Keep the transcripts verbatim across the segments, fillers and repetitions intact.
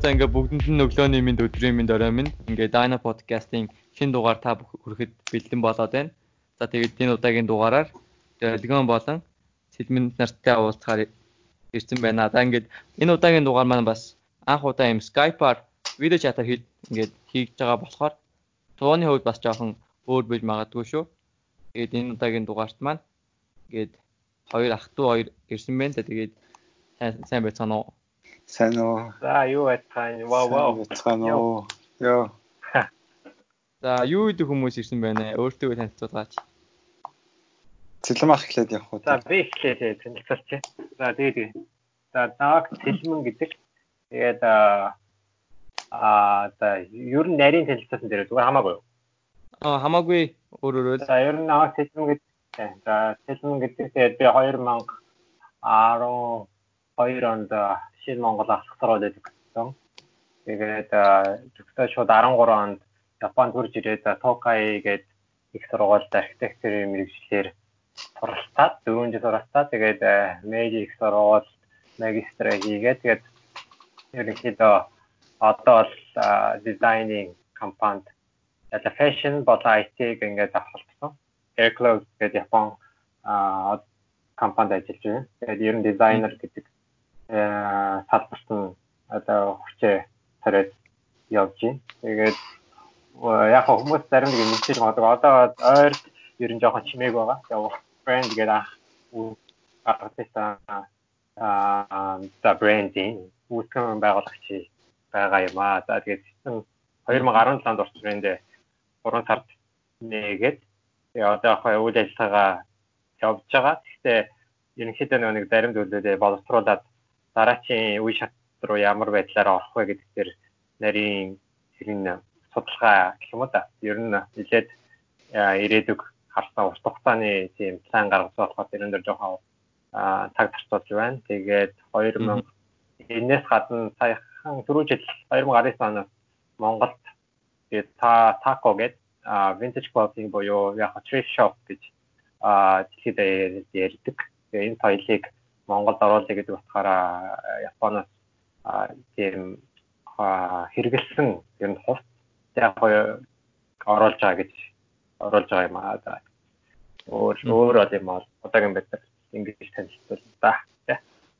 за ингээ бүгдэнд нь өглөөний минь өдрийн минь орой минь ингээ Dino podcast-ийн шинэ дугаар та бүхэнд бэлдэн болоод байна. За тэгээд энэ удаагийн дугаараар Дэлгэн болон Сэлмэн нартай уулзахаар ирсэн байна. За ингээд энэ удаагийн дугаар маань бас анх удаа юм Skype-аар видео чатаар ингээд хийж байгаа болохоор тууны хувьд бас жоохон өөр бий магадгүй шүү. Тэгээд энэ удаагийн дугаарт маань ингээд хоёр ах トゥ хоёр ирсэн байна. Тэгээд сайн байцгаана уу? Сайн уу. За юу байцгаана? Вау вау. Байцгаана уу. Йоо. За юу гэдэг хүмүүс ирсэн байна? Өөртөө танилцуулаач. Цэлэм ах эхлээд явах уу? За би эхлээд танилцуулчих. За тэгээд за наг Цэлмэн гэдэг. Тэгээд аа за ер нь нарийн танилцуулсан дээр зүгээр хамаагүй юу? Аа хамаагүй өөр өөр. За ер нь наг Цэлмэн гэдэг. За Цэлмэн гэдэг тэгээд би two thousand twelve онд Шинэ Монгол ахлах сургууль өгсөн. Тэгээд зөвхөн шууд thirteen онд Японд хурж ирээд Токай гээд их сургуульд архитектурын мэргэжлэр суралцаад дөрвөн жил суралцаад тэгээд Мэйжи их сургууль магистраа хийгээд тэгээд ерөнхийдөө одоо бол дизайнинг компанид яла фэшн болон ай ти ингээд авахлсан. Aircloud гэдэг Япон компанид ажиллаж байна. Тэгээд ер нь дизайнер гэдэг салбарт нь одоо хүчээ тариад явж байна. Тэгээд яг хүмүүс зарим нэг мэдээж магадгүй одоо ойр ер нь жоохон чимээг байгаа. Тэгээд брэнд гэдэг ах артиста аа за брендинг үүсгэн байгуулагч байгаа юм аа. За тэгээд two thousand seventeen онд орчинд three сард нээгээд тэгээд одоо яг үйл ажиллагаа явж байгаа. Гэхдээ ерөнхийдөө нэг зарим зүйлүүдээ боловсруулаад дараачийн үе шат руу ямар байдлаар орох вэ гэдэг дээр нарийн хэрэг судалгаа гэх юм уу да. Ер нь нэлээд ирээдүг харсан урт хугацааны тийм план гаргаж болохоор тэрэн дээр жоохон цаг зарцуулж байна. Тэгээд two thousand энэс гадна саяхан түрүү жил twenty nineteen оноос Монголд тэгээд тако гэдэг vintage clothing буюу яг thrift shop гэж дэлхийд ярьдаг. Тэгээд энэ соёлыг Монголд оруулъя гэдэг утгаараа Японоос тийм хэрэгэлсэн ер нь хувц яг оруулж байгаа гэж оруулж байгаа юм аа. Өөр өөр бол юм аа. Одоогийн байдлаар ингэж танилцуулна да.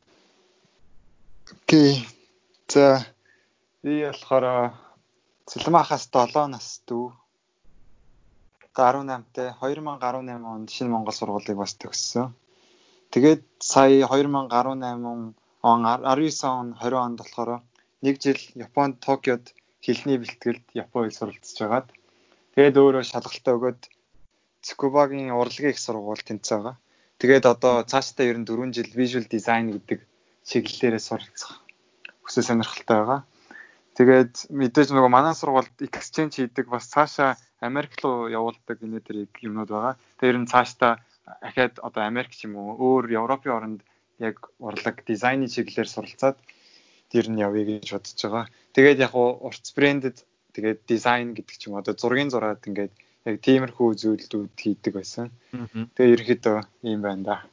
Окей. За би болохоор Цэлэм ахаас seven нас дүү. eighteen тай twenty eighteen онд Шинэ Монгол сургуулийг бас төгссөн. Тэгээд сая twenty eighteen он nineteen он twenty онд болохоор нэг жил Японд Токиод хэлний бэлтгэлд Япон хэл суралцж байгаад тэгээд өөрөө шалгалтаа өгөөд Цукубагийн урлагийн их сургууль тэнцээ байгаа. Тэгээд одоо цаашдаа ер нь four жил visual design гэдэг чиглэлээрээ суралцах хүсэл сонирхолтой байгаа. Тэгээд мэдээж нөгөө манай сургуульд exchange хийдэг бас цаашаа Америк руу явуулдаг энэ төр юмнууд байгаа. Тэгээд ер нь цаашдаа ахаад одоо Америк ч юм уу өөр Европын оронд яг урлаг дизайны чиглэлээр суралцаад тэр нь явъя гэж бодож байгаа. Тэгээд яг урт брендэд тэгээд дизайн гэдэг ч юм одоо зургийн зураад ингээд яг тиймэрхүү зүйлүүд хийдэг байсан. Тэгээд ерөөхдөө ийм байна да.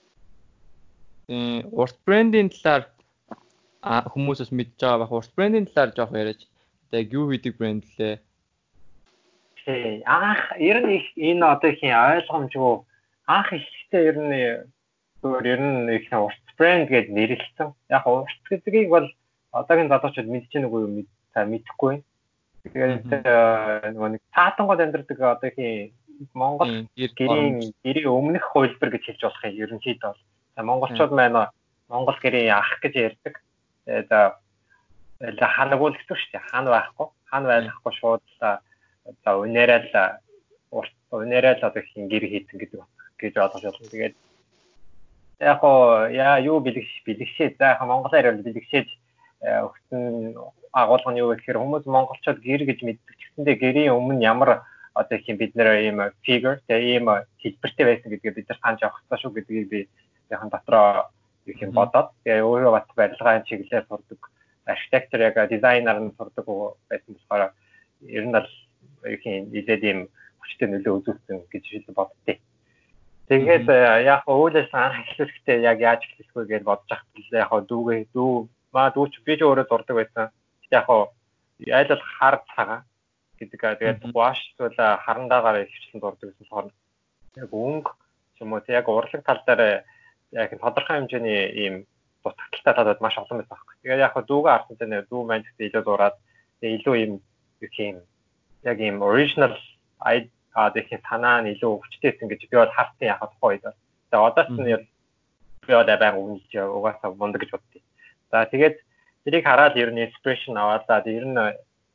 Э урт брендийн талаар хүмүүсээс мэдж байгаа байх. Урт брендийн талаар жоох яриач. Тэгээд юу хийдэг брэнд лээ? Тий. Анх ер нь энэ одоохийн ойлгомжгүй анх ихтэй ер нь өөр ер нь их урт брэнд гэж нэрлэлсэн. Яг урт гэдгийг бол одоогийн залуучууд мэдж байгаа үгүй юу мэдэхгүй. Тэгээд нөгөө нэг таатангууд амьдардаг одоохийн Монгол гэрийн гэрийн өмнөх хувилбар гэж хэлж болох юм ерөнхийдөө бол. Монголчууд маань Монгол гэрийн ах гэж ярьдаг. Тэгээд ханагуул гэсэн шүү дээ. Хан байхгүй. Хан байхгүй шууд за өнөрөө л урт өнөрөө л одоохийн гэр хийдэн гэдэг гэж ойлгож байна. Тэгээд яг оо яа юу бэлгш бэлгшээ. За яг монголоор бол бэлгшээж өгсөн агуулга нь юу вэ гэхээр хүмүүс монголчууд гэр гэж мэддэг ч гэсэндээ гэрийн өмнө ямар одоо их юм бид нэр ийм figure тэгээ ийм хэлбэртэй байсан гэдгийг бид нар санаж авах хэрэгтэй шүү гэдгийг би яхан дотроо их юм бодоод тэгээ өөрөө бат барилгын чиглэлээр сурдаг архитектор яг дизайнер нь сурдаг байсан болохоор ер нь бол их юм нэлээд ийм хүчтэй нөлөө үзүүлсэн гэж боддتي. Тэгээд яг уулаас анх эхлэхдээ яг яаж эхлэх вэ гэж бодож ахад яг дүүгээ дүү маа дүүч би ч өөрөө зурдаг байсан. яг хоо айл бол хар цагаан гэдэг. Тэгээд wash бол харандаагаар хөвчлэн дурдаг гэсэн болохоор яг өнгө ч юм уу яг урлаг тал дээр яг тодорхой хэмжээний ийм дутагдaltaй талууд маш олон байдаг байхгүй. Тэгээд яг хоо дүүгээ харсан чинь дүү маань гэдэг илүү дураад илүү ийм их юм яг ийм original ай а дахин санаа нь илүү өвчтэйсэн гэж би бол хартын яг тухай үед. Тэгээд одоос нь би одоо баян үнэлж угаасаа мундаг гэж боддیں۔ За тэгээд тэрийг хараад ер нь inspiration аваалаа. Ер нь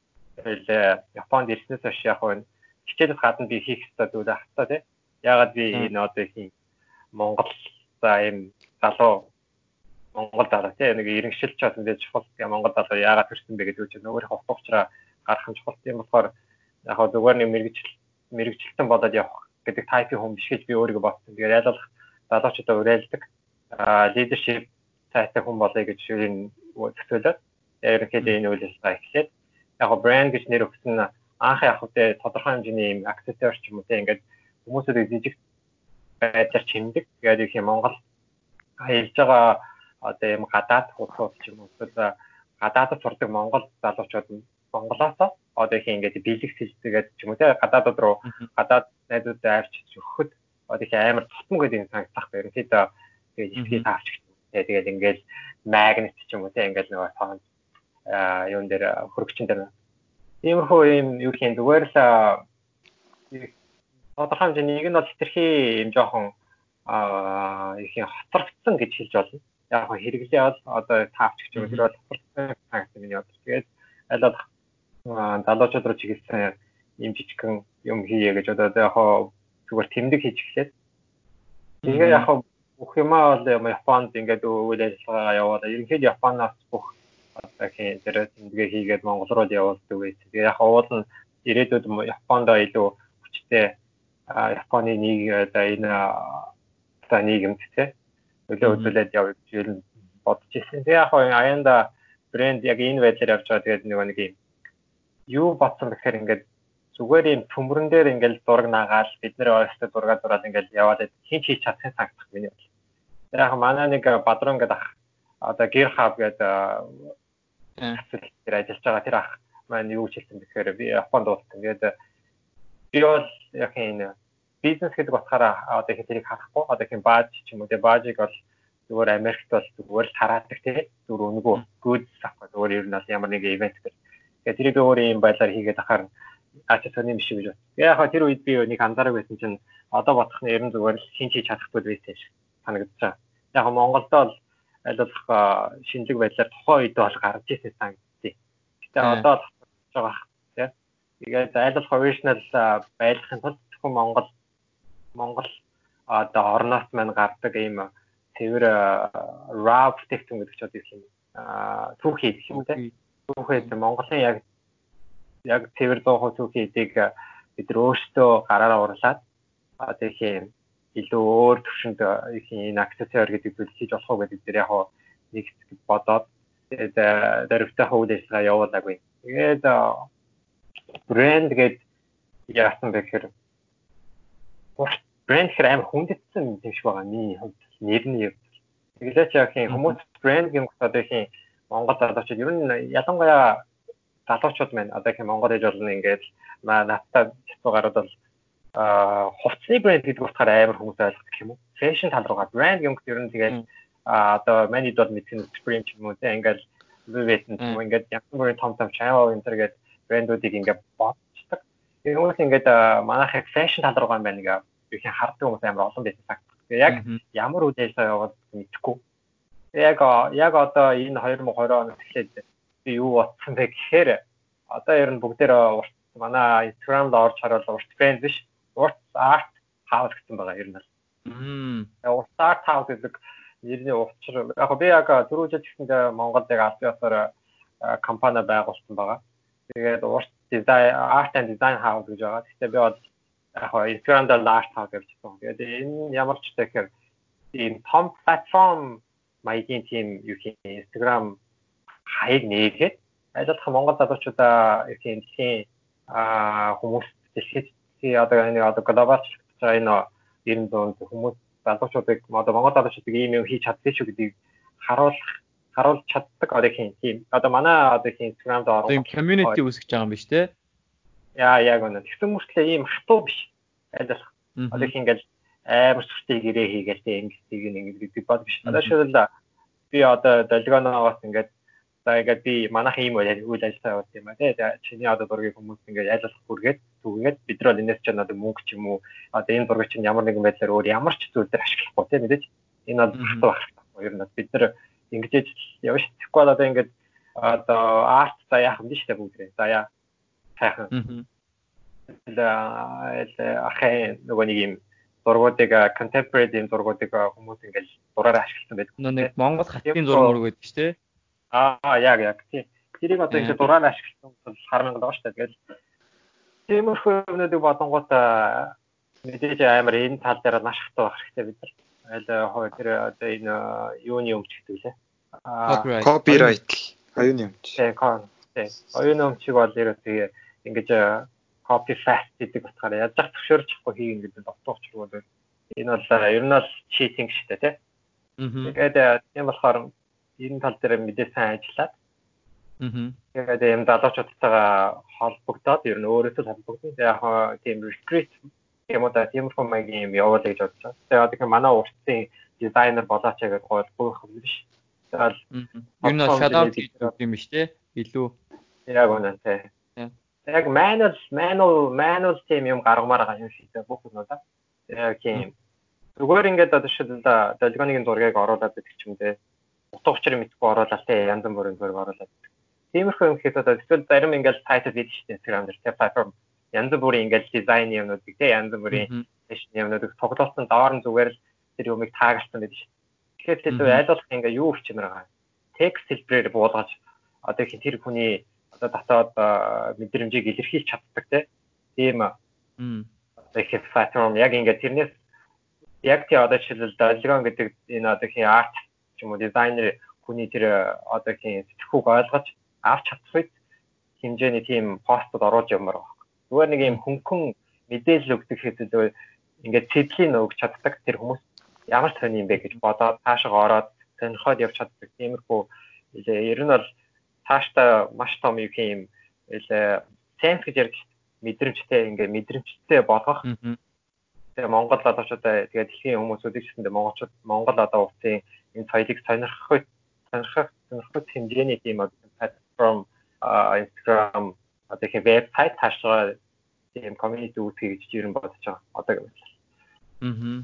Японд ирснээс хойш яг нь хичээлээс гадна би хийх хэрэгтэй зүйл хатаа тий. Ягаад би энэ одоо их Монгол за ийм залуу Монгол залуу тий нэг иргэншилж чад мэдээж чухал Монгол залуу яагаад төрсөн бэ гэдэг чинь өөрийнхөө утга учраа гарах нь чухал юм болохоор яг хоо зүгээр нэг мэрэгжил мэрэгжилтэн болоод явах гэдэг тайпын хүн биш гэж би өөрийгөө бодсон. Тэгээд ялгах залуучуудаа уриалдаг leadership цайтай хүн болъё гэж энэ төсөөлөд ерөнхийдөө энэ үйл ажиллагаа эхлээд яг брэнд гэж нэр өгсөн анх яг үедээ тодорхой хэмжээний юм аксессуар ч юм уу тийм ингээд хүмүүсүүдийг жижиг байдлаар чимдэг. Тэгээд их юм Монгол хэлж байгаа одоо юм гадаад хуудсууд ч юм уу эсвэл гадаадд сурдаг Монгол залуучууд Монголоос одоо их ингээд бэлэг сэлцгээд ч юм уу тийм гадаадд руу гадаад найзуудаа авчиж өгөхөд одоо их амар тутам гэдэг юм санагдах байх. Ерөнхийдөө тэгээд ихтэй таавч тэгээд ингээд магнит ч юм уу тийм ингээд нөгөө тоон а юун дээр хөрөгчин дээр иймэрхүү юм юу гэх юм зүгээр л тодорхой хэмжээний нэг нь бол хэтэрхий юм жоохон а их юм хоцрогдсон гэж хэлж болно. Яг хөө хэрэглээ бол одоо таавч гэж юм тэр бол хоцрогдсон санагдсан миний бодлоо. Тэгээд аль болох залуучууд руу чиглэсэн юм жижигхэн юм хийе гэж одоо яг хөө зүгээр тэмдэг хийж эхлээд тэгээ яг хөө бүх юмаа бол Японд ингээд үйл ажиллагаагаа явуулаад ерөнхийдөө Японоос бүх одоо хин тэр тэмдэгэ хийгээд Монгол руу явуулдаг байсан. Тэгээ яг уул нь ирээдүйд Японд илүү хүчтэй Японы нэг одоо энэ та нийгэмд тэ нөлөө үзүүлээд явж ирэл бодож ирсэн. Тэгээ яг аяанда брэнд яг энэ байдлаар явж байгаа. Тэгээд нэг нэг юм юу бодсон гэхээр ингээд зүгээр юм төмөрөн дээр ингээд зураг наагаал бид нэр ойртой зураг зураад ингээд яваад хин ч хийж чадсан санагдах миний бол. Яг манай нэг бадрон гэдэг ах одоо гэр хав гэдэг тэр ажиллаж байгаа тэр ах маань юу хэлсэн гэхээр би Японд уулзсан. Тэгээд би бол яг энэ бизнес гэдэг утгаараа одоо их тэрийг харахгүй одоо их бааж ч юм уу тэгээ баажиг бол зүгээр Америкт бол зүгээр л тараадаг тий зүгээр өнгөө goods авах зүгээр ер нь бол ямар нэг ивент гэх. Тэгээд тэрийг би өөр юм байдлаар хийгээд ахаар аач сони биш гэж байна. Яг хаа тэр үед би нэг анзаарах байсан чинь одоо бодох нь ер нь зүгээр л шинж хийж чадахгүй байсан шиг санагдчихаа. Яг Монголд бол аль болох шинжлэх байдлаар тухайн үед бол гарч ирсэн санагдтыг. Гэтэ одоо л болж байгаа тий. Тэгээд аль болох original байлгахын тулд зөвхөн Монгол Монгол одоо орноос маань гардаг ийм цэвэр raw бүтээгдэхүүн гэдэг ч одоо юм аа түүхий гэх юм тий. Түүхийд Монголын яг яг цэвэр дуу түүхийдийг бид өөрсдөө гараараа урлаад одоо их юм илүү өөр төвшөнд их энэ аксессуар гэдэг зүйл хийж болох уу гэдэг дээр яг нэг бодоод тэгээд дөрөвтэй хөвөл ажиллагаа явуулаагүй. Тэгээд брэнд гэдэг яасан бэ гэхээр брэнд хэрэг амар хүндэтсэн юм шиг байгаа миний хувьд нэр нь яг. Тэгэлээч яг хүмүүс брэнд юм одоо их Монгол залуучууд ер нь ялангуяа залуучууд маань одоо их Монгол ээж болно ингээд надтай хэцүү гарууд бол а хувцсны брэнд гэдэг утгаар амар хүмүүс ойлгох юм уу? Фэшн тал руугаа брэнд юм гэдэг ер нь тэгээд одоо манайд бол мэдсэн Supreme ч юм уу те ингээд Louis Vuitton ч юм уу ингээд ямар нэгэн том том Chanel энэ төргээд брэндүүдийг ингээд бодчихдаг. Энэ хүмүүс ингээд манайх фэшн тал руугаа байна нэг их хардаг хүмүүс амар олон байсан цаг. Тэгээд яг ямар үйл ажиллагаа яваад мэдэхгүй. Яг яг одоо энэ две тысячи двадцать оноос эхлээд би юу бодсон бэ гэхээр одоо ер нь бүгдээр манай Instagram-д орж харвал урт брэнд биш урт арт хаус гэсэн байгаа ер нь бол. Мм. Урт арт хаус гэдэг нэрний учир яг би яг түрүү жил гэсэндээ Монголд яг аль ёсоор компани байгуулсан байгаа. Тэгээд урт дизайн арт and design хаус гэж байгаа. Гэхдээ би бол яг Instagram-д арт хаус гэж байна. Тэгээд энэ ямар ч тэгэхээр ийм том платформ маягийн тийм юу гэх юм Instagram хаяг нээгээд аль болох Монгол залуучуудаа их юм дэлхийн а хүмүүс дэлхийд одоо энэ одоо глобал энэ ер нь дунд хүмүүс залуучуудыг одоо Монгол залуучуудыг ийм юм хийж чаддаг шүү гэдгийг харуулах харуулж чаддаг одоо хин тийм. Одоо манай одоо хин Instagram-д орсон. Тийм community үүсгэж байгаа юм биш үү? Яа яг үнэ. Тэгсэн мөртлөө ийм хатуу биш. Айлах. Одоо хин ингээл амар сүртэй гэрээ хийгээл тийм ингэдэг ингэдэг бод биш. Одоо шил би одоо долгионоос ингээд за ингээд би манайхан ийм үйл ажиллагаа явуулсан юм а тий. Чиний одоо дургийг хүмүүс ингээд айлуулах бүргээд түгээд бид нар бол энэс чинь одоо мөнгө ч юм уу одоо энэ дургийг чинь ямар нэгэн байдлаар өөр ямар ч зүйл дээр ашиглахгүй тий мэдээж. Энэ бол хатуу байх. Ер нь бид нар ингэж явж тэгэхгүй одоо ингээд одоо арт за яах юм биш үү бүгд. За яа сайхан. Л ахаа нөгөө нэг юм зургуудыг contemporary юм зургуудыг хүмүүс ингээд зураараа ашигласан байдаг. Нэг Монгол хатын зураг мөрөг байдаг шүү дээ. Аа яг яг тий. Тэрийг одоо ингээд зураараа ашигласан бол хармаг л байгаа шүү дээ. Тэгэл тиймэрхүү юмнуудыг бодонгууд мэдээж амар энэ тал дээр маш хатуу байх хэрэгтэй бид нар. Айл хоо тэр одоо энэ юуны өмч гэдэг лээ. Аа copyright оюуны өмч. Тий, тий. Оюуны өмчийг бол ерөөсөө ингэж copy fast гэдэг утгаараа яаж зах зөвшөөрч чадахгүй хийгэн гэдэг дотоогч руу бол энэ бол ер нь бол cheating шүү дээ тий. Тэгээд тийм болохоор энэ тал дээр мэдээ сайн ажиллаад. Тэгээд юм залуучуудтайгаа холбогдоод ер нь өөрөөсөө холбогдсон. Яг тийм retreat юм уу да тийм хүмүүс юм явуулъя гэж бодож байна. Тэгээд одоо манай уртсын дизайнер болооч гэдэг гол бүх юм биш. Тэгээд ер нь shout out гэдэг юм биш тий. Илүү яг үнэ тий. Яг manual manual manual team юм гаргамаар байгаа юм шиг дээ бүх юм да. Яг тийм. Зүгээр ингээд одоо шил долгионыг зургийг оруулаад байдаг ч юм дээ. Утга учир мэдгүй оруулаад тий янз бүрийн зураг оруулаад. Тиймэрхүү юм хэд одоо эсвэл зарим ингээд title гэдэг шүү дээ Instagram дээр тий platform янз бүрийн ингээд дизайн юмнуудыг тий янз бүрийн fashion юмнуудыг тоглосон доор нь зүгээр л тэр юмыг таагалсан байдаг шүү. Тэгэхээр тэр айлуулах ингээд юу өчмөр байгаа. Текст хэлбэрээр буулгаж одоо их тэр хүний одоо татаад мэдрэмжийг илэрхийлж чаддаг тийм одоо их platform яг ингээд тэрнээс яг тий одоо жишээлбэл долгион гэдэг энэ одоо хин арт ч юм уу дизайнер хүний тэр одоо хин сэтгүүг ойлгож авч чадах хэмжээний тийм постод оруулж явмаар байна. Зүгээр нэг юм хөнгөн мэдээлэл өгдөг хэдэл ингээд цэдлийн өгч чаддаг тэр хүмүүс ямар сони юм бэ гэж бодоод цаашаа ороод сонирхоод явж чаддаг тиймэрхүү ер нь бол цаашдаа маш том юм илүү sense гэж ярьж мэдрэмжтэй ингээ мэдрэмжтэй болгох. Тэгээ Монгол залуучуудаа тэгээ дэлхийн хүмүүсүүдийг гэсэндээ монголчууд Монгол одоо улсын энэ соёлыг сонирхох сонирхох сонирхох хэмжээний тийм platform Instagram одоо их вебсайт хаашаа тийм community үүсгэж гэж ер нь бодож байгаа. Одоо юм байна. Аа.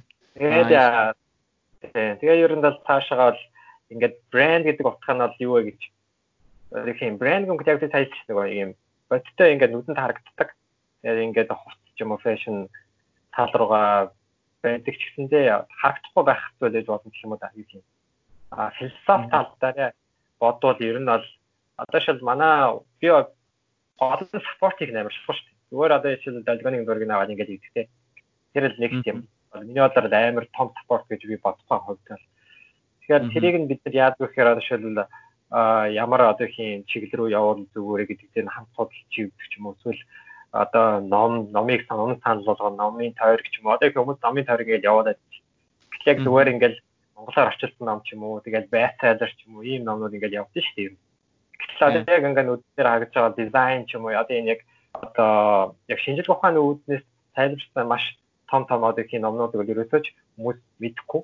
Тэгээд тэгээ ер нь бол цаашаа бол ингээд брэнд гэдэг утга нь бол юу вэ гэж нэг юм брэнд гэнэ яг тайлж нэг юм бодтой ингээд нүдэнд харагддаг. Тэгээд ингээд хувц ч юм уу fashion тал руугаа байдаг ч гэсэндээ харагдахгүй байх зүйл гэж болно гэх юм уу да юм. А философи тал дээр бодвол ер нь бол одоо шил манай би гол спортыг нэмэр шүү дээ. Зүгээр одоо шил долгионы зургийг аваад ингээд хийдэг. Тэр л нэг юм. Миний бодлоор амар том спорт гэж би бодсон хувьд. Тэгэхээр тэрийг нь бид нар яадаг вэ гэхээр одоо шил а ямар одоо хин чиглэл рүү явуул зүгээр гэдэг дээр хамт судалж хийвдэг ч юм уу эсвэл одоо ном номыг санал санал болгоо номын тойр гэж юм уу одоо хүмүүс номын тойр ингээд явуулаад яг зүгээр ингээд монголоор орчуулсан ном ч юм уу тэгээд бестселлер ч юм уу ийм номнууд ингээд явдаг шүү дээ. Гэтэл одоо яг ингээд нүдээр харагдаж байгаа дизайн ч юм уу одоо энэ яг одоо яг шинжлэх ухааны үүднээс тайлбарсан маш том том одоо хин номнуудыг ерөөсөж хүмүүс мэдэхгүй.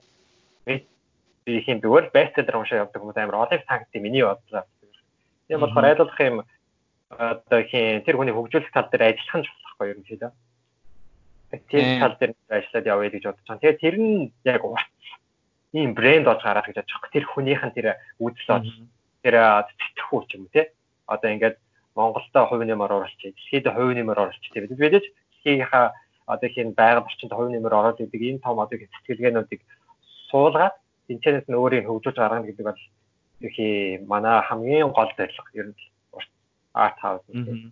Би хин зүгээр бестселлер уншаа явдаг хүмүүс амар олон тагт миний бодлоо. Тийм болохоор айлуулах юм одоо хин тэр хүний хөгжүүлэх тал дээр ажиллах нь болохгүй юм шиг дээ. Тэр тал дээр ажиллаад явъя гэж бодож байгаа. Тэгээд тэр нь яг урт ийм брэнд болж гараад гэж бодож байгаа. Тэр хүнийхэн тэр үзэл болж тэр сэтгэхүй ч юм уу тий. Одоо ингээд Монголда хувь нэмэр оруулчих, дэлхийд хувь нэмэр оруулчих тийм. Бид мэдээж дэлхийнхаа одоо хин байгаль орчинд хувь нэмэр оруулаад идэг энэ том одоо сэтгэлгээнүүдийг суулгаад интернет нь өөрийг хөгжүүлж гаргана гэдэг бол ихий манай хамгийн гол зорилго ер нь арт хаус.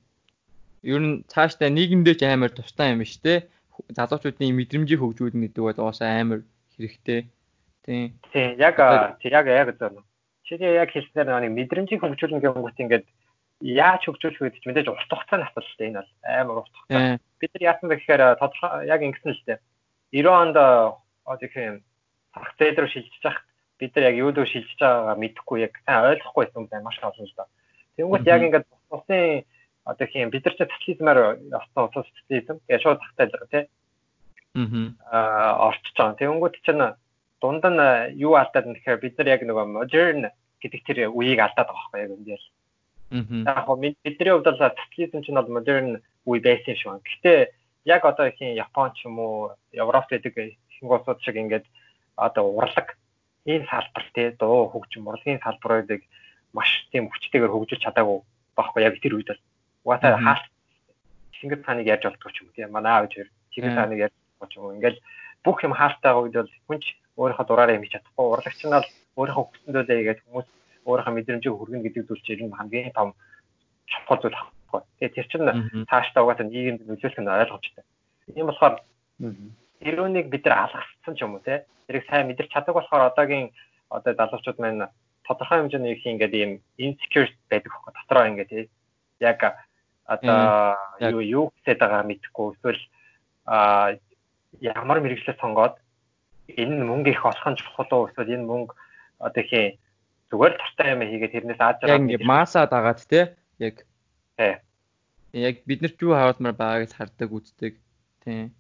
Ер нь цаашдаа нийгэмдээ ч амар тустай юм шүү дээ. Залуучуудын мэдрэмжийг хөгжүүлнэ гэдэг бол уусаа амар хэрэгтэй. Тийм. Тийм яг яг яг зөв. Чиний яг хэлснээр нэг мэдрэмжийг хөгжүүлнэ гэнгүүт ингээд яаж хөгжүүлэх вэ гэж мэдээж урт хугацааны асуудал шүү дээ. Энэ бол амар урт хугацаа. Бид нар яасан бэ гэхээр тодорхой яг ингэсэн л дээ. девяносто онд одоо тийм зах зээл рүү шилжиж хахад бид нар яг юу дөө шилжиж байгаагаа мэдэхгүй яг сайн ойлгохгүй байсан юм байна маш олон л доо. Тэнгүүт яг ингээд усын одоо тийм бид нар ч социализмаар явсан улс социализм гэж шууд тагтайл тий. Аа орчиж байгаа. Тэнгүүт чинь дунд нь юу алдаад юм гэхээр бид нар яг нөгөө modern гэдэг тэр үеийг алдаад байгаа байхгүй яг энэ л. Яг хоо бидний хувьд бол социализм чинь бол modern үе байсан юм шиг байна. Гэхдээ яг одоо их Япон ч юм уу Европт гэдэг ихэнх улсууд шиг ингээд одоо урлаг ийм салбар тий дуу хөгжим урлагийн салбаруудыг маш тийм хүчтэйгээр хөгжүүлж чадаагүй байхгүй яг тэр үед бол. Угаасаа хаалт Чингис хааныг ярьж болтгоо ч юм уу тий манай аав хоёр Чингис хааныг ярьж болтгоо ч юм уу ингээл бүх юм хаалттай үед бол хүнч өөрийнхөө дураараа юм хийж чадахгүй урлагч нь бол өөрийнхөө хүсэндөө тэгээд хүмүүс өөрийнхөө мэдрэмжийг хүргэнэ гэдэг зүйл чинь хамгийн том чухал зүйл байхгүй. Тэгээд тэр чинь цаашдаа угаасаа нийгэмд нөлөөлөх нь ойлгомжтой. Тийм болохоор тэрүүнийг бид нар алгассан ч юм уу те тэрийг сайн мэдэрч чаддаг болохоор одоогийн одоо залуучууд маань тодорхой хэмжээний их ингээд ийм insecure байдаг байхгүй дотроо ингээд яг одоо юу юу гэдэг байгаа мэдэхгүй эсвэл а ямар мэрэгчлээ сонгоод энэ мөнгө их олох нь чухал уу эсвэл энэ мөнгө одоо их зүгээр тартай юм хийгээд тэрнээс ааж байгаа ингээд масаа дагаад те яг тий яг бид нар ч юу харуулмаар байгааг хардаг үздэг тий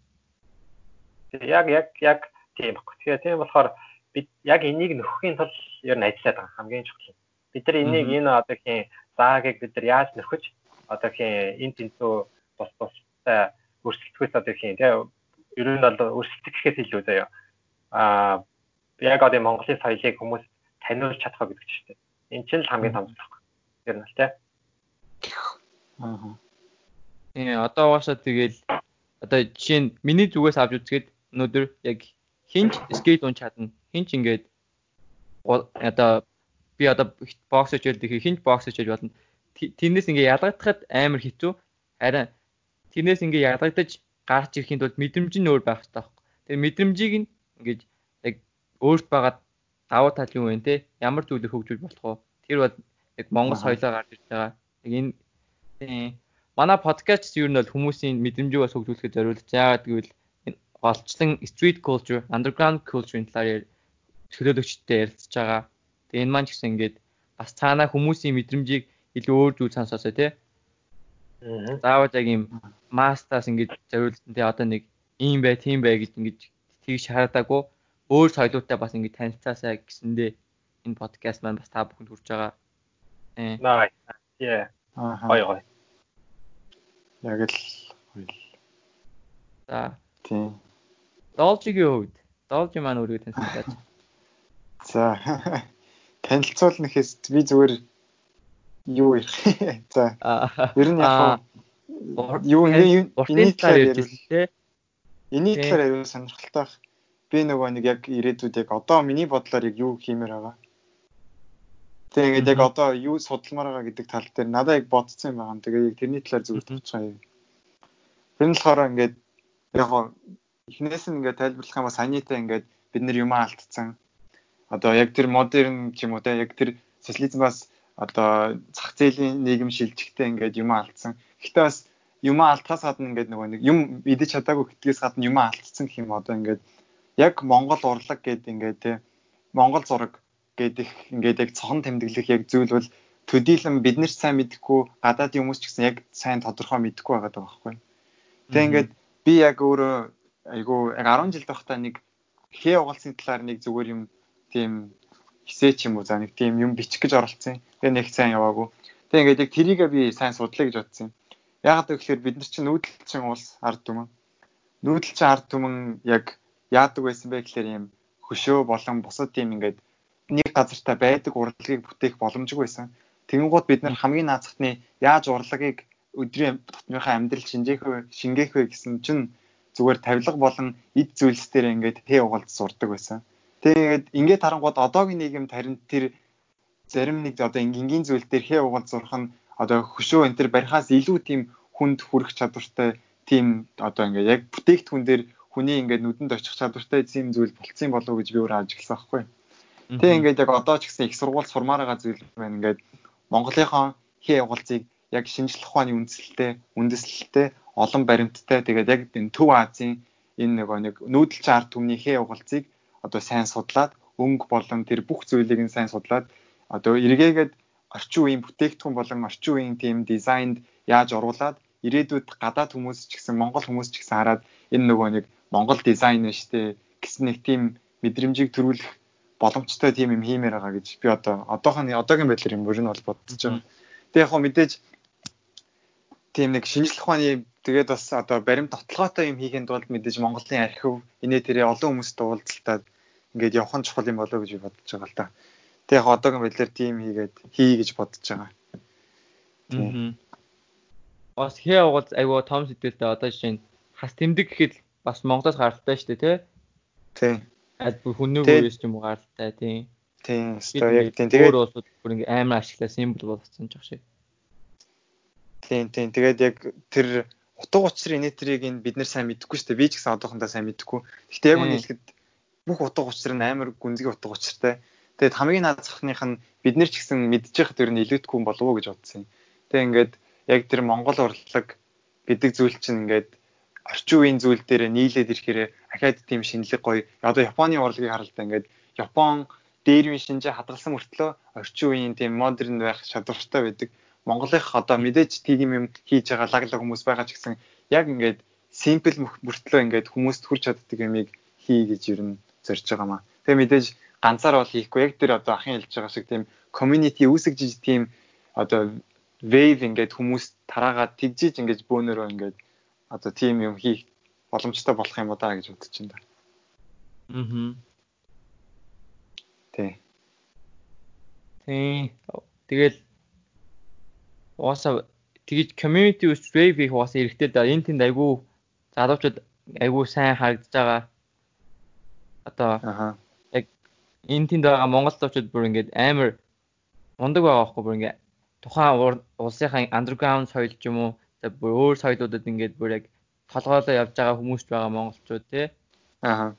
яг яг яг тийм баг. Тэгэхээр тийм болохоор бид яг энийг нөхөхийн тулд ер нь ажиллаад байгаа хамгийн чухал. Бид нар энийг энэ одоо хин заагийг бид нар яаж нөхөж одоо хин энэ тэнцүү бус бустай өрсөлдөхөөс одоо хин тийм ер нь бол өрсөлдөх гэхээс илүү заяа. Аа яг одоо Монголын соёлыг хүмүүс таниулж чадах гэдэг чинь. Энэ чинь л хамгийн том зүйл. Ер нь л тийм. Аа. Э одоо угаасаа тэгэл одоо жишээ нь миний зүгээс авч үзгээд өнөөдөр яг хинч скейт унч чадна. Хинч ингээд одоо би одоо бокс хийж байдаг хинч бокс хийж болно. Тэрнээс ингээд ялгагдахад амар хэцүү. Харин тэрнээс ингээд ялгагдаж гарч ирэхийн тулд мэдрэмж нь өөр байх хэрэгтэй байхгүй. Тэр мэдрэмжийг нь ингээд яг өөрт байгаа давуу тал юу вэ те? Ямар зүйлийг хөгжүүлж болох вэ? Тэр бол яг Монгол соёлоо гарч ирж байгаа. Яг энэ манай подкаст ер нь бол хүмүүсийн мэдрэмжийг бас хөгжүүлэхэд зориулж яагаад гэвэл голчлон street culture, underground culture-ийн талаар төлөөлөгчтэй ярилцж байгаа. Тэгээ энэ маань ч гэсэн ингээд бас цаанаа хүмүүсийн мэдрэмжийг илүү өөр зүйл сонсоосоо тий. Аа. Заавал яг юм мастаас ингээд зориулсан тий одоо нэг ийм бай, тийм бай гэж ингээд тийш харагдаагүй. Өөр соёлоотой бас ингээд танилцаасаа гэсэндээ энэ подкаст маань бас та бүхэнд хүрч байгаа. Э. Nice. Yeah. Аа. Гоё гоё. Яг л гоё. За. Тийм. Должигийн хувьд Должи маань өөрийгөө танилцуулаач. За. Танилцуулнахээс би зүгээр юу ярих. За. Ер нь яг юу энэ талаар ярилээ. Энэ талаар ярил сонирхолтой. Би нөгөө нэг яг ирээдүйд яг одоо миний бодлоор яг юу хиймээр байгаа. Тэгээд яг одоо юу судалмаар байгаа гэдэг тал дээр надад яг бодсон юм байна. Тэгээд яг тэрний талаар зүгээр товчхоо. Тэр нь болохоор ингээд яг эхнээс нь ингээд тайлбарлах юм ба санийтай ингээд бид нар юм алдсан. Одоо яг тэр модерн ч юм уу те яг тэр социализмаас одоо зах зээлийн нийгэм шилжихтэй ингээд юм алдсан. Гэхдээ бас юм алдхаас гадна ингээд нөгөө нэг юм идэж чадаагүй гэдгээс гадна юм алдсан гэх юм одоо ингээд яг Монгол урлаг гэдэг ингээд те Монгол зураг гэдэг ингээд яг цохон тэмдэглэх яг зүйл бол төдийлөн бид нар сайн мэдэхгүй гадаад хүмүүс ч гэсэн яг сайн тодорхой мэдэхгүй байгаа даа байхгүй. Тэгээ ингээд би яг өөрөө айгу яг арван жил байхдаа нэг хээ угалсны талаар нэг зүгээр юм тийм хэсэ ч юм уу за нэг тийм юм бичих гэж оролцсон. Тэгээ нэг сайн яваагүй. Тэгээ ингээд яг тэрийгээ би сайн судлаа гэж бодсон юм. Яагаад гэвэл бид нар чинь нүүдэлчин улс ард түмэн. Нүүдэлчин ард түмэн яг яадаг байсан бэ гэхээр юм хөшөө болон бусад тийм ингээд нэг газартаа байдаг урлагийг бүтээх боломжгүй байсан. Тэнгууд бид нар хамгийн наацхны яаж урлагийг өдрийн тутмынхаа амьдрал шинжээх вэ, шингээх вэ гэсэн чинь зүгээр тавилга болон эд зүйлс дээр ингээд хээ угалд сурдаг байсан. Тэгээд ингээд харангууд одоогийн нийгэмд харин тэр зарим нэг одоо энгийн зүйл дээр хээ угалд сурах нь одоо хөшөө энэ төр барихаас илүү тийм хүнд хүрэх чадвартай тийм одоо ингээд яг бүтээгдэхүүн дээр хүний ингээд нүдэнд очих чадвартай тийм зүйл болцсон болов уу гэж би өөрөө ажигласан байхгүй. Тэгээ ингээд яг одоо ч гэсэн их сургууль сурмаар байгаа зүйл байна. Ингээд Монголынхон хээ угалзыг яг шинжлэх ухааны үндслэлтэй, үндэслэлтэй, олон баримттай тэгээд яг энэ Төв Азийн энэ нөгөө нэг нүүдэлчин ард түмний хээ угалзыг одоо сайн судлаад өнгө болон тэр бүх зүйлийг нь сайн судлаад одоо эргээгээд орчин үеийн бүтээгдэхүүн болон орчин үеийн тийм дизайнд яаж оруулаад ирээдүйд гадаад хүмүүс ч гэсэн Монгол хүмүүс ч гэсэн хараад энэ нөгөө нэг Монгол дизайн нь штэ гэсэн нэг тийм мэдрэмжийг төрүүлэх боломжтой тийм юм хиймээр байгаа гэж би одоо одоохон одоогийн байдлаар юм бүр нь бол бодож байгаа. Тэгээ яг хөө мэдээж тийм нэг шинжлэх ухааны тэгээд бас одоо баримт тотлогоотой юм хийхэд тулд мэдээж Монголын архив инээ тэрэ олон хүмүүст уулзалтаад ингээд явах нь чухал юм болоо гэж би бодож байгаа л та. Тэгээ яг одоогийн байдлаар тийм хийгээд хий гэж бодож байгаа. Тийм. Бас хээ угал айгуу том сэдвэлтэй одоо жишээ нь хас тэмдэг гэхэд бас Монголоос гаралтай шүү дээ тий. Тийм. Аль бүр хүннэг үеэс ч юм уу гаралтай тийм. Тийм. Яг тийм. Тэгээд өөр улсууд бүр ингээ амар ашиглаа символ болгоцсон ч шиг. Тийм тийм. Тэгээд яг тэр утга учир инээтрийг нь бид нэр сайн мэдэхгүй шүү дээ. Би ч гэсэн одоохондоо сайн мэдэхгүй. Гэхдээ яг үнийг хэлэхэд бүх утга учир нь амар гүнзгий утга учиртай. Тэгээд хамгийн наад захных нь бид нар ч гэсэн мэдж байхад ер нь илүүдэхгүй юм болов уу гэж бодсон юм. Тэгээд ингээд яг тэр Монгол урлаг гэдэг зүйл чинь ингээд орчин үеийн зүйл дээр нийлээд ирэхээр ахаад тийм шинэлэг гоё. Одоо Японы урлагийг харалтай ингээд Япон дээр үе шинжээ хадгалсан мөртлөө орчин үеийн тийм модерн байх чадвартай байдаг. Монголынх одоо мэдээж тийм юм хийж байгаа лаглаг хүмүүс байгаа ч гэсэн яг ингээд симпл мөртлөө ингээд хүмүүст хүрч чаддаг юмыг хий гэж ер нь зорж байгаа маа. Тэгээ мэдээж ганцаар бол хийхгүй яг тэр одоо ахын хэлж байгаа шиг тийм community үүсгэж тийм одоо wave ингээд хүмүүс тараагаад тэгжиж ингээд бөөнөрөө ингээд одоо тийм юм хийх боломжтой болох юм удаа гэж бодож байна. Аа. Тий. Тий. Тэгэл уусаа тэгж community wave их уусаа хэрэгтэй да. Энэ тэнд айгүй залуучууд айгүй сайн харагдаж байгаа. Одоо аха. Яг энэ тэнд байгаа монгол залуучууд бүр ингээд амар мундаг байгаа байхгүй бүр ингээд тухайн улсынхаа underground соёл ч юм уу бүр өөр соёлуудад ингээд бүр яг толгойлоо явж байгаа хүмүүс байгаа монголчууд тий. Аа.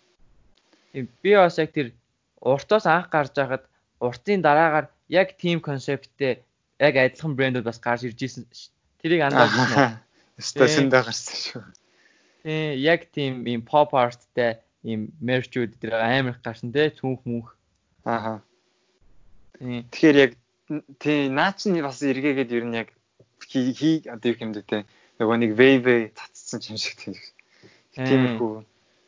Би бас яг тэр уртаас анх гарч байхад уртын дараагаар яг team концепттэй яг адилхан брэндүүд бас гарч ирж ирсэн. Тэрийг анзаарсан уу? Стасэндээ гарсан шүү. Тий, яг team ийм pop artтэй ийм merch-үүд дээр амар их гарсан тий, цүнх мөнх. Аа. Тий. Тэгэхээр яг тий наач нь бас эргээгээд ер нь яг хий одоо юу юм дэ тий. Нөгөө нэг wave цацсан юм шиг тийм. Тиймэрхүү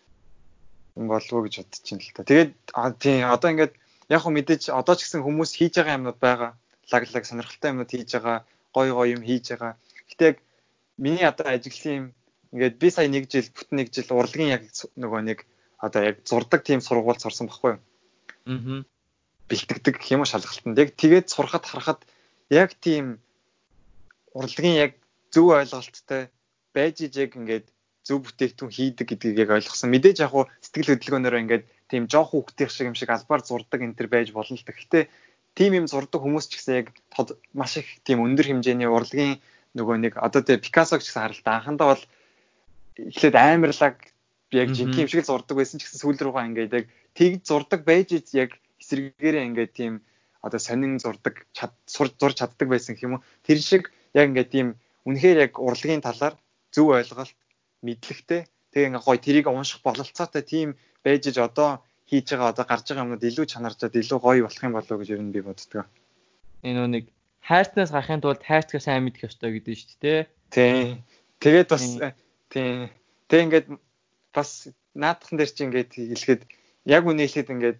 юм болов уу гэж бодож байна л та. Тэгээд тий одоо ингээд яг хөө мэдээж одоо ч гэсэн хүмүүс хийж байгаа юмнууд байгаа. Лаглаг сонирхолтой юмнууд хийж байгаа, гоё гоё юм хийж байгаа. Гэтэ яг миний одоо ажигласан юм ингээд би сая нэг жил бүтэн нэг жил урлагийн яг нөгөө нэг одоо яг зурдаг тийм сургууль сурсан байхгүй юу? Аа. Бэлтгэдэг гэх юм уу шалгалтанд. Яг тэгээд сурахад харахад яг тийм урлагийн яг зөв ойлголттой байж ижиг ингээд зөв бүтээгдэхүүн хийдэг гэдгийг яг ойлгосон. Мэдээж яг хуу сэтгэл хөдөлгөөнөөр ингээд тийм жоох хүүхдийн шиг юм шиг албаар зурдаг энэ төр байж болно л та. Гэхдээ тийм юм зурдаг хүмүүс ч гэсэн яг маш их тийм өндөр хэмжээний урлагийн нөгөө нэг одоо тэгээ Пикассо ч гэсэн харалтаа анхандаа бол эхлээд амарлаг яг жинхэнэ юм шиг л зурдаг байсан ч гэсэн сүүл рүүгээ ингээд яг тэгж зурдаг байж яг эсрэгээрээ ингээд тийм одоо сонин зурдаг сурж зурж чаддаг байсан гэх юм уу. Тэр шиг яг ингээд тийм үнэхээр яг урлагийн талаар зөв ойлголт мэдлэгтэй тэгээ ингээ гоё тэрийг унших бололцоотой тийм байж иж одоо хийж байгаа одоо гарч байгаа юмнууд илүү чанарчаад илүү гоё болох юм болов уу гэж ер нь би боддог. Энэ нэг хайрцнаас гарахын тулд хайрцгаа сайн мэдэх ёстой гэдэг нь шүү дээ. Тий. Тэгээд бас тий. Тэг ингээд бас наадхан дээр чи ингээд хэлэхэд яг үнийг хэлэхэд ингээд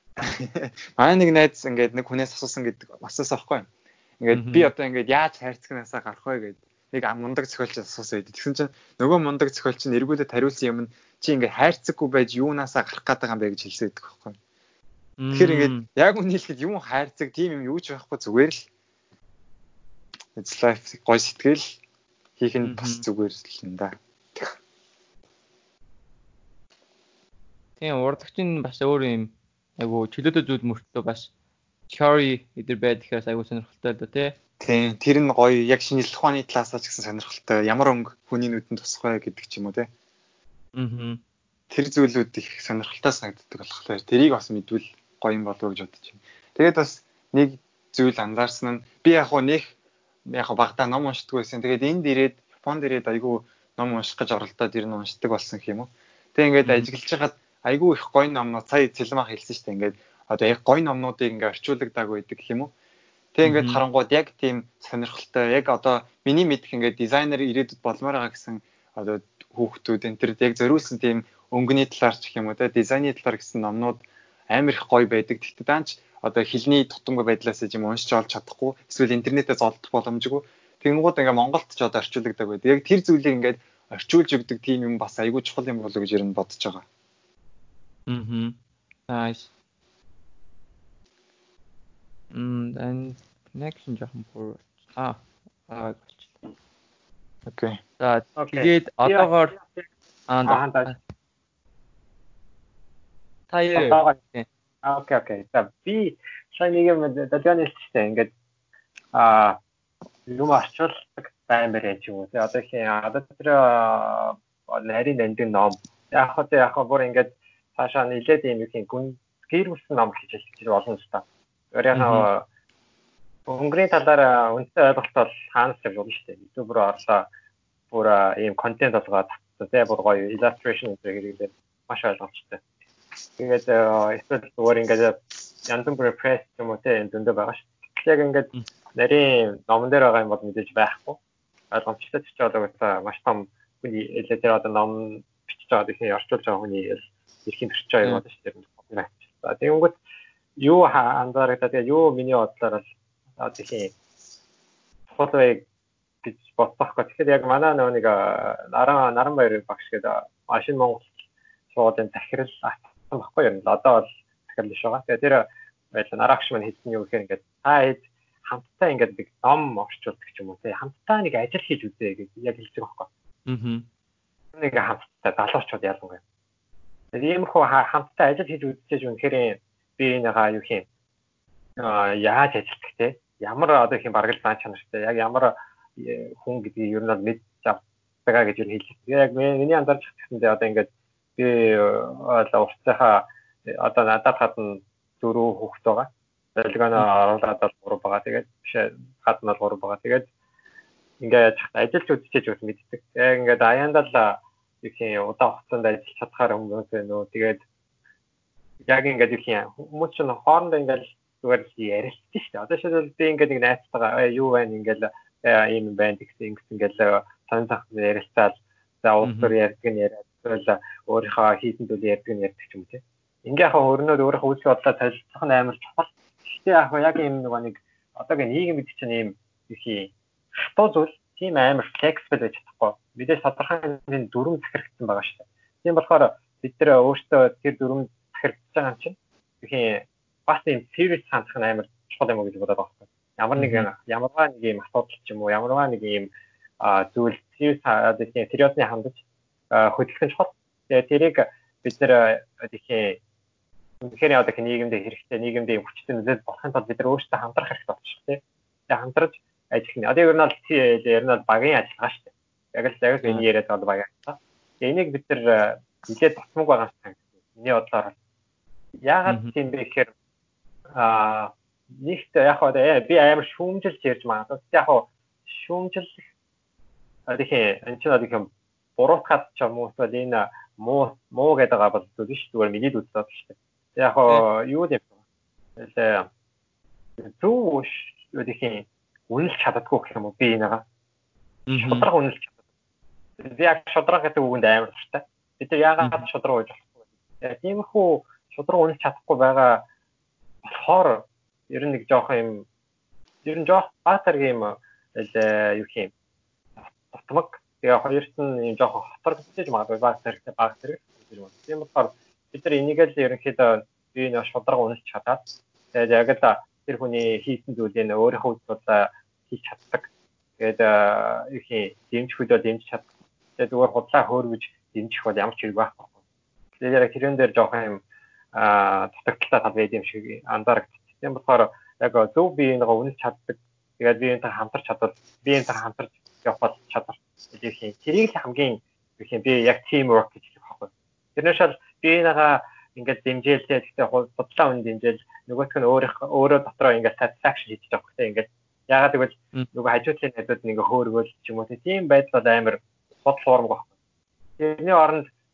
аа нэг найз ингээд нэг хүнээс асуусан гэдэг асуусан байхгүй. Ингээд би одоо ингээд яаж хайрцагнаасаа гарах вэ гэдэг нэг мундаг зохиолч асуусан байд. Тэгсэн чинь нөгөө мундаг зохиолч нь эргүүлээд хариулсан юм нь чи ингээд хайрцаггүй байж юунаасаа гарах гээд байгаа юм бэ гэж хэлсэн байдаг байхгүй. Тэгэхээр ингээд яг үнийг хэлэхэд юм хайрцаг тийм юм юу ч байхгүй зүгээр л it's life гой сэтгэл хийх нь бас зүгээр л юм да. Тийм урлагч нь бас өөр юм айгу чөлөөтэй зүйл мөртлөө бас theory эдэр байдлаас айгу сонирхолтой л да тий. Тийм тэр нь гоё яг шинжлэх ухааны талаас ч гэсэн сонирхолтой ямар өнгө хүний нүдэнд тусах вэ гэдэг ч юм уу тий. Аа. Тэр зүйлүүд их сонирхолтой санагддаг болохоор тэрийг бас мэдвэл гоё юм болов уу гэж бодож байна. Тэгээд бас нэг зүйл анзаарсан нь би яг хуу нэг яг багтаа ном уншдаг байсан. Тэгээд энд ирээд Японд ирээд айгүй ном унших гэж оролдоод ирнэ уншдаг болсон гэх юм уу. Тэгээд ингээд ажиллаж хагаад айгүй их гоё номнууд сая Цэлмах хэлсэн шүү дээ. Ингээд одоо яг гоё номнуудыг ингээд орчуулдаг байдаг гэх юм уу? Тэг ингээд харангууд яг тийм сонирхолтой яг одоо миний мэдх ингээд дизайнер ирээдүйд болмоор байгаа гэсэн одоо хүүхдүүд энэ төр яг зориулсан тийм өнгөний талаар ч гэх юм уу те дизайны талаар гэсэн номнууд амар их гоё байдаг. Тэгтээ даанч одоо хэлний тутамгүй байдлаас юм уншиж олж чадахгүй эсвэл интернетээс олдох боломжгүй. Тэнгууд ингээ Монголд ч одоо орчуулдаг байдаг. Яг тэр зүйлийг ингээд орчуулж өгдөг тийм юм бас айгүй чухал юм болов гэж ер нь бодож байгаа. Mhm. Nice. Mm, and connection жоохон бүр аа аа болчихлоо. Окей. За тэгээд одоогоор аа таяа. Аа окей окей. За би сая нэг юм дадгааны хэлчихсэн. Ингээд аа юм орчуулдаг баймар яж юм уу. Тэгээ одоо их одоо тэр нарийн дандын ном. Яг хөө яг хөө бүр ингээд цаашаа нилээд юм их гүн гэрүүлсэн ном гэж хэлж болно л та. Өөрийнхөө өнгөрийн талаар үнэтэй ойлголт бол хаанаас ч болно шүү дээ. YouTube руу орлоо бүр ийм контент болгоод тэгээ бүр гоё illustration зэрэгээр маш ойлгомжтой. Тэгээд эсвэл зүгээр ингээд янз бүрийн press юм уу те энэ дөндөө байгаа шүү. Яг ингээд нарийн номон дээр байгаа юм бол мэдээж байхгүй. Ойлгомжтой ч одоо маш том хүний электр одоо ном бичиж байгаа гэсэн орчуулж байгаа хүний эрхийн төрч байгаа юм байна шүү дээ. За тэгэнгүүт юу анзаарагдаа тэгээ юу миний бодлоор л одоо тийм фотоэг гэж бодсохгүй. Тэгэхээр яг манай нэг наран Наранбаяр багш гэдэг машин Монгол суудын захирал атсан баггүй юм. Одоо бол захирал биш байгаа. Тэгээ тэр байл нарагш маань хэлсэн юу гэхээр ингээд та хэд хамтдаа ингээд нэг ном орчуулдаг ч юм уу те хамтдаа нэг ажил хийж үзье гэж яг хэлж байгаа байхгүй. Аа. Нэг хамтдаа залуучууд ялангуяа. Тэгээд иймэрхүү хамтдаа ажил хийж үзчихэж үнэхээр би энэгаа юу юм аа яаж ажиллах те ямар одоо их юм баргал баан чанартай яг ямар хүн гэдгийг ер нь бол мэдж авдаг гэж юу хэлээ. Яг миний анзаарч хэвчэндээ одоо ингээд би одоо уртсахаа одоо надад хатан дөрөв хүүхэд байгаа. Дэлгэнэ оруулаад бол гурав байгаа. Тэгээд биш хатан бол гурав байгаа. Тэгээд ингээд ажиллаж үзчихэж бас мэддэг. Яг ингээд аяндаа л их юм удаа хугацаанд ажиллаж чадхаар хүмүүс байна уу. Тэгээд яг ингээд их юм хүмүүс ч хоорондоо ингээд зүгээр ярилцсан шүү дээ. Одоо шийдэл би ингээд нэг найзтайгаа юу байна ингээд ийм байна гэсэн ингээд ингээд сонь цах ярилцаад за уусар ярьдаг нь яриад эсвэл өөрийнхөө хийсэн зүйлээ ярьдаг нь ярьдаг ч юм те. Ингээ яг өөрнөө өөрийнхөө үзэл бодлоо солилцох нь амар чухал. Гэхдээ яг яг ийм нэг одоогийн нийгэм гэдэг чинь ийм их хатуу зүйл тийм амар flexible байж чадахгүй. Мэдээж тодорхой хэмжээний дүрм захирагдсан байгаа шүү дээ. Тийм болохоор бид нэр өөртөө тэр дүрм захирагдсан байгаа юм чинь их бас ийм serious хандах нь амар чухал юм уу гэж бодоод байгаа. Ямар нэг ямарваа нэг ийм асуудал ч юм уу ямарваа нэг ийм зүйл serious тийм сериосны хандаж хөдөлгөх нь чухал. Тэгээ тэрийг бид нэр тийм үнэхээр одоо нийгэмд хэрэгтэй нийгэмд хүчтэй нөлөөлөл болохын тулд бид нар өөрсдөө хамтрах хэрэгтэй болчих тийм. Тэгээ хамтраж ажиллах нь. Одоо ер нь бол ер нь бол багийн ажиллагаа шүү дээ. Яг л яг л энэ яриад байгаа багийн ажиллагаа. Тэгээ энийг бид нар нэлээд тусмаг байгаа юм шиг. Миний бодлоор яагаад тийм бэ гэхээр аа нэгт яг хоо би амар шүүмжилж ярьж байгаа. Яг хоо шүүмжлэх тэгэхээр энэ ч нэг юм буруутгаад ч юм уу эсвэл энэ муу муу гэдэг байгаа бол зүйл биш зүгээр миний үзэл бодол шүү дээ. Яг хоо юу юм бэ? Зүг юу гэх юм үнэлж чаддаггүй гэх юм уу би энэгаа. Шудраг үнэлж чаддаг. Би яг шудраг гэдэг үгэнд амар дуртай. Бид нар яагаад шудраг гэж болохгүй. Яг тиймэрхүү шудраг үнэлж чадахгүй байгаа болохоор ер нь нэг жоох юм ер нь жоох баатар юм юу юм тутмаг тэгээ хоёрт нь юм жоох хотор гэж магадгүй баатар хэрэгтэй баатар гэж байна. Тийм болохоор бид нар энийг л ерөнхийдөө би нэг шудраг үнэлж чадаад тэгээд яг л тэр хүний хийсэн зүйлээ өөрийнхөө бодлоо хийж чаддаг. Тэгээд их юм дэмжих үедээ дэмжиж чаддаг. Тэгээд зүгээр худлаа хөөргөж дэмжих бол ямар ч хэрэг байхгүй. Тэгээд яг тэрэн дээр жоох юм аа дутагдaltaй тал байд юм шиг анзаарэгдчих. Тийм болохоор яг зөв биеийг үнэлж чаддаг. Тэгээд биеийнхээ хамтарч чадвал биеийнхээ хамтарч явах чадвар. Тэгээд тэрийг хамгийн их юм би яг team work гэж хэлэх байхгүй. Тэрнээс л биеийнхээ ингээд дэмжээлтэй гэхдээ худлаа үн дэмжээл нөгөөх нь өөрөө өөрөө дотроо ингээд satisfaction хийж байгаа хэрэгтэй ингээд яагаад гэвэл нөгөө хажуудлын найзууд нэг хөөргөөл ч юм уу тийм байдал бол амар бодол форм байхгүй. Тэрний оронд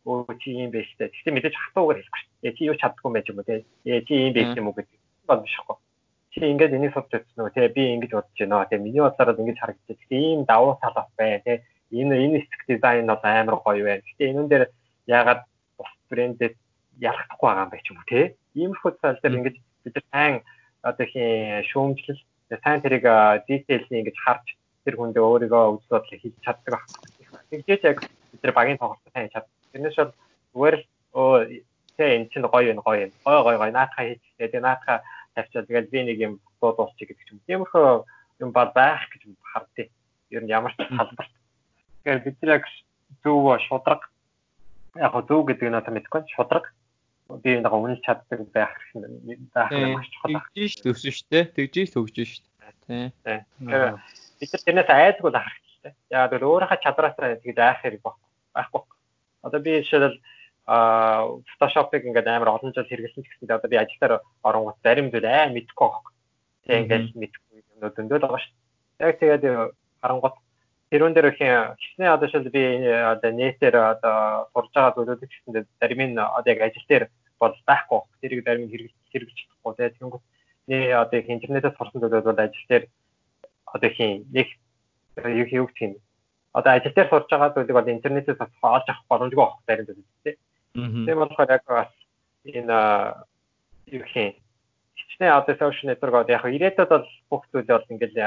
өө чи юм биш үү. Тэгтээ мэдээж хатуугаар хэлэхгүй шүү дээ. Чи юу чаддгүй байж юм уу те. Ээ чи юм биш юм уу гэдэг бол бишгүй. Чи ингээд энийг судж үзсэн үү те. Би ингэж бодож байна. Тэ миний бодлоор ингэж харагдчих. Тэгтээ ийм давуу тал бас бай те. Энэ энэ стик дизайн бол амар гоё байна. Тэгтээ энүүн дээр ягаад бус брэндэд ялахдахгүй байгаа юм бэ ч юм уу те. Иймэрхүү тал дээр ингэж бид нар сайн одоо хин шүүмжлэл сайн тэрийг детейлний ингэж харж тэр хүндээ өөрийгөө үзэл бодлоо хийж чаддаг байна. Тэгжээч яг бид нар багийн тоглолтод сайн чад. Тэрнээс бол зүгээр л оо тэ эн чинь гоё юм гоё юм. Гоё гоё гоё наатахаа хийчихээ. Тэгээ наатахаа тавьчаад тэгээд би нэг юм дуу дуусчих гэдэг юм. Тиймэрхүү юм бол байх гэж хардъя. Ер нь ямар ч салбарт. Тэгэхээр бид нар яг зөв шудраг яг зөв гэдэг нь одоо мэдгүй шудраг би нэг үнэлж чаддаг байх хэрэгтэй байх нь маш чухал. Тэгжиж төсөн шүү дээ. Тэгжиж төгжиж шүү дээ. Тий. Тэгэхээр бид нар тэрнээс айдгүй байх хэрэгтэй. Яг л өөрийнхөө чадраасаа тэгж айх хэрэг байхгүй. Одоо би жишээлбэл а Photoshop-ыг ингээд амар олон жил хэрэглэсэн ч гэсэн одоо би ажилдаа оронгууд зарим зүйл аа мэдэхгүй байхгүй. Тэг ингээд мэдэхгүй юмнууд зөндөл байгаа шүү дээ. Яг тэгээд харангууд тэрүүн дээр их хичнээн одоо шил би одоо нэтээр одоо сурж байгаа зүйлүүд гэсэндээ зарим нь одоо яг ажил дээр бол байхгүй. Тэрийг зарим нь хэрэглэж хэрэглэж чадахгүй. Тэгээд тэнгуут нэ одоо их интернетээс сурсан зүйлүүд бол ажил дээр одоо хин нэг юу юу гэх юм. Одоо ажил дээр сурж байгаа зүйлийг бол интернетээс олж авах боломжгүй байх зарим зүйл тийм. Тийм болохоор яг бас энэ юу гэх юм. Хичнээн одоо social network яг ирээдүйд бол бүх зүйл бол ингээл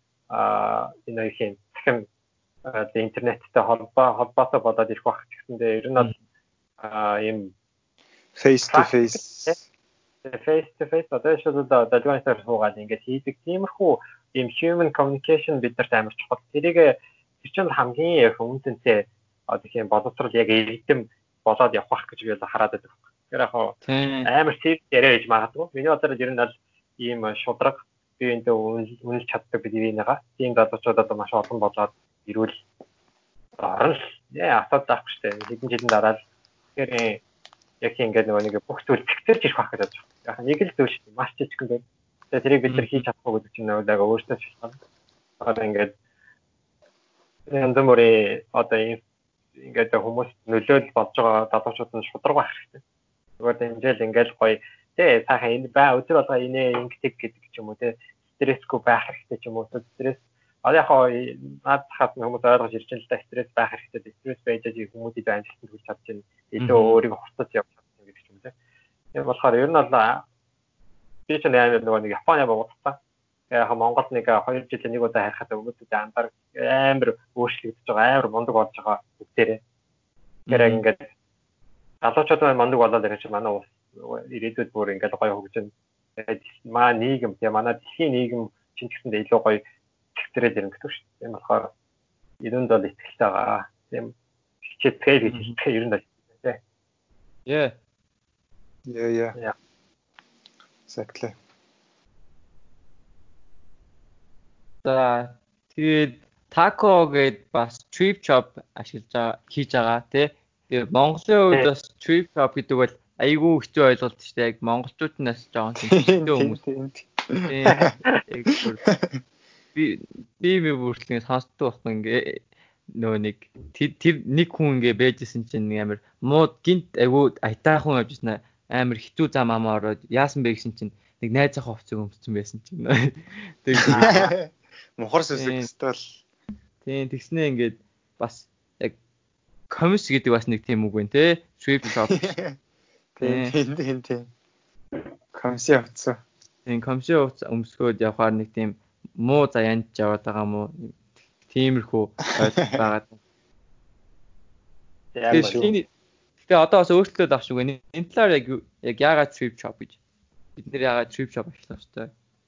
а энэ юу гэх юм. Дахин интернеттэй холбоо холбоотой болоод ирэх байх гэсэндээ ер нь бол ийм face to face face to face одоо шууд дэлгүүрээр суугаад ингээд хийдэг тиймэрхүү ийм human communication биднэрт амар чухал. Тэрийг тэр чинь хамгийн хүмүүстэнтэй одоо тийм боловсрол яг эрдэм болоод явах гэж би бол хараад байдаг. Тэгэхээр яг амар сэв яриа гэж магадгүй. Миний бодлоор ер нь бол ийм шудраг би энэ үнэлж чаддаг бидний нэга. Тийм залуучууд одоо маш олон болоод ирүүл орно. Яа асаад байхгүй шүү дээ. Хэдэн жилийн дараа л тэгэхээр яг ингээд нөгөө нэг бүх зүйл зэгцэрж ирэх байх гэж байна. Яг нэг л зүйл шүү дээ. Маш жижигхэн байх. Тэгээ тэрийг бид нар хийж чадахгүй гэдэг чинь нөгөө яг өөртөө шалтгаан. Одоо ингээд янз бүрийн одоо ингээд хүмүүс нөлөөлөл болж байгаа залуучууд нь шудраг байх хэрэгтэй. Зүгээр дэмжээл ингээд гоё тий сайхан энэ бай өдөр болго инээ ингээд гэдэг ч юм уу тий стрессгүй байх хэрэгтэй ч юм уу стресс одоо яг наад хат хүмүүс ойлгож ирж байгаа л да стресс байх хэрэгтэй. Стресс байж байгаа хүмүүсийг амжилтанд хүргэж чадж байна. Илүү өөрийгөө хурцаж явж чадсан гэдэг ч юм тий. Тийм болохоор ер нь бол би ч нээр нөгөө нэг Японы буудсан. Яг Монгол нэг хоёр жилийн нэг удаа харахад хүмүүсүүд андар амар өөрчлөгдөж байгаа, амар мундаг болж байгаа бүгдээрээ. Тэгэхээр ингээд залуучууд маань мундаг болоод ирэх чинь манай улс ирээдүйд бүр ингээд гоё хөгжин. Маа нийгэм тийм манай дэлхийн нийгэм чинь гэсэндээ илүү гоё зэгцрээд ирнэ гэдэг шүү дээ. Тийм болохоор ерөөнд бол ихтэй байгаа. Тийм хичээтгэл гэж хэлдэг ер нь бол тийм. Yeah. Yeah, yeah. Yeah. Exactly. За тэгээд Taco гээд бас trip shop ашиглаж байгаа хийж байгаа тий. Тэгээд Монголын хувьд бас trip shop гэдэг бол айгүй хэцүү ойлголт шүү дээ. Яг монголчууд нас жоохон хэцүү хүмүүс. Би би би бүртлэн сонсдог болох ингээ нөө нэг тэр нэг хүн ингээ бэжсэн чинь амар муу гинт айгүй айтаахан явжсэн амар хэцүү зам амаа ороод яасан бэ гэсэн чинь нэг найз ах хувцас өмссөн байсан чинь. Тэгээд мухар сүсэг стил. Тийм тэгснээ ингээд бас яг коммис гэдэг бас нэг тийм үг байна те. Trip shop. Тийм тийм тийм. Комси хувцас. Тийм комси хувцас өмсгөөд явахаар нэг тийм муу заяанд яваад байгаа мó тиймэрхүү байгаад. Тэгээд одоо бас өөрчлөлт авч үгүй. Энэ талаар яг яг яагаад trip shop гэж бид нэр яагаад trip shop ажиллах вэ?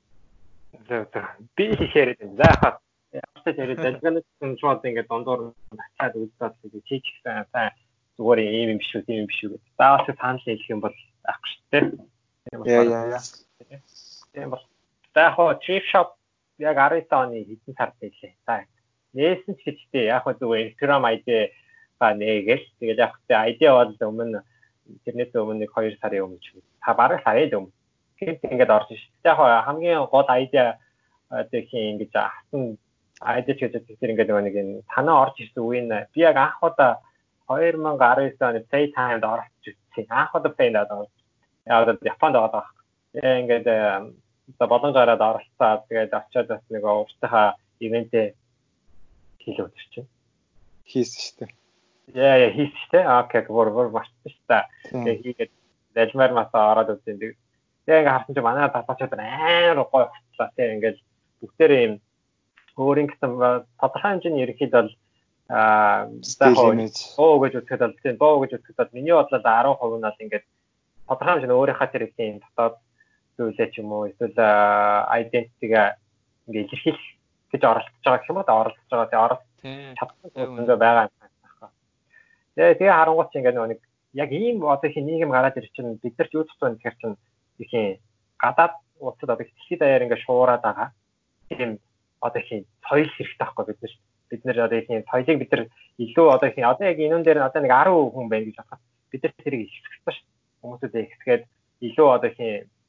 Би хийхээр энэ заахад явцад яриад дэлгэнэт шууд ингээд дондор хацаад үзээд чийч сайн зүгээр ийм юм биш үү тийм юм биш үү гэдэг. Заавал санал хэлэх юм бол авахгүй шүү дээ. Яа яа яа. Тийм бол заахад trip shop яг арван оны хэдэн сард хэлээ. За нээсэн ч гэжтэй яг хөө зүгээр Instagram ай ди ба нээгээл тэгээд яг хөө ай ди бол өмнө интернет өмнө нэг хоёр сарын өмнө ч та бараг сарын өмнө гэнт ингээд орж ш. Яг хамгийн гол ай ди одоо хин ингэж хатан ай ди ч гэдэг тэр ингээд нэг энэ танаа орж ирсэн үеийн би яг анх удаа two thousand nineteen оны Playtime-д оролцож үзсэн. Анх удаа Play-д оролцсон. Яагаад Японд байгаа даа. Тэгээ ингээд за боломжоор оролцоод тэгээд очиод бас нэг ууртайхаа ивэнтээ хийлээ өдөрч. Хийсэн шүү дээ. Яа яа хийсэн шүү дээ. Окей, гөр гөр мартсан шүү дээ. Тэгээ хийгээд дэлмэр масаа ороод үзсэн. Тэгээ ингээд харсан чинь манай талбайчид амар гоё хотлаа. Тэгээ ингээд бүгдээрээ юм өөрийн гэсэн тодорхой хэмжээний ерөнхийд бол аа оо гэж үзэхэд бол тийм боо гэж үзэхэд бол миний бодлоор ten percent нь бол ингээд тодорхой хэмжээний өөрийнхөө тэр их юм дотоод зүйлээ ч юм уу эсвэл identity-га ингээд илэрхийлэх гэж оролцож байгаа гэх юм уу оролцож байгаа тий оролцож чадсан зүйл байгаа юм байна. Тэгээ тэгээ харангуут чи ингээд нэг яг ийм одоо их нийгэм гараад ирэх чинь бид нар ч юу туссан гэхээр чинь их юм гадаад улсад одоо дэлхийд даяар ингээд шуураад байгаа. Тийм одоо их соёл хэрэгтэй байхгүй бид нар бид нар одоо их соёлыг бид нар илүү одоо их одоо яг энэ дээр одоо нэг ten хүн байна гэж бодоход бид нар тэрийг ихсгэх шүү. Хүмүүсүүд ихсгээд илүү одоо их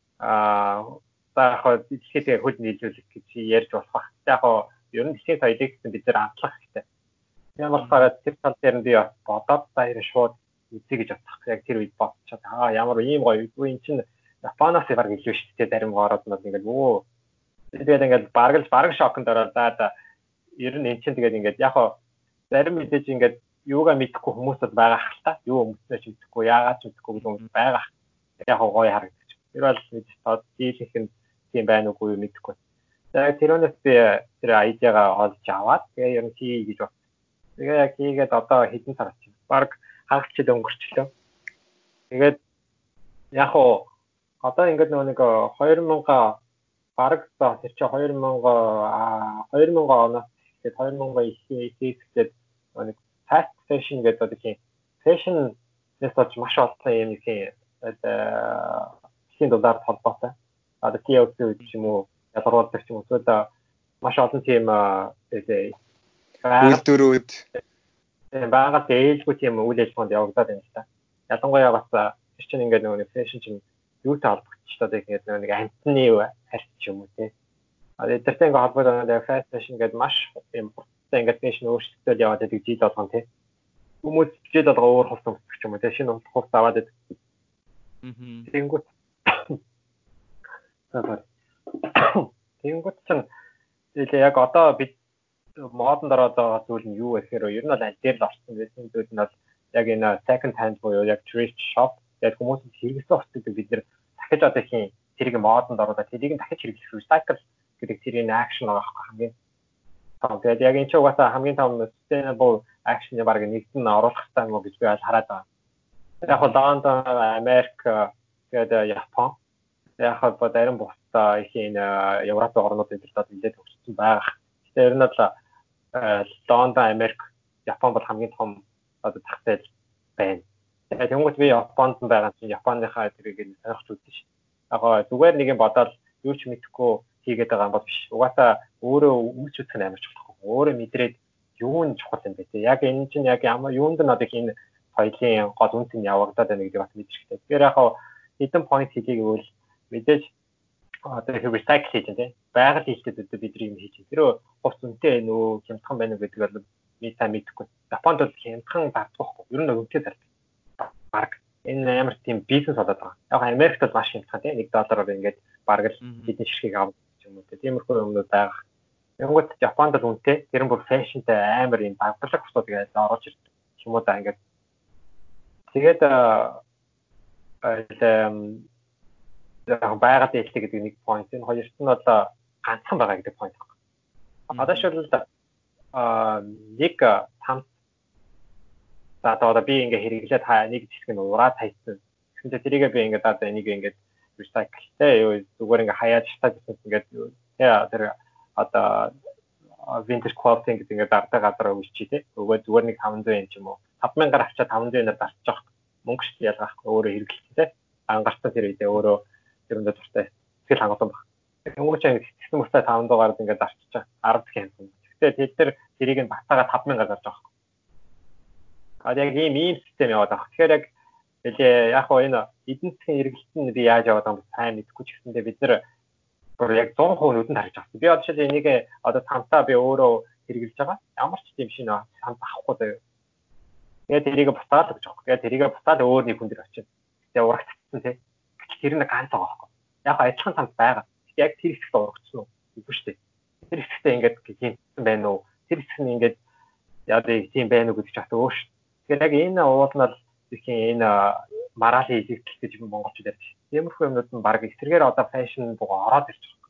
аа за яг дэлхийд хөл нийлүүлэх гэж ярьж болох баг. Яг ер нь дэлхийн соёлыг бид нар амтлах хэрэгтэй. Ямар болохоор тэр тал дээр нь би бодоод баяр шууд үзье гэж бодох. Яг тэр үед бодчиход аа ямар ийм гоё үгүй эн чинь Японоос баг илүү шүү дээ зарим гоороод нь ингээд өө тэгээд ингээд бараг бараг шоконд ороод за ер нь эн чинь тэгээд ингээд яг зарим мэдээж ингээд юугаа мэдхгүй хүмүүсд байгаа хальта юу өмснөө ч мэдэхгүй яагаад ч мэдэхгүй хүмүүс байгаа. Яг гоё харагдаж. Тэр бол мэдээж дийлэнх нь тийм байна уугүй юу мэдэхгүй. Тэгээд тэрөөс би тэр айдиагаа олж аваад тэгээ ер нь хий гэж бодсон. Тэгээ яг хийгээд одоо хэдэн сар болчих. Бараг хагасчд өнгөрчлөө. Тэгээд яг хоо одоо ингээд нэг two thousand бараг за тэр чи two thousand two thousand оноос тэгээд two thousand ихээсгээд нэг fast fashion гэдэг одоо тийм fashion нэстэж маш олон юм их хэдэн доллар холбоотой. Одоо T O C гэж юм уу ялгаруулдаг ч юм уу одоо маш олон тийм тэгээ үйлдвэрүүд байгаль ээлгүй тийм үйл ажиллагаанд явагдаад байна л та. Ялангуяа бас тэр чинь ингээд нэг fashion чинь юутай холбогдчихлоо тэгээд нэг амтны харьц ч юм уу тий. А тэртэй ингээд холбоотой fast fashion гэдэг маш юм хурдтай ингээд fashion өөрчлөлтөд яваад байдаг жил болгон тий. Хүмүүс жил болгоо өөр хувцас өмсөх ч юм уу тий. Шинэ хувцас аваад байдаг. Аа. Тэнгүүт. Тэнгүүт чинь тэгээ яг одоо бид модонд ороод байгаа зүйл нь юу вэ гэхээр ер нь бол аль дээр л орсон байсан зүйл нь бол яг энэ second hand буюу яг thrift shop яг хүмүүс хэрэглэсэн хувцасыг бид нэр дахиж одоо их тэрийг модонд оруулаад тэрийг дахиж хэрэглэх recycle гэдэг тэрийн action байгаа байхгүй хамгийн том. Тэгээд яг энэ ч угаасаа хамгийн том sustainable action-ыг баг нэгдэн оруулах хэрэгтэй юм уу гэж би бол хараад байгаа. Яг нь Лондон, Америк, тэгээд Япон яг нь зарим бусдаа их энэ Европ орнуудын төлөө нэлээд төгссөн байгаа. Тэр нь бол Лондон, Америк, Япон бол хамгийн том одоо зах зээл байна. Тэгээд тэнгуут би Японд байгаа чинь Японыхаа тэрийг сонирхож үзсэн шүү. Яг зүгээр нэг юм бодоод юу ч мэдэхгүй хийгээд байгаа юм бол биш. Угаасаа өөрөө өмч үзэх нь амар чухал. Өөрөө мэдрээд юу нь чухал юм бэ те. Яг энэ чинь яг ямар юунд нь одоо энэ соёлын гол үнц нь явагдаад байна гэдэг бас мэдэрч хэрэгтэй. Тэгэхээр яг хэдэн point хийхийг бол мэдээж одоо их recycle хийж байна те. Байгаль хэлтэд бидний юм хийж. Тэр хувц үнэтэй нөө хямдхан байна уу гэдэг бол би та мэдэхгүй. Японд бол хямдхан дардахгүй. Ер нь үнэтэй зардаг. Бараг энэ амар тийм бизнес болоод байгаа. Яг Америкт бол маш хямдхан тийм one доллараар ингээд бараг л хэдэн ширхгийг авах юм уу тиймэрхүү юмнууд байгаа. Янгууд Японд л үнэтэй тэр нь бүр фэшнтэй амар юм багтлаг бусдад ингээд орж ирдэг юм уу да ингээд. Тэгээд аа байгаад ээлтэй гэдэг нэг point энэ хоёрт нь бол ганцхан байгаа гэдэг point байна. Одоо шил аа нэг там за одоо би ингээ хэрэглээд хаа нэг хэсэг нь ураад хайсан. Тэгвэл тэрийгээ би ингээ одоо энийг ингээ recycle тэ юу зүгээр ингээ хаяад шатаад ингээд тэр одоо vintage clothing гэдэг ингээ дардаа газар өгч тий. Өгөө зүгээр нэг five hundred yen ч юм уу. five thousand авчаад five hundred yen-аар зарчих жоох. Мөнгө шүү ялгаахгүй өөрөө хэрэглэх тий. Ангарсан тэр үедээ өөрөө тэрэндээ дуртай сэтгэл хангалуун баг. Өнгөрч гэсэн мөстэй five hundred гараад ингээ зарчих чаа. ten дахин юм. Тэгтээ тэд нар тэрийг нь батагаа five thousand зарж байгаа. А яг ийм ийм систем яваад байгаа. Тэгэхээр яг хэлээ яг хоо энэ эдийн засгийн эргэлт нь би яаж яваад байгаа юм сайн мэдэхгүй ч гэсэндээ бид нэр бүр яг one hundred percent нүдэнд харж байгаа. Би одоо жишээ энийг одоо цамтаа би өөрөө хэрэгжилж байгаа. Ямар ч тийм шинэ цамт авахгүй заяа. Тэгээд тэрийг бутаад гэж байгаа. Тэгээд тэрийг бутаад өөр нэг хүн дээр очив. Тэгээд урагцсан тий. Тэр нь ганц байгаа байхгүй. Яг адилхан цамд байгаа. Яг тэр хэсэгт урагцсан уу? Үгүй шүү дээ. Тэр хэсэгтээ ингээд гинсэн байна уу? Тэр хэсэг нь ингээд яа дий тийм байна уу гэж чад өөш. Тэгээд яг энэ уулнал тийм энэ мараалын илэгдэл гэж монголчууд ярьж. Тиймэрхүү юмнууд нь баг эсрэгээр одоо фэшн бугаа ороод ирж байгаа.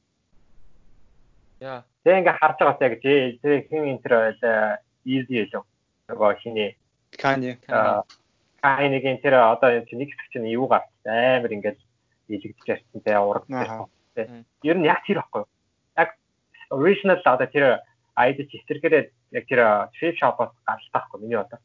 Яа. Тэгээ ингээд харж байгаа яг тэр хин энтер байл easy илүү. Нөгөө хиний Кани. Кани гэнтэр одоо энэ нэг хэсэг чинь юу гарч амар ингээд илэгдэж ярьсан тэ ураг тэ. Ер нь яг тэр байхгүй юу? Яг original одоо тэр айд чистэргээрээ яг тэр thrift shop-оос гаралтай байхгүй миний одоо.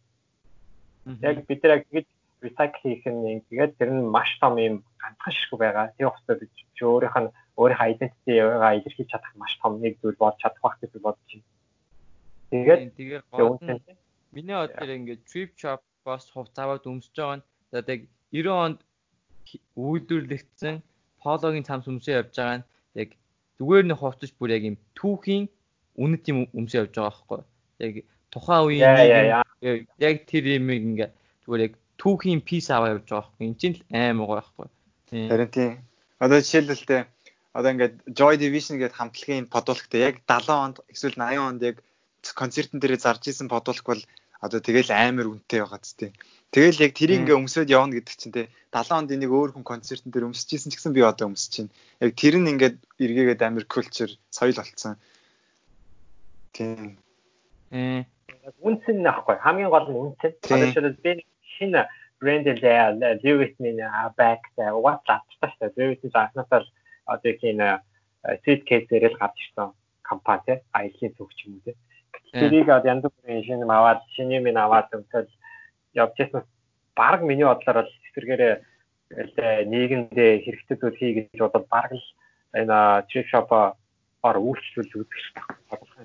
Яг бид нар яг ингэж recycle хийх нь тэгээд тэр нь маш том юм ганцхан ширхэг байгаа. Тэр хөстөө бид өөрийнх нь өөрийнхөө identity-гаа илэрхийлж чадах маш том нэг зүйл болж чадах байх гэж бодож байна. Тэгээд тэгээд гол нь миний бодлоор ингээд thrift shop-оос хувц аваад өмсөж байгаа нь одоо яг девяносто онд үйлдвэрлэгдсэн пологын цамц өмсөө явж байгаа нь яг зүгээр нь хувцаж бүр яг юм түүхийн үнэт юм өмсөө явж байгаа байхгүй. Яг тухайн үеийн яг тэр юм ингээд зүгээр яг түүхийн пис аваа явж байгаа байхгүй. Энд чинь л аим байгаа байхгүй. Харин тийм. Одоо жишээлбэл одоо ингээд Joy Division гэдэг хамтлагийн подуулгт яг далайн онд эсвэл наян онд яг концертын дээр зарж исэн подуулг бол одоо тэгэл амар үнэтэй байгаа ч тийм. Тэгэл яг тэрийг ингээ өмсөд явна гэдэг чинь те далайн онд энийг өөр хүн концертын дээр өмсөж исэн ч гэсэн би одоо өмсөж чинь. Яг тэр нь ингээд эргээгээд амар культур соёл болцсон. Тийм. Э үнцэн нөхгүй хамгийн гол нь үнцэн. Одоо жишээлбэл би шинэ брэнд дээр Louis-ийн bag дээр WhatsApp тааштай Louis-ийн заахнасаа одоо тийм suitcase дээр л гарч ирсэн компани те аялын төвч юм уу те. Тэрийг янз бүрийн шинэ аваад шинэ юм аваад өмсөөл явж байсан баг миний бодлоор бол эсвэргээрээ нийгэмдээ хэрэгтэй зүйл хий гэж бодоод баг л энэ thrift shop-оор үйлчлүүлж үзэх хэрэгтэй.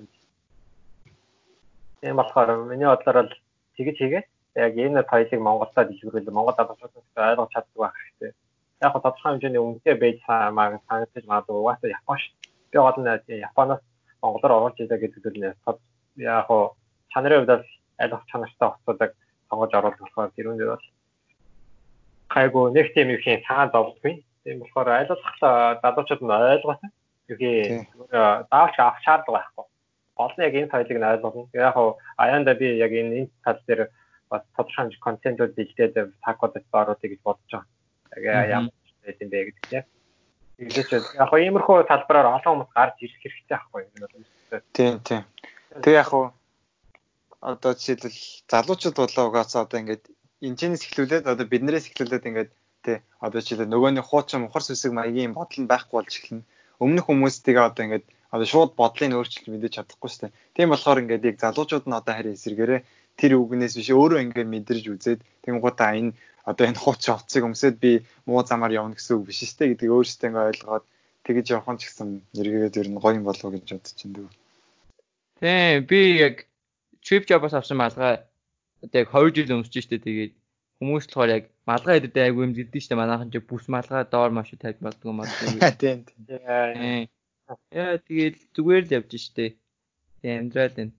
Тийм болохоор миний бодлоор л тэгэж хийгээд яг энэ соёлыг Монголдо дэлгэрүүл Монгол адилхан ойлгож чаддаг байх хэрэгтэй. Яг гоо тодорхой хэмжээний үнэтэй байж маа санагдаж магадгүй угаасаа Япон ш. Би гол нь Японоос Монголоор орж ирэх гэдэг зүйл нь яг гоо чанарын хувьд ойлгох чанартай хоцодог сонгож оруулах болохоор тэр үнээр бол хайгуу нэг тийм их цаан зовдгүй. Тийм болохоор ойлгох залуучууд нь ойлгосон. Үгүй даавч авах шаардлага байхгүй. Гол нь яг энэ соёлыг нь ойлгоно. Яг гоо аяанда би яг энэ энэ тал дээр бас тодорхой контентууд бэлдээд тагуудад оруулах гэж бодож байгаа. Яг ямар ч юм бэ гэдэг тийм. Тэгээс яг гоо иймэрхүү талбараар олон хүмүүс гарч ирэх хэрэгтэй байхгүй юу? Тийм тийм. Тэг яг уу одоо жишээлбэл залуучууд болоо угаасаа одоо ингээд энэчнээс эхлүүлээд одоо биднээс эхлүүлээд ингээд тий одоо жишээлбэл нөгөөний хуучин мухар сүсэг маягийн бодол нь байхгүй болж эхэлнэ. Өмнөх хүмүүстийг одоо ингээд одоо шууд бодлыг өөрчилж мэдэж чадахгүй шүү дээ. Тийм болохоор ингээд яг залуучууд нь одоо харин эсэргээрээ тэр үгнээс биш өөрөө ингээд мэдэрж үзээд тэнгуутаа энэ одоо энэ хуучин хувцсыг өмсөд би муу замаар явна гэсэн үг биш шүү дээ гэдгийг өөрсдөө ингээд ойлгоод тэгэж явах нь ч гэсэн эргээд ер нь гоё юм болов гэж бодож байна. Тийм би яг trip job-ос авсан малгай одоо яг хоёр жил өмсөж штэ тэгээд хүмүүс болохоор яг малгай идэдээ айгүй юм зэдэж штэ манайхан ч бүс малгай доор маш их тавьж болдгоо магадгүй. Тийм тийм. Яа тэгээд зүгээр л явж штэ. Тийм амдрал энэ.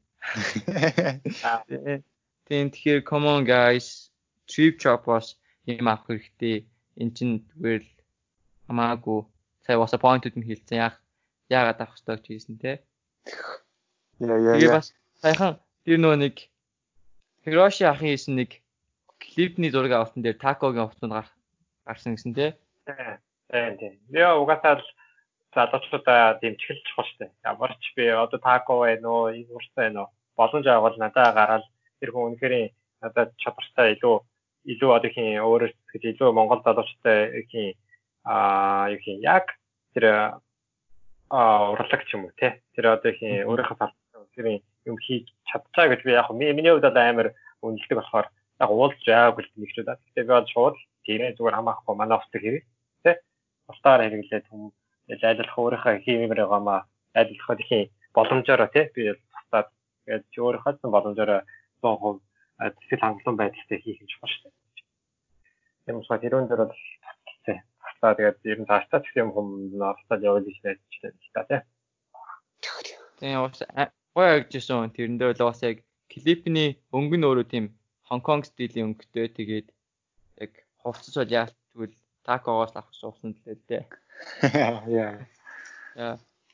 Тийм тэгэхээр come on guys trip job-ос юм авах хэрэгтэй. Энд чинь зүгээр л хамаагүй сая was a point-д нь хэлсэн яах яагаад авах ёстой гэж хэлсэн те. Яа яа. Тэгээ бас саяхан тэр нөө нэг Hiroshi ахын хийсэн нэг клипний зураг авсан дээр такогийн хувцсууд гарсан гэсэн тий. Тийм тийм. Яа угаасаа залуучуудаа дэмжих чухал шүү дээ. Ямар ч би одоо тако байна уу, энэ урт байна уу. Боломж авал надаа гараад тэр хүн үнэхээр надад чадвартай илүү илүү одоо хин өөрөөс гэж илүү Монгол залуучтай хин аа юу хин яг тэр аа урлаг ч юм уу тий. Тэр одоо хин өөрийнхөө салбарт тэр юм хийж чадчихаа гэж би яг миний хувьд бол амар үнэлдэг болохоор яг уулж яагүй л нэгчүүд. Гэхдээ би бол шууд тийм зүгээр хамаахгүй манай офсыг хэрэг тий. Устаар хэрэглээд хүмүүс айллах өөрийнхөө хиймээр байгаамаа айллах их боломжоор тий би тусаад тэгээд өөрийнхөө боломжоор сто процент сэтгэл хангалуун байдалтай хийх юм шиг байна шүү дээ. Тийм учраас тэрүүн дээр бол тий. Тусаа тэгээд ер нь цаашдаа ч юм хүмүүс австал явуулж ирэх гэж байна тий. Тийм гоё агжсэн тэрэн дээр л бас яг клипний өнгө нь өөрөө тийм Хонконг стилийн өнгөтэй. Тэгээд яг хувцас бол яа тэгвэл такогоос авах суусан л дээ. Яа. Яа.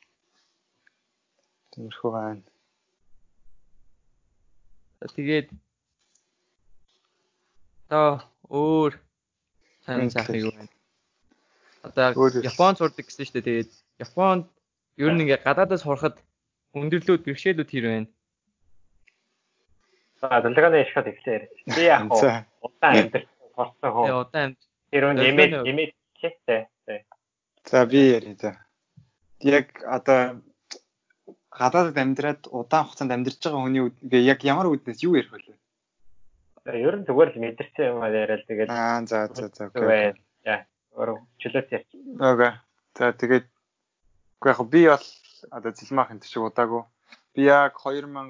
Тэрхүү байна. Тэгээд одоо өөр сайн сайхан юу вэ? Одоо Японд сурдаг гэсэн шүү дээ. Тэгээд Японд ер нь ингээ гадаадаас сурахад өндөрлүүд бэрхшээлүүд хэр байна? За дэлгэнэ ишхад ихлээр. Би яг удаан амьд сурсан хөө. Тэгээ удаан амьд. Тэр нь нэмээд нэмээд чийтэй. За би яриа за. Яг одоо гадаадд амьдраад удаан хугацаанд амьдарч байгаа хүний үгээ яг ямар үднэс юу ярих вэ? Ер нь зүгээр л мэдэрсэн юм яриад тэгээд аа за за за окей. Яа, өөр чөлөөт ярьж. Окей. За тэгээд үгүй яг би бол одоо зэлмах энэ шиг удаагүй. Би яг two thousand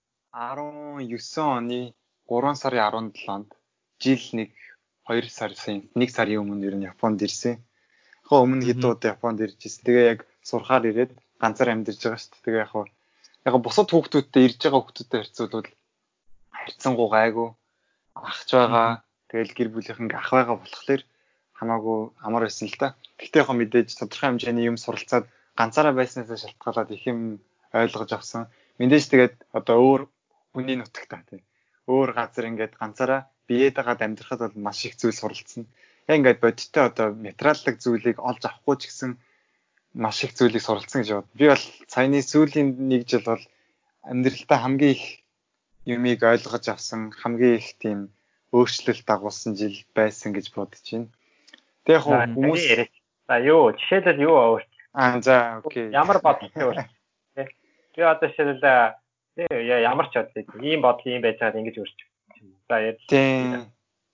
nineteen оны three сарын seventh-нд жил нэг two сарын нэг сарын өмнө ер нь Японд ирсэн. Яг өмнө хэд удаа Японд ирж ирсэн. Тэгээ яг сурахаар ирээд ганцаар амьдарч байгаа шүү дээ. Тэгээ яг яг бусад хүүхдүүдтэй ирж байгаа хүүхдүүдтэй харьцуулбал харьцангуй гайгүй ахж байгаа. Тэгэл гэр бүлийнхэн ах байгаа болохоор хамаагүй амар байсан л да. Гэхдээ яг мэдээж тодорхой хэмжээний юм суралцаад ганцаараа байснаас шалтгаалаад их юм ойлгож авсан. Мэдээж тэгээд одоо өөр хүний нутагтаа тийм. Өөр газар ингээд ганцаараа биеэтэйгээ амьдрахад бол маш их зүйл суралцсан. Яг ингээд бодиттой одоо материаллык зүйлийг олж авахгүй ч гэсэн маш их зүйлийг суралцсан гэж бод. Би бол саяны сүүлийн нэг жил бол амьдралдаа хамгийн их юмыг ойлгож авсан, хамгийн их тийм өөрчлөлт дагуулсан жил байсан гэж бодож байна. Тэг яг хүмүүс за юу жишээлбэл юу өөрчлөлт? Аа за окей. Ямар бодлоо өөрчлөлт? Би одоо жишээлбэл ямар ч бодлоо ийм бодол ийм байж байгаад ингэж өөрчлөж байна. За яа.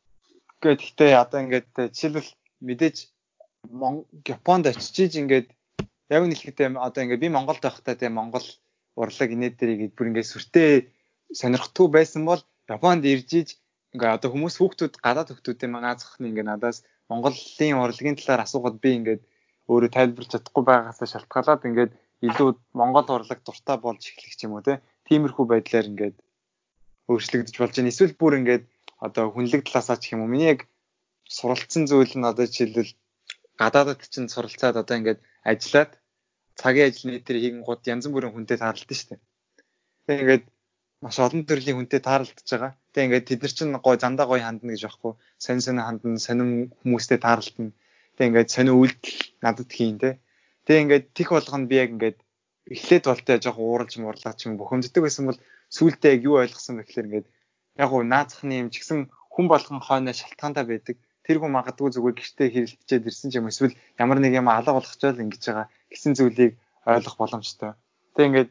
Гэхдээ одоо ингээд жишээлбэл мэдээж Японд очиж ингээд яг нь хэлэхдээ одоо ингээд би Монголд байхдаа тийм Монгол урлаг инээдэрийг бүр ингээд сүртэй сонирхдгүй байсан бол Японд ирж иж ингээд одоо хүмүүс хүүхдүүд гадаад хүүхдүүдтэй манай зохны ингээд надаас Монголын урлагийн талаар асуугаад би ингээд өөрөө тайлбарч чадахгүй байгаасаа шалтгаалаад ингээд илүү Монгол урлаг дуртай болж эхлэх юм уу те. Тиймэрхүү байдлаар ингээд өөрчлөгдөж болж байна. Эсвэл бүр ингээд одоо хүнлэг талаасаа ч юм уу. Миний яг суралцсан зүйл нь одоо жишээлбэл гадаадд чинь суралцаад одоо ингээд ажиллаад цагийн ажил нэтэр хийгэн гууд янз бүрийн хүнтэй таарлалтай шүү дээ. Тэгээ ингээд маш олон төрлийн хүнтэй таарлалдаж байгаа. Тэгээ ингээд тэд нар чинь гой зандаа гой хандна гэж байхгүй. Сонь сонь хандна, сонин хүмүүстэй таарлална. Тэгээ ингээд сонин үйлдэл надад хийн те. Тэгээ ингээд тих болгоно би яг ингээд эхлээд болтой жоохон ууралж муурлаа ч юм бухимддаг байсан бол сүүлдээ яг юу ойлгосон бэ гэхээр ингээд яг уу наацхны юм ч гэсэн хүн болгон хойно шалтгаантай байдаг. Тэр хүн магадгүй зүгээр гэртээ хэрэлдчихэд ирсэн ч юм эсвэл ямар нэг юм алга болгочоод ингэж байгаа гэсэн зүйлийг ойлгох боломжтой. Тэг ингээд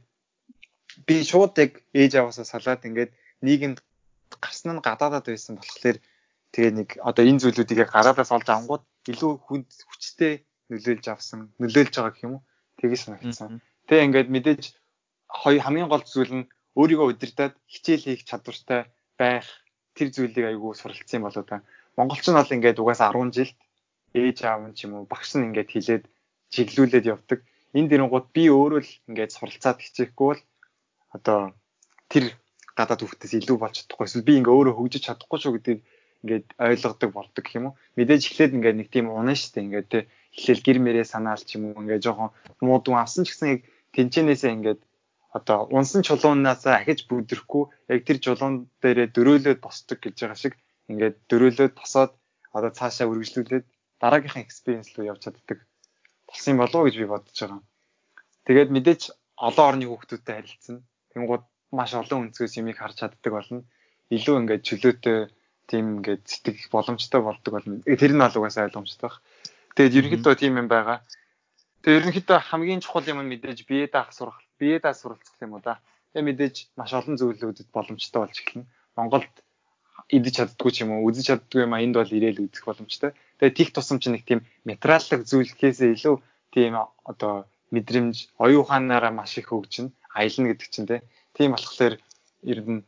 би шууд яг ээж аваасаа салаад ингээд нийгэмд гарсан нь гадаадад байсан болохоор тэгээ нэг одоо энэ зүйлүүдийг яг гадаадаас олж авангууд илүү хүнд хүчтэй нөлөөлж авсан, нөлөөлж байгаа гэх юм уу? Тэгэж санагдсан. Тэгээ ингээд мэдээж хоёр хамгийн гол зүйл нь өөрийгөө удирдах, хичээл хийх чадвартай байх тэр зүйлийг айгүй суралцсан болоо та. Монголч нь бол ингээд угаасаа ten жилд ээж аав нь ч юм уу багш нь ингээд хилээд чиглүүлээд явдаг. Энэ дэрэнгууд би өөрөө л ингээд суралцаад хичээхгүй бол одоо тэр гадаад хүүхдээс илүү болж чадахгүй. Эсвэл би ингээд өөрөө хөгжиж чадахгүй шүү гэдгийг ингээд ойлгодог болдог гэх юм уу. Мэдээж эхлээд ингээд нэг тийм унаа штэ ингээд те эхлээл гэр мэрээ санаал ч юм уу ингээд жоохон муудун авсан ч гэсэн яг тэнцэнээсээ ингээд одоо унсан чулуунаасаа ахиж бүдрэхгүй яг тэр чулуун дээрээ дөрөөлөд босдог гэж байгаа шиг ингээд дөрөөлөд босоод одоо цаашаа үргэлжлүүлээд дараагийнхаа экспириенс руу явж чаддаг болсон болов уу гэж би бодож байгаа. Тэгээд мэдээж олон орны хүүхдүүдтэй харилцсан. Тэнгууд маш олон өнцгөөс юмыг харж чаддаг болно. Илүү ингээд чөлөөтэй тийм ингээд сэтгэх боломжтой болдог болно. Тэр нь бол угаасаа ойлгомжтой баг. Тэгээд ерөнхийдөө тийм юм байгаа. Тэгээд ерөнхийдөө хамгийн чухал юм нь мэдээж бие даах сурах, бие даах суралцах юм уу да. Тэгээд мэдээж маш олон зүйлүүдэд боломжтой болж эхэлнэ. Монголд идэж чаддгүй ч юм уу, үзэж чаддгүй юм а энд бол ирээл үзэх боломжтой. Тэгээд тих тусам чинь нэг тийм материаллык зүйлхээсээ илүү тийм одоо мэдрэмж, оюун ухаанаараа маш их хөгжинэ, аялна гэдэг чинь тийм болохоор ер нь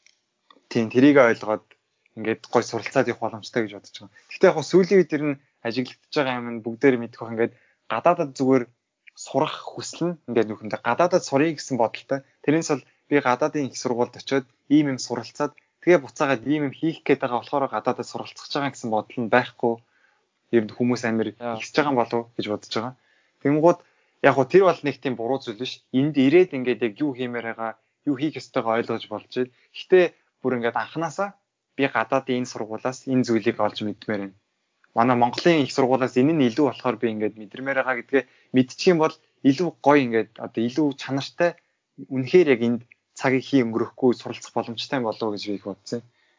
тийм тэрийг ойлгоод ингээд гой суралцаад явах боломжтой гэж бодож байгаа. Гэхдээ яг сүүлийн үед ер нь ажиглагдаж байгаа юм нь бүгдээр мэдэх байх ингээд гадаадад зүгээр сурах хүсэл нь ингээд нүхэндээ гадаадад сурыг гэсэн бодолтой. Тэрнээс бол би гадаадын их сургуульд очиод ийм юм суралцаад Тэгээ буцаагаад ийм юм хийх гээд байгаа болохоор гадаадд суралцах байгаа гэсэн бодол нь байхгүй. Ер нь хүмүүс амир ихсэж байгаа юм болов гэж бодож байгаа. Тэнгууд яг хөө тэр бол нэг тийм буруу зүйл биш. Энд ирээд ингээд яг юу хиймээр байгаа, юу хийх ёстойгоо ойлгож болж байна. Гэхдээ бүр ингээд анханасаа би гадаадын энэ сургуулаас энэ зүйлийг олж мэдмээр байна. Манай Монголын их сургуулаас энэ нь илүү болохоор би ингээд мэдэрмээр байгаа гэдгээ мэдчих юм бол илүү гоё ингээд одоо илүү чанартай үнэхээр яг энд цагийг хий өнгөрөхгүй суралцах боломжтой болов уу гэж би их бодсон.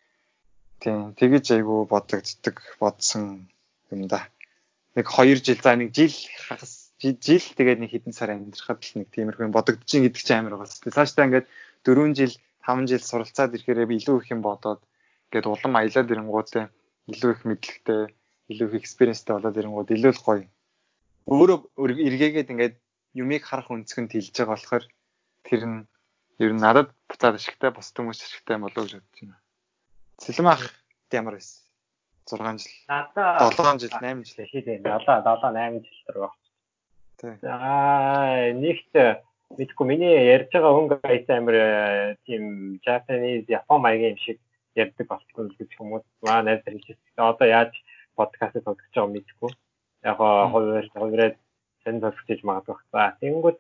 Тийм, тэгэж айгүй бодогддаг бодсон юм да. Нэг хоёр жил за нэг жил хагас жил тэгээд нэг хэдэн сар амьдрахад л нэг тиймэрхүү бодогдож ин гэдэг чинь амар байгаа шүү дээ. Цаашдаа ингээд дөрвөн жил, таван жил суралцаад ирэхээр илүү их юм бодоод ингээд улам аялаад ирэнгүүтээ илүү их мэдлэгтэй, илүү их экспириенстэй болоод ирэнгүүд илүү л гоё. Өөрөө эргээгээд ингээд юмыг харах өнцгөнд хилж байгаа болохоор тэр нь ер нь надад буцаад ашигтай, бос хүмүүс ашигтай болов уу гэж бодож байна. Сэлэм ах ямар байсан? зургаан жил. Надаа долоон жил, восемь жил хийдэ. Надаа долоо восемь жил дөрөв. Тий. Аа, нэгт мэдгүй миний ярьж байгаа өнгө айсан амир тийм Japanese Япон маягийн юм шиг ярьдаг болсон гэж хүмүүс маа найз хэлж байна. Одоо яаж подкаст тоглож байгаа мэдгүй. Яг хоёр хоёроо сэн зогсож магадгүй. За, тэнгүүд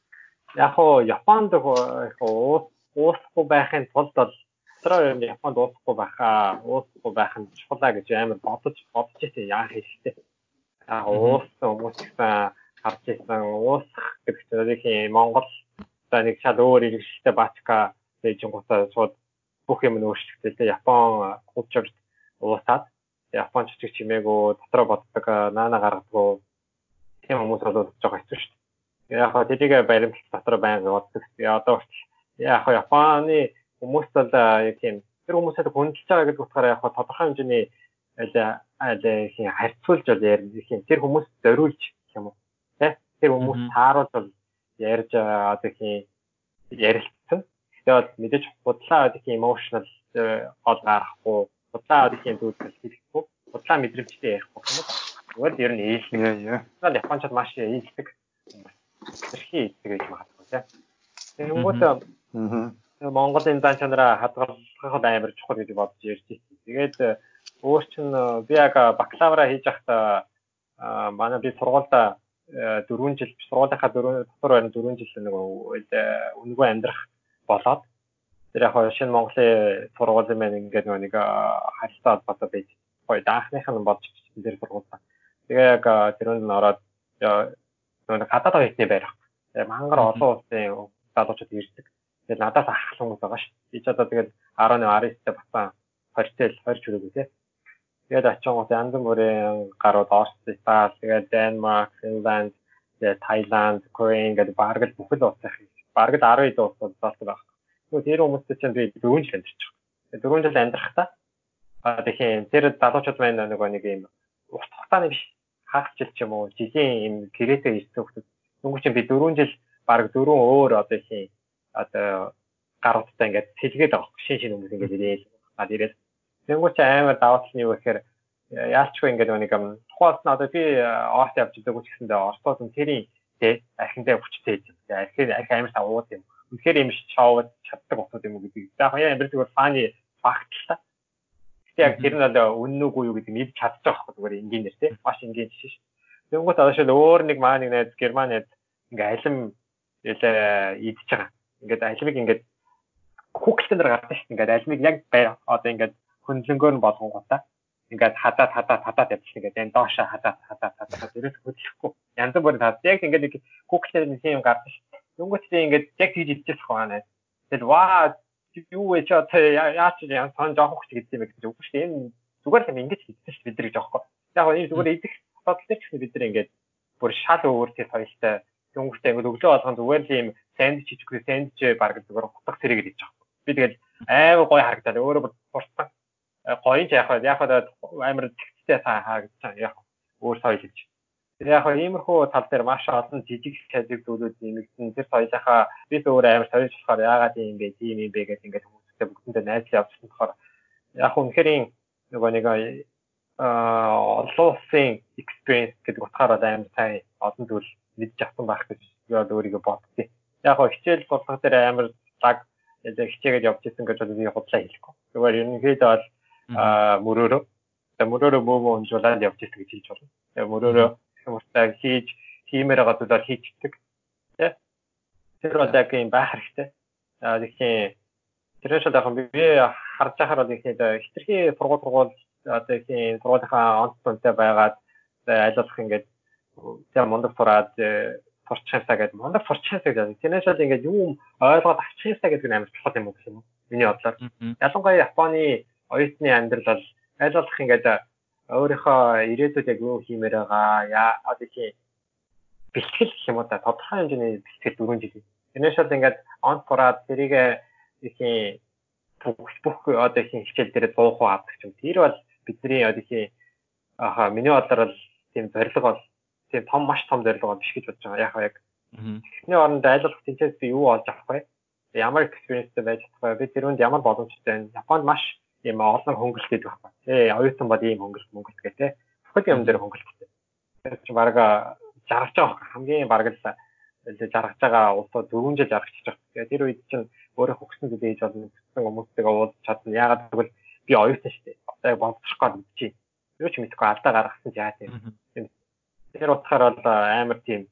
яг хоо Японд уус уусахгүй байхын тулд бол дотроо юм Японд уусахгүй байхаа, уусахгүй байх нь чухлаа гэж амар бодож бодож байсан яа хэрэгтэй. Яг уус хүмүүс гэсэн харж байсан уусах гэдэг чинь Монгол за нэг шал өөр иргэштэй бачка дэжингуудаа шууд бүх юм нь өөрчлөгдөлтэй. Япон culture уусаад Японч ч чимээгүй дотроо боддог наана гаргадаг тийм хүмүүс болоод байгаа хэвчээ шүү дээ. Яг хаа тэдийг баримт дотроо байнга боддог. Одоо яг хаа Японы хүмүүс бол яг тийм тэр хүмүүстэй хөндлөж байгаа гэдэг утгаараа яг хаа тодорхой хэмжээний аль аль харьцуулж бол ярих юм. Тэр хүмүүс зориулж гэх юм уу. Тэр хүмүүс тааруулж бол ярьж одоо тийм ярилцсан. Тэгээд мэдээж худлаа одоо тийм emotional гол гарахгүй, худлаа одоо тийм зүйлс хэлэхгүй, худлаа мэдрэмжтэй ярихгүй юм. Зүгээр ер нь ээлжлэг. Тэгээд Япончууд маш ээлжлэг. Тэрхий тэгэж магадгүй тийм. Тэнгүүт Монгол энэ зан чанараа хадгалах амар чухал гэж бодож ярьж байсан. Тэгээд өөр чинь би яг бакалавра хийж байхдаа манай би сургуультай дөрвөн жил сургуулийнхаа дөрвөн дотор байна дөрвөн жил нэг үнэгүй амьдрах болоод тэр яг шинэ Монголын сургуулийн маань ингээд нэг харилцаа холбоотой байж гоё даахных нь болж тэр сургуультай. Тэгээ яг тэрөнд нь ороод нэг хадаад хоёртны байрах. Мангар олон улсын залуучууд ирдэг. Тэгээд надаас ах хүмүүс байгаа шүү. Би ч одоо тэгээд дөрөв аристай басан хортой хорч өрөөгөө тий. Тэгээд очингууд янз бүрийн гарууд Орос, Итали, тэгээд Денмарк, Финланд, Таиланд, Корея гэдэг бараг л бүх л улс их. Бараг л арван улс болдог байна. Тэгвэл тэр хүмүүстэй чинь би дөрвөн жил амьдарч байгаа. дөрвөн жил амьдрахтаа аа тэгэхээр тэр залуучууд маань нэг нэг юм урт хугацааны биш хагас жил ч юм уу жилийн юм гэрээтэй ирсэн хүмүүс. Тэнгуү чинь би дөрвөн жил бараг дөрвөн өөр одоо тийм одоо гаруудтай ингээд сэлгээд байгаа. Шин шин хүмүүс ингээд ирээд гад ирээд тэнгуү чи амар даваа талын юу гэхээр яалчгүй ингээд нэг юм тухайлс нь одоо би Орос явж байгаа ч гэсэндээ Оросоос нь тэрийн тий архиндаа хүчтэй юм. Архи архи амар савууд юм. Үнэхээр юм шоуд чаддаг хүмүүс юм уу гэдэг. За хаяа амар зүгээр фаны факт л та. Гэтэ яг тэр нь бол үнэн үгүй юу гэдэг мэдж чадчих واخхой зүгээр энгийнээр тий маш энгийн жишээ шүү. Тэнгуут одоо шил өөр нэг маа нэг найз Герман найз ингээд алим ялаа идчихэж байгаа. Ингээд алимыг ингээд хүүхэлтэн дээр гардаг шүү. Ингээд алимыг яг одоо ингээд хөндлөнгөөр нь болгонгуудаа ингээд хадаад хадаад хадаад явчих ингээд энэ доошоо хадаад хадаад хадаад ерөөс хөдлөхгүй. Янз бүрийн хадаад яг ингээд нэг хүүхэлтэн нэг юм гардаг шүү. Тэнгуүтээ ингээд яг тийж идчихэх байна. Тэгэл ваа юу вэ ч одоо яач яа сон жоох хөч гэдэг юм гэж үгүй шүү. Энэ зүгээр л ингэж хийдэж шүү бид нар гэж аахгүй. Яг энэ зүгээр идэх бодол дээр ч бид нар ингээд бүр шал өөр тэр соёлтой тэнгуүтээ ингээд өглөө болгон зүгээр л юм сандвич хийчихгүй сандвич баг зүгээр утга зэрэг гэж аахгүй. Би тэгэл аймаг гой харагдаад өөрөө бүр турсан. Гоё ч яг яг амар тэгцтэй харагдсан яг өөр соёл гэж. Яг иймэрхүү тал дээр маш олон жижиг шажиг зүйлүүд нэмэгдэн тэр соёлынхаа бид өөр амар соёлж болохоор яагаад юм бэ тийм юм бэ гэдэг ингээд хүмүүстэй бүгдэндээ найзлаа явуулсан болохоор яг үнэхээр нөгөө нэг аа олон улсын experience гэдэг утгаараа амар сайн олон зүйл мэдж авсан байх гэж би өөрийгөө боддیں۔ Яг хичээл сурлага дээр амар цаг хичээгээд явж исэн гэж би худлаа хэлэхгүй. Зүгээр ерөнхийдөө бол мөрөөрөө тэгээ мөрөөрөө муу муу унжуулаад явж ирдэг гэж хэлж болно. Тэгээ мөрөөрөө хүмүүстэй хийж хиймээр байгаа зүйлээр хийчихдэг. Тэ? Тэр бол яг юм байх хэрэгтэй. Аа тэгэхээр тэрээс яг би харж байхаар бол ихэнх хитрхи сургууль сургууль одоо ихэнх сургуулийнхаа онц тонтой байгаад аль болох ингээд тийм мундаг сураад сурчаасаа гэдэг мундаг сурчаасаа гэдэг. Тэрнээс бол ингээд юм ойлгоод авчихсаа гэдэг нь амар чухал юм уу гэх юм уу? Миний бодлоор. Ялангуяа Японы оюутны амьдрал бол аль болох ингээд өөрийнхөө ирээдүйд яг юу хиймээр байгаа яа одоо тийм бэлтгэл гэх юм уу да тодорхой хэмжээний бэлтгэл дөрвөн жил. Тэрнээс бол ингээд онц сураад тэрийг ихэнх бүх бүх одоо ихэнх хичээл дээр сто процент авдаг юм. Тэр бол бидний одоо ихэнх аха миний бодлоор бол тийм зорилго бол тийм том маш том зорилго биш гэж бодож байгаа. Яг яг эхний оронд аль болох тэнцээс би юу олж авах вэ? Ямар экспириенстэй байж чадах вэ? Би тэрүүнд ямар боломжтой вэ? Японд маш ийм олон хөнгөлөлт гэдэг байхгүй. Тэ оюутан бол ийм хөнгөлөлт мөнгөлт гэх тэ. Бүхэл юм дээр хөнгөлөлттэй. Тэр чинь бараг жаргаж байгаа хамгийн бараг л жаргаж байгаа улсууд дөрвөн жил жаргаж байгаа. Тэгээ тэр үед чинь өөрөө хөгсөн зүйл ээж болно. Хөгсөн хүмүүстэйгээ уулзч чадна. Яагаад гэвэл би оюутан шүү дээ. Одоо боловсрох гэж бодчих. Юу ч мэдхгүй алдаа гаргасан яа тийм. Тэр утгаараа бол амар тийм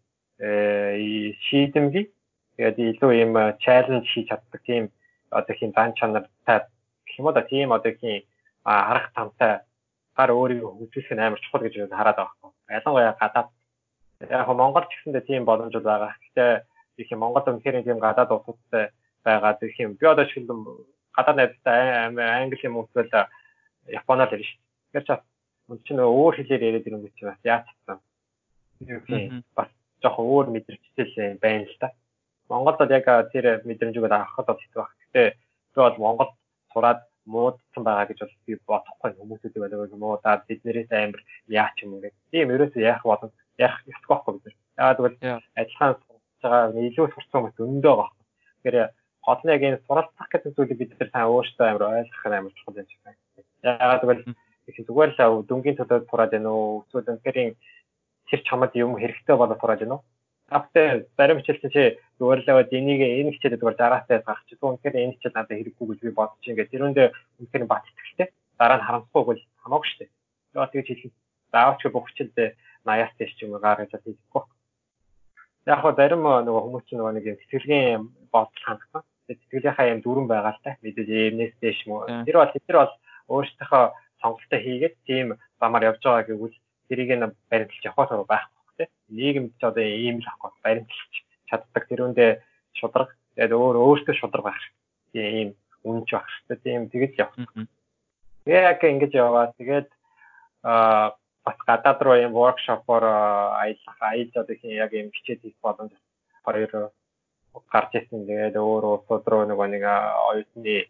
шийдэмгий. Тэгээд илүү ийм чаленж хийж чаддаг тийм одоо тийм дан чанартай гэх юм уу да тийм одоо тийм арга тамтай гар өөрийгөө хөгжүүлэх нь амар чухал гэж хараад байгаа юм. Ялангуяа гадаад яг Монгол ч гэсэндээ тийм боломж байгаа. Гэхдээ их юм Монгол үнэхээр тийм гадаад улсуудтай байгаа гэх юм. Би одоо шилэн гадаад найзтай англи юм уусвал Японоор ирнэ шүү дээ. Тэгэхээр ч мөн чинь өөр хэлээр яриад ирэнгүүт чи бас яаж чадсан. Юу бас жоохон өөр мэдрэгчтэй байна л та. Монголд бол яг тэр мэдрэмжийг авахд бол хэцүү баг. Гэхдээ би бол Монгол сураад муудсан байгаа гэж бол би бодохгүй хүмүүсүүдийг болоо муудаад биднээс амар яач юм ингээд. Тийм ерөөсөө яах болон яах ёсгүй байхгүй бид. Яагаад гэвэл ажиллагаан сурч байгаа илүү сурсан хүмүүс өндөө байгаа. Тэгэхээр гол нь яг энэ суралцах гэдэг зүйлийг бид нар сайн өөрсдөө амар ойлгох нь амар чухал юм шиг байна. Яагаад гэвэл их зүгээр л дүнгийн төлөө сураад байна уу? Эсвэл үнэхээр тэр чамд юм хэрэгтэй болоод сураад байна уу? Автай зарим хичээлтэй чи зүгээр л аваад энийг энэ хичээлээ зүгээр дараасаа гарах чи үнэхээр энэ хичээл надад хэрэггүй гэж би бодож ингээд тэрүүндээ үнэхээр бат итгэлтэй дараа нь харамсахгүй бол хамаагүй шүү дээ. Яагаад тэгж хэлэх заавч бүх хичээлдээ наяас тийш ч юм уу гаргаж чадахгүй. Яг хоо зарим нөгөө хүмүүс ч нөгөө нэг юм сэтгэлгийн бодол хандсан. Сэтгэлийнхаа юм дүрэн байгаа л та. Мэдээж эмнээс дэш юм уу. Тэр бол тэр бол өөрсдийнхөө сонголтоо хийгээд тийм замаар явж байгаа гэвэл тэрийг нь баримтлж явах байхгүй тийм. Нийгэмд ч одоо ийм л ахгүй баримтлж чаддаг тэрүүндээ шудраг. Тэгээд өөр өөртөө шудраг байх хэрэгтэй. Тийм үнэнч байх хэрэгтэй. Тийм тэгэж явах. Тэгээ яг ингэж яваа. Тэгээд аа бас гадаад руу юм воркшопоор аялах аялж одоо хин яг юм хичээл хийх боломж хоёр гарч ирсэн. Тэгээд өөр улсууд руу нөгөө нэг оюутны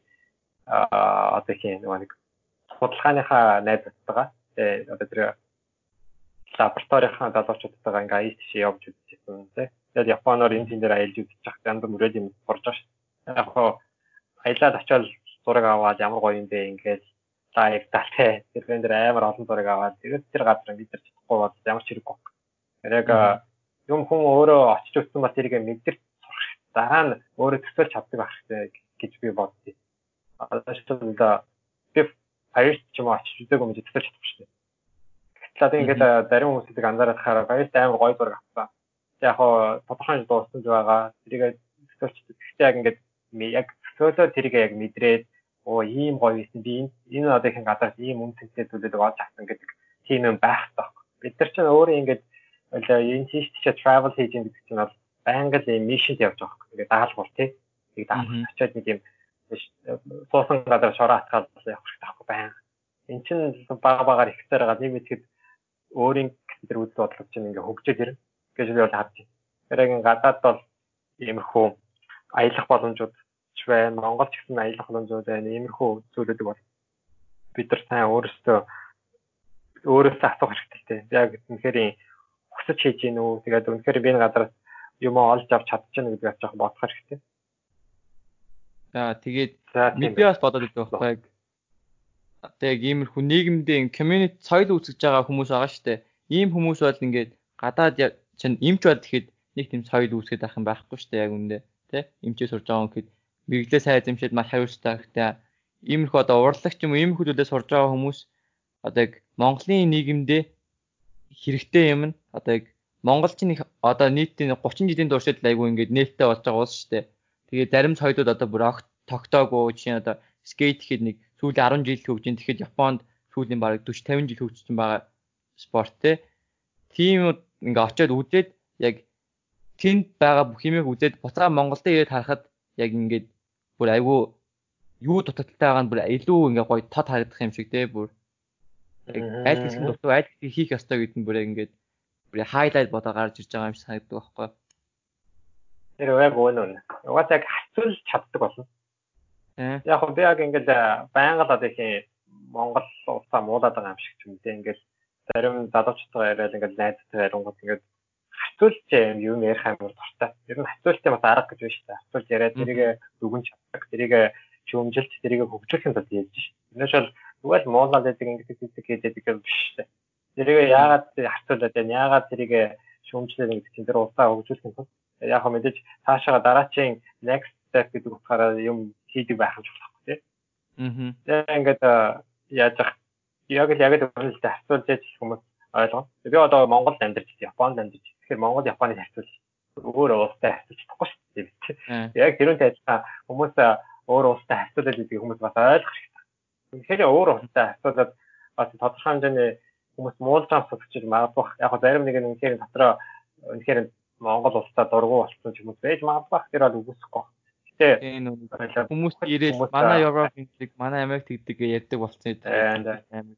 аа одоо хин нөгөө нэг судалгааныхаа найзтайгаа тэгээд одоо тэр лабораторийнхаа залуучуудтайгаа ингээ аялж тийш явж үзчихсэн тийм. Тэгээд Японоор энэ тийм дээр аялж үзчих янз бүрээр юм сурж байгаа шүү. Яг хоо аялаад очиод зураг аваад ямар гоё юм бэ ингээд лайв талтай тэрэн дээр амар олон зураг аваад тэгээд тэр газар мэдэрч чадахгүй бол ямар ч хэрэггүй. Яг юм хүн өөрөө очиж үзсэн ба тэрийг мэдэрч сурах дараа нь өөрөө төсөөлж чаддаг байх хэрэгтэй гэж би боддیں۔ Одоо шилбэл би Парис ч юм уу очиж үзээгүй юм төсөөлж чадахгүй шүү дээ. Гэтэл ингээд зарим хүмүүсийг анзаараад хараа Парис амар гоё зураг авсан. Яг хоо тодорхой дууссан ч байгаа. Тэрийг төсөөлж гэхдээ яг ингээд яг төсөөлөө тэрийг яг мэдрээд оо ийм гоё байсан би энэ одоо их гадаас ийм үн цэнтэй зүйлүүд олж авсан гэдэг тийм юм байх таахгүй. Бид нар ч өөрөө ингээд энэ тийш тийш travel хийж байгаа гэдэг чинь бол байнга л мишнд явж байгаа хэрэг. Ингээд даалгавар тий. Тийг даалгавар очиод нэг юм суусан гадар шороо атгаад явах хэрэгтэй таахгүй байнга. Энд чинь бага багаар ихсээр байгаа нэг мэтгэд өөрийн тэр үйл бодлого чинь ингээд хөгжөөд ирнэ гэж би бол харж байна. Тэр яг гадаад бол иймэрхүү аялах боломжууд ч байна. Монгол ч гэсэн аялах боломжууд байна. Иймэрхүү зүйлүүд бол бид нар сайн өөрсдөө өөрөөсөө асуух хэрэгтэй. Яг үнэхээр хүсэж хийж гин үү? Тэгээд үнэхээр би энэ газараас юм олж авч чадчихна гэдгийг жоох бодох хэрэгтэй. За тэгээд би бас бодоод байдаг байхгүй. Тэгээд иймэрхүү нийгэмдээ community соёл үүсгэж байгаа хүмүүс байгаа шүү дээ. Ийм хүмүүс бол ингээд гадаад чинь эмч бод гэхэд нэг тийм соёл үүсгэж байх юм байхгүй шүү дээ яг үндэ. Тэ? Эмчээ сурж байгаа хүн гэхэд мэрэгчлээ сайн эзэмшээд маш хариуцтай хэрэгтэй. иймэрхүү одоо урлагч юм уу иймэрхүү зүйлээ сурж байгаа хүмүүс одоо яг Монголын нийгэмдээ хэрэгтэй юм нь одоо яг монголчин их одоо нийтийн гучин жилийн туршид айгүй ингээд нээлттэй болж байгаа улс шүү дээ. Тэгээ зарим соёлууд одоо бүр огт тогтоогүй жишээ нь одоо скейт гэхэд нэг сүүлийн арван жил хөгжин тэгэхэд Японд сүүлийн бараг forty fifty жил хөгжсөн байгаа спорт те. Тийм ингээ очиод үзээд яг тэнд байгаа бүх юмыг үзээд буцаа Монголд ирээд харахад яг ингээд бүр айгүй юу дутагдaltaй байгаа нь бүр илүү ингээ гоё тод харагдах юм шиг те бүр аль хэсэг нь дутуу аль хэсэг хийх ёстой гэдэг нь бүр ингээд бүр хайлайт бодоо гарч ирж байгаа юм шиг санагддаг байхгүй. Тэр яг үнэн. Угаасаа яг хацуулж чаддаг болно. Яг хөө би яг ингээд байнга л одоо их Монгол улсаа муулаад байгаа юм шиг ч юм дээ. Ингээд зарим залуучуудаа яриад ингээд найзтай ярингууд ингээд хацуулж юм ярих амар дуртай. Ер нь хацуултын бас арга гэж байна шүү дээ. Хацуулж яриад тэрийг дүгнж чаддаг, тэрийг шүүмжилт, тэрийг хөгжүүлэхин тулд ярьж шүү. Тэрнээс бол зүгээр л муулаад байдаг ингээд гэдэг хийдэг юм биш шүү. Тэрийг яагаад хацуулаад байна? Яагаад тэрийг шүүмжлээд ингээд чинь тэр улсаа хөгжүүлэхин тулд яг хөө мэдээж цаашаа дараачийн next step гэдэг утгаараа юм хийдэг байх юм болохгүй тий. Аа. Тэгээ ингээд яаж ах яг л яг л үнэлтэд хацуулж яж хүмүүс ойлгоо. Би одоо Монголд амьдарч байна, Японд амьдарч байна. Тэгэхээр Монгол Японыг харьцуулж өөр улстай харьцуулж чадахгүй шүү дээ. Яг тэрүүнтэй адилхан хүмүүс өөр улстай харьцуулаад байдаг хүмүүс бас ойлгох хэрэгтэй. Тэгэхээр өөр улстай харьцуулаад бас тодорхой хэмжээний хүмүүс муулж байгаа сонсч магадгүй. Яг нь зарим нэг нь үнэхээр дотроо үнэхээр Монгол улстай дургу болсон ч хүмүүс байж магадгүй. Тэр бол үгүйсэхгүй. Гэтэ хүмүүс ирээд манай Европ гэдэг, манай Америк гэдэг ярьдаг болсон юм.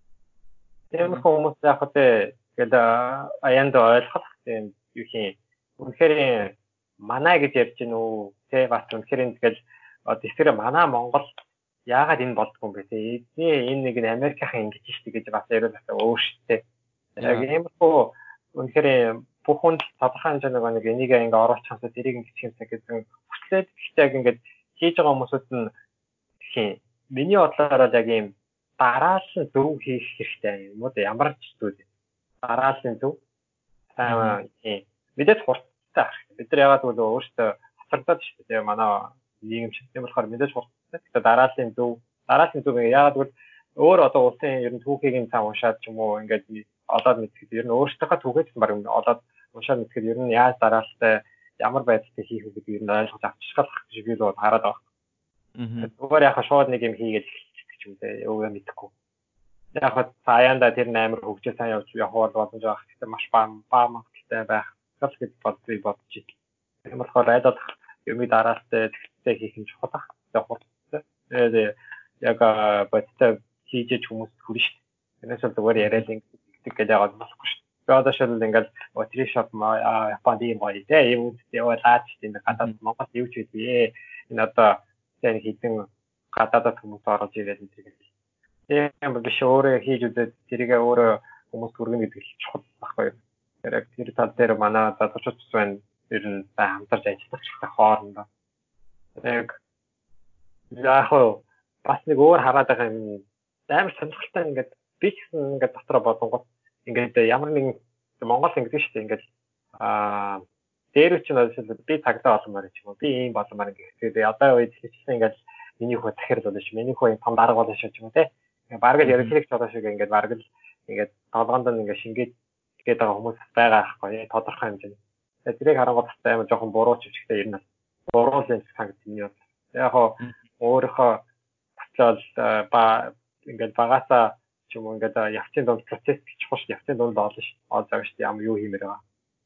Тэр хүмүүс яг л тэгээд аянд ойлгох тийм юу юм. Үнэхээр манай гэж ярьж гин үү? Тэ бас үнэхээр тэгэл тэгэхээр манай Монгол яагаад энэ болдгоо юм бэ? Тэ энэ нэг нь Америкийн ингэж штий гэж бас яриад байгаа өөр штий. Яг иймэрхүү үнэхээр бүх хүн тодорхой хэмжээний нэг энийг ингээ оруулах юмсаа тэрийг ингэчих юмсаа гэсэн хүслээд гэхдээ яг ингээд хийж байгаа хүмүүсд нь тийм миний бодлоор яг ийм дараалсан зөв хийх хэрэгтэй юм уу? Ямар ч зүйл дараалсан зөв аа тийм мэдээж хурцтай ах. Бид нар яагаад гэвэл өөртөө хацагдаад шүү дээ. Манай нийгэм шиг тийм болохоор мэдээж хурцтай. Тэгэхээр дараалсан зөв дараалсан зөв яагаад гэвэл өөр одоо улсын ер нь түүхийг нь цаа уншаад ч юм уу ингээд олоод мэдхэд ер нь өөртөөхөө түүхээс баг олоод уншаад мэдхэд ер нь яаж дараалалтай ямар байдлаар хийх вэ гэдэг нь ойлгож авчихлах гэж би л хараад байгаа. Аа. Зүгээр яхаа шууд нэг юм хийгээд эхэлчих ч юм дээ. Өвөө мэдэхгүй. Яг хаа цааяанда тэр амар хөгжөө сайн явж явах боломж байгаа. Гэхдээ маш баам баамтай байх. Гал гэж боддгийг бодож ий. Тийм болохоор айдаад юмыг дараалалтай тэгтээ хийх нь чухал ах. Яг хурцтай. Яг бодтой хийж хүмүүс хүрнэ шүү дээ. Энэс бол зүгээр яриад ингэдэг гэж яагаад болохгүй шүү. Би одоо шил ингээл отришоп маа Японд юм гоё те юм яваад тийм гадаад Монгол юу ч үгүй. Энэ одоо тэр хитэн гадаадд хүмүүс орж ирээд энэ тийм биш өөрөө хийж үзээд тэрийг өөрөө хүмүүс хүргэнэ гэдэг л чухал байхгүй юу. Тэр яг тэр тал дээр манай залуучууд байна. Ер нь хамтарч ажиллах хэрэгтэй хоорондоо. Яг яг бас нэг өөр хараад байгаа юм. Амар сонирхолтой ингээд би ч гэсэн ингээд дотроо бодонгот ингээд ямар нэгэн Монгол ингэдэг шүү дээ ингээд аа дээр үчиг нь би цагдаа болмоор ч юм уу би ийм болмоор ингээд би одоо үед хэлсэн ингээд миний хөө захирал болно шүү миний хөө том дарга болно шүү ч юм уу те бараг л ярилцлагч болоо шиг ингээд бараг л ингээд толгоонд нь ингээд шингээд тэгээд байгаа хүмүүс байгаа аахгүй тодорхой хэмжээний тэрийг харангуй бас амар жоохон буруу ч ихтэй ер нь буруу л санагдсан юм яг хоо өөрийнхөө очоод ба ингээд багасаа ч юм уу ингээд явцын дунд процесс гэж чухал шүү явцын дунд олно шүү олж байгаа шүү ямар юу хиймээр байгаа.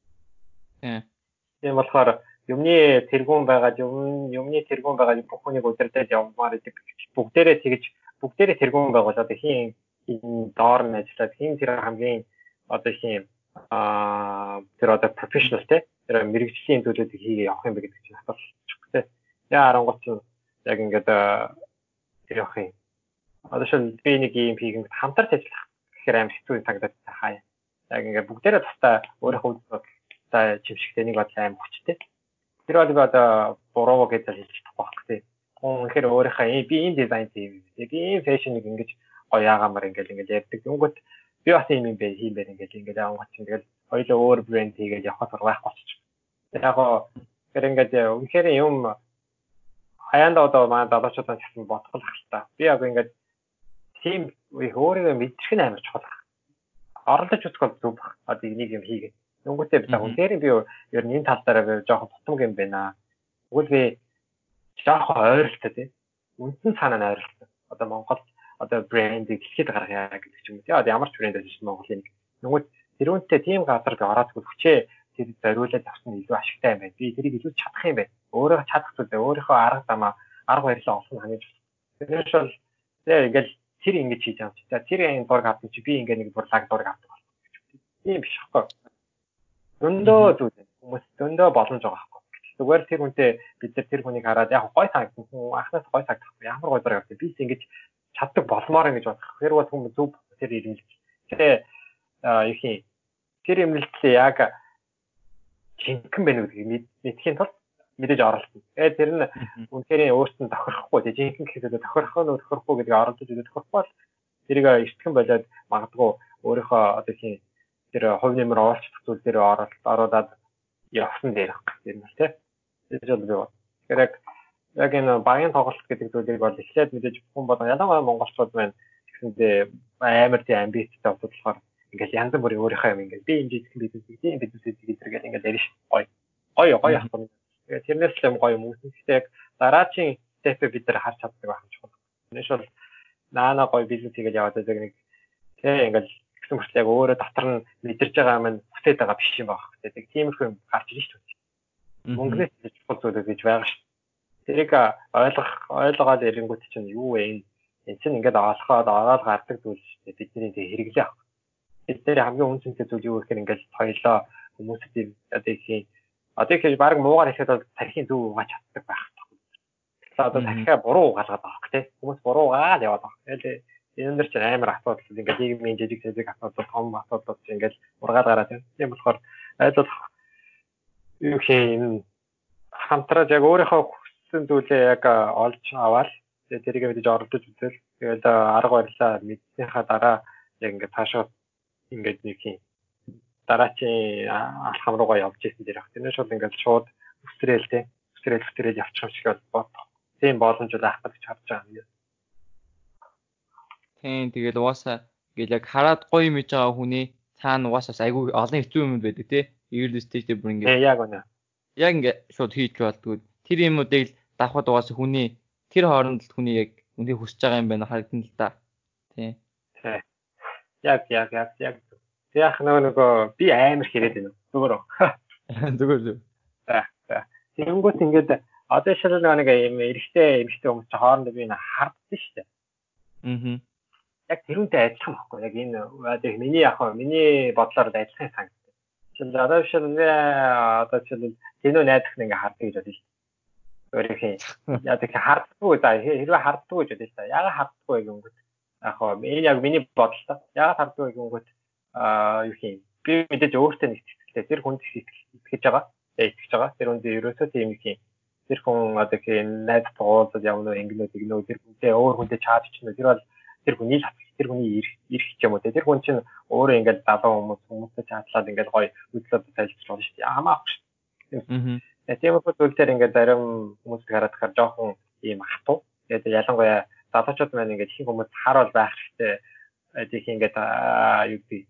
Тийм болохоор юмны тэргуун байгаа юм юмны тэргуун байгаа бүх хүнийг удирдах явмаар идэг бүгдээрээ тэгж бүгдээрээ тэргуун байгуул одоо хин доор нь ажиллаад хин тэр хамгийн одоо хин аа тэр одоо профешнл те тэр мэрэгжлийн зүйлүүдийг хийгээ явах юм бэ гэдэг чинь асуулт те. Яа харангуут яг ингээд явах юм. Одоо шил би нэг юм хийгээд хамтарч ажиллах гэхээр аим хэцүү санагдаад хаа. Яг ингээд бүгдээрээ тусдаа өөрийнхөө үзэлтэй чимшигтэй нэг бодлоо аим хүчтэй. Тэр бол би одоо буруу гэж хэлж чадахгүй байх тий. Үнэхээр өөрийнхөө би энэ дизайн тийм би энэ фэшнийг ингэж гоё яагаамаар ингээд ингээд ярьдаг. Өнгөт би бас юм юм бэ хиймээр ингээд ингээд аавгач ингээд хоёулаа өөр брэнд хийгээд явах сургаах болчих. Яг гоо тэр ингээд үнэхээр юм хаяанда одоо манай залуучуудаа гэсэн бодох л ахalta. Би яг ингээд тийм их өөрийгөө мэдчих нь амар чухал. Оролдож үзэх бол зүг баг. Одоо энийг юм хийгээ. Нүгүтээ би яг үнээр би ер нь энэ тал дээр жоохон тутамг юм байна. Тэгвэл би жоохон ойролтой тий. Үндсэн санаа нь ойролтой. Одоо Монгол одоо брендийг хэлэхэд гаргая гэдэг ч юм уу тий. Одоо ямар ч брэнд байж Монголын нүгүт тэрүүнтэй тийм газар би ороод хүчээ тэр зориулаад авсан илүү ашигтай юм байна. Би тэрийг илүү чадах юм байна. Өөрөө чадах зүйлээ өөрийнхөө арга замаа арга барилаа олох нь хамгийн чухал. Тэрнээс бол тэгээ ингээл тэр ингэж хийж байгаа юм чи. За тэр энэ дург авсан чи би ингээ нэг бурлаг дург авдаг бол. Тийм биш хэвгүй. Дөндөө зүйл хүмүүс дөндөө боломж байгаа хэвгүй. Зүгээр тэр хүнтэй бид нар тэр хүнийг хараад яг гой санагдсан хүн анхнаас гой санагдахгүй ямар гой дург авсан би ингэж чаддаг болмоор ингэж бодох. Тэр бол хүмүүс зөв тэр ирмэлт. Тэгээ юу юм тэр ирмэлтлээ яг жинхэнэ байна гэдгийг мэдхийн тулд мэдээж оролцсон. Тэгээ тэр нь үнэхээр өөртөө тохирохгүй тий жинхэнэ гэхэд тохирох нь тохирохгүй гэдгийг оролдож өгөх тохирохгүй бол тэрийг эртгэн болоод магадгүй өөрийнхөө одоо тийм тэр хувь нэмэр оолцох зүйл дээр оролцоод явсан дээр баг. Тэр нь тий. Тэр жил бий. Тэгэхээр яг яг энэ багийн тоглолт гэдэг зүйлийг бол эхлээд мэдээж хүн болон ялангуяа монголчууд маань гэсэндээ амар тий амбицтай болохоор ингээл янз бүрийн өөрийнхөө юм ингээл би энэ жижиг бизнес тийм бизнес гэдэг ингээл ярина ш. Гой. Гой гой ахгүй. Тэгээ тэрнээс л юм гоё юм үүснэ. Гэхдээ яг дараачийн степээ бид нар харж чаддаг байх юм чухал. Тэрнээс бол наана гоё бизнес хийгээл яваад байгаа нэг тэгээ ингээл гэсэн мөртлөө яг өөрөө дотор нь мэдэрч байгаа юм бүтээд байгаа биш юм байна. Тэгээ тиймэрхүү юм гарч ирж шүү дээ. Мөнгөнөөс чухал зүйл гэж байгаа ш. Тэрийг ойлгох ойлгоод ирэнгүүт чинь юу вэ энэ энэ чинь ингээд олохоод ороод гардаг зүйл шүү дээ. Бидний тэг хэрэглээ авах. Тэр хамгийн үнцэнтэй зүйл юу гэхээр ингээд соёлоо хүмүүсийн одоо их одоо их баг муугаар ихэд бол тархины зүг угааж чаддаг байх тохиол. Тэгэхээр одоо тархиа буруу угаалгаад байгаа тийм хүмүүс буруу угаал яваад байгаа. Тэгээд энэ дэр чинь амар асуудал ингээд нийгмийн жижиг жижиг асуудал том асуудал чинь ингээд ургаад гараад байна. Тийм болохоор айдал юу юм хамтраад яг өөрийнхөө хүссэн зүйлээ яг олж аваад тэрийг мэдээж оролдож үзэл тэгээд арга барилаа мэдсэнийхаа дараа яг ингээд цаашаа ингээд нэг юм дараачийн алхам руугаа явж ирсэн дээрх. Тэрнээс бол ингээд шууд өстрөөл тэ өстрөөл өстрөөл явчих юм шиг бол тийм боломж байх гэж харж байгаа юм. Тийм тэгэл угаасаа ингээл яг хараад гоё юм хийж байгаа хүний цаана угаасаа айгүй олон хэцүү юм байдаг тий. Early stage дээр бүр ингээд яг үнэ. Яг ингээд шууд хийж болдгоо. Тэр юмуудыг л давхад угаасаа хүний тэр хооронд хүний яг үнийг хүсэж байгаа юм байна харагдана л да. Тий. Тий. Яг яг яг яг яг нөгөө би амар хэрэг байна. Зүгээр үү? Зүгээр зү. За за. Тэнгүүт ингээд одоо шил нэг юм эрэгтэй эмэгтэй хүмүүс ч хоорондоо би хардсан шүү дээ. Аа. Яг тэрүүнтэй адилхан байхгүй. Яг энэ одоо миний яг миний бодлоор адилхан санагдав. Шил одоо шил нэ одоо шил тэнөө найдах нэг ингээд харддаг гэж бодсон шүү дээ. Өөрийнхөө яг тэг харддаггүй да хэрвээ харддаггүй гэж бодсон шүү дээ. Яг харддаггүй юм гээд. Яг энэ яг миний бодлоо. Яг харддаггүй юм гээд аа юу юм би мэдээж өөртөө нэг сэтгэлтэй тэр хүнд итгэж байгаа итгэж байгаа тэр хүнд ерөөсөө тийм их юм тэр хүн одоо гэх найз туулаад явна ингэнэ тэгнэ тэр хүнтэй өөр хүнтэй чаад чинь тэр бол тэр хүний л тэр хүний ирэх юм уу тэр хүн чинь өөрөө ингээд залуу хүмүүс хүмүүстэй чаадлаад ингээд гоё үзлээд тайлбарлаж болно шүү дээ хамаагүй шүү. Аа. Тийм их зүйлээр ингээд зарим хүмүүс хараад хахаар жоохон ийм хатуу тэгээд ялангуяа залуучууд маань ингээд их хүмүүс харуул байх хэрэгтэй тийм ингээд юу гэдэг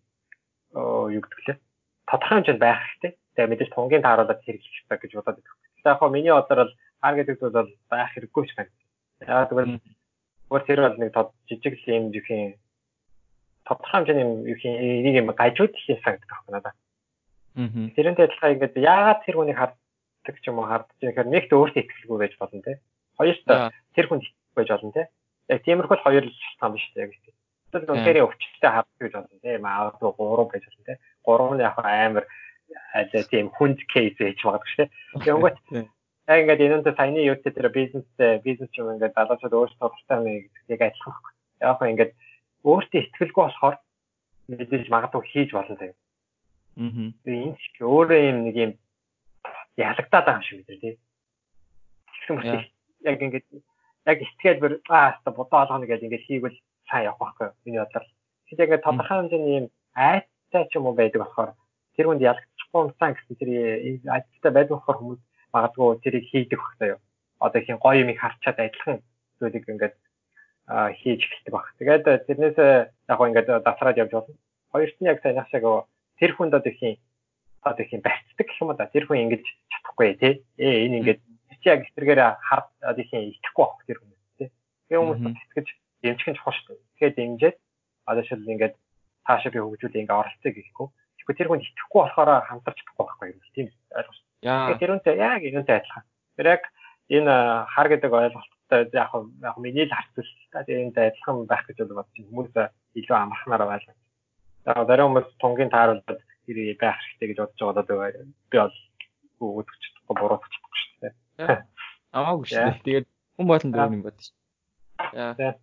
юу гэдэг лээ. Тодорхой хэмжээнд байх хэрэгтэй. Тэгээ мэдээж тунгийн тааруулаад хэрэглэх хэрэгтэй гэж бодоод байдаг. Тэгэхээр яг хоо миний бодлоор бол хар гэдэг зүйл бол байх хэрэггүй ч байна. Яг тэгвэл өөр тэр бол нэг жижиг л юм юу юм тодорхой хэмжээний юу юм нэг юм гажууд хийх санагдах байна надад. Аа. Тэрнтэй адилхан ингээд яагаад тэр хүнийг харддаг ч юм уу хардж байхаар нэгт өөртөө итгэлгүй байж болно те. Хоёрт тэр хүнд итгэхгүй байж болно те. Яг тиймэрхүү л хоёр л шалтгаан биш те яг тийм. Тэр үнээр өвчтөй харддаг гэж болно тийм аавд гурав байж болно тийм гурав нь яг амар аль тийм хүнд кейс хийж магадгүй шүү дээ. Тэгэнгүүт яг ингээд энэнтэй саяны юутэй тэр бизнес бизнес юм ингээд залуучууд өөрсдөө тустай нэг яг ажиллах байхгүй. Яг хөө ингээд өөртөө итгэлгүй болохоор мэдээж магадгүй хийж болно тийм. Аа. Энэ ч өөрөө юм нэг юм ялагдаад байгаа юм шиг үү тийм. Тэгсэн мэт яг ингээд яг сэтгэл бүр аа та бодоо олгоно гэдэг ингээд хийгвэл сайн явах байхгүй миний бодлоор. Тэгэхээр яг тодорхой хэмжээний юм айцтай ч юм уу байдаг болохоор тэр хүнд ялагдчихгүй юмсан гэсэн тэр айцтай байдаг болохоор хүмүүс магадгүй тэрийг хийдэг байх таа юу. одоо их гоё юм харчаад адилхан зүйлийг ингээд хийж эхэлдэг баг. Тэгээд тэрнээс яг гоо ингээд дасраад явж болно. Хоёрт нь яг сайн яг тэр хүнд одоо их одоо их барьцдаг гэх юм да. Тэр хүн ингэж чадахгүй тий. Ээ энэ ингээд чи яг эсрэгээр хар одоо их итгэхгүй байх тэр хүмүүс тий. Тэгээ хүмүүс итгэж дэмжих нь чухал шүү дээ. Тэгэхээр дэмжиж одоо шил ингээд цаашаа би хөгжүүлээ ингээд оролцъё гэхгүй. Тэгэхгүй тэр хүн итгэхгүй болохоор хамтарч чадахгүй байхгүй юм тийм ойлгож байна. Тэр үнтэй яг энэтэй адилхан. Тэр яг энэ хар гэдэг ойлголттой яг яг миний л харцсан та энэтэй адилхан байх гэж бодож байна. Хүмүүс илүү амархнаар байлаа. За дараа хүмүүс тунгийн тааруулаад тэр байх хэрэгтэй гэж бодож байгаа одоо би бол үзэж чадахгүй буруутгах чадахгүй шүү дээ. Амаагүй шүү дээ. Тэгээд хүн болон дөөр юм бод шүү. Яа.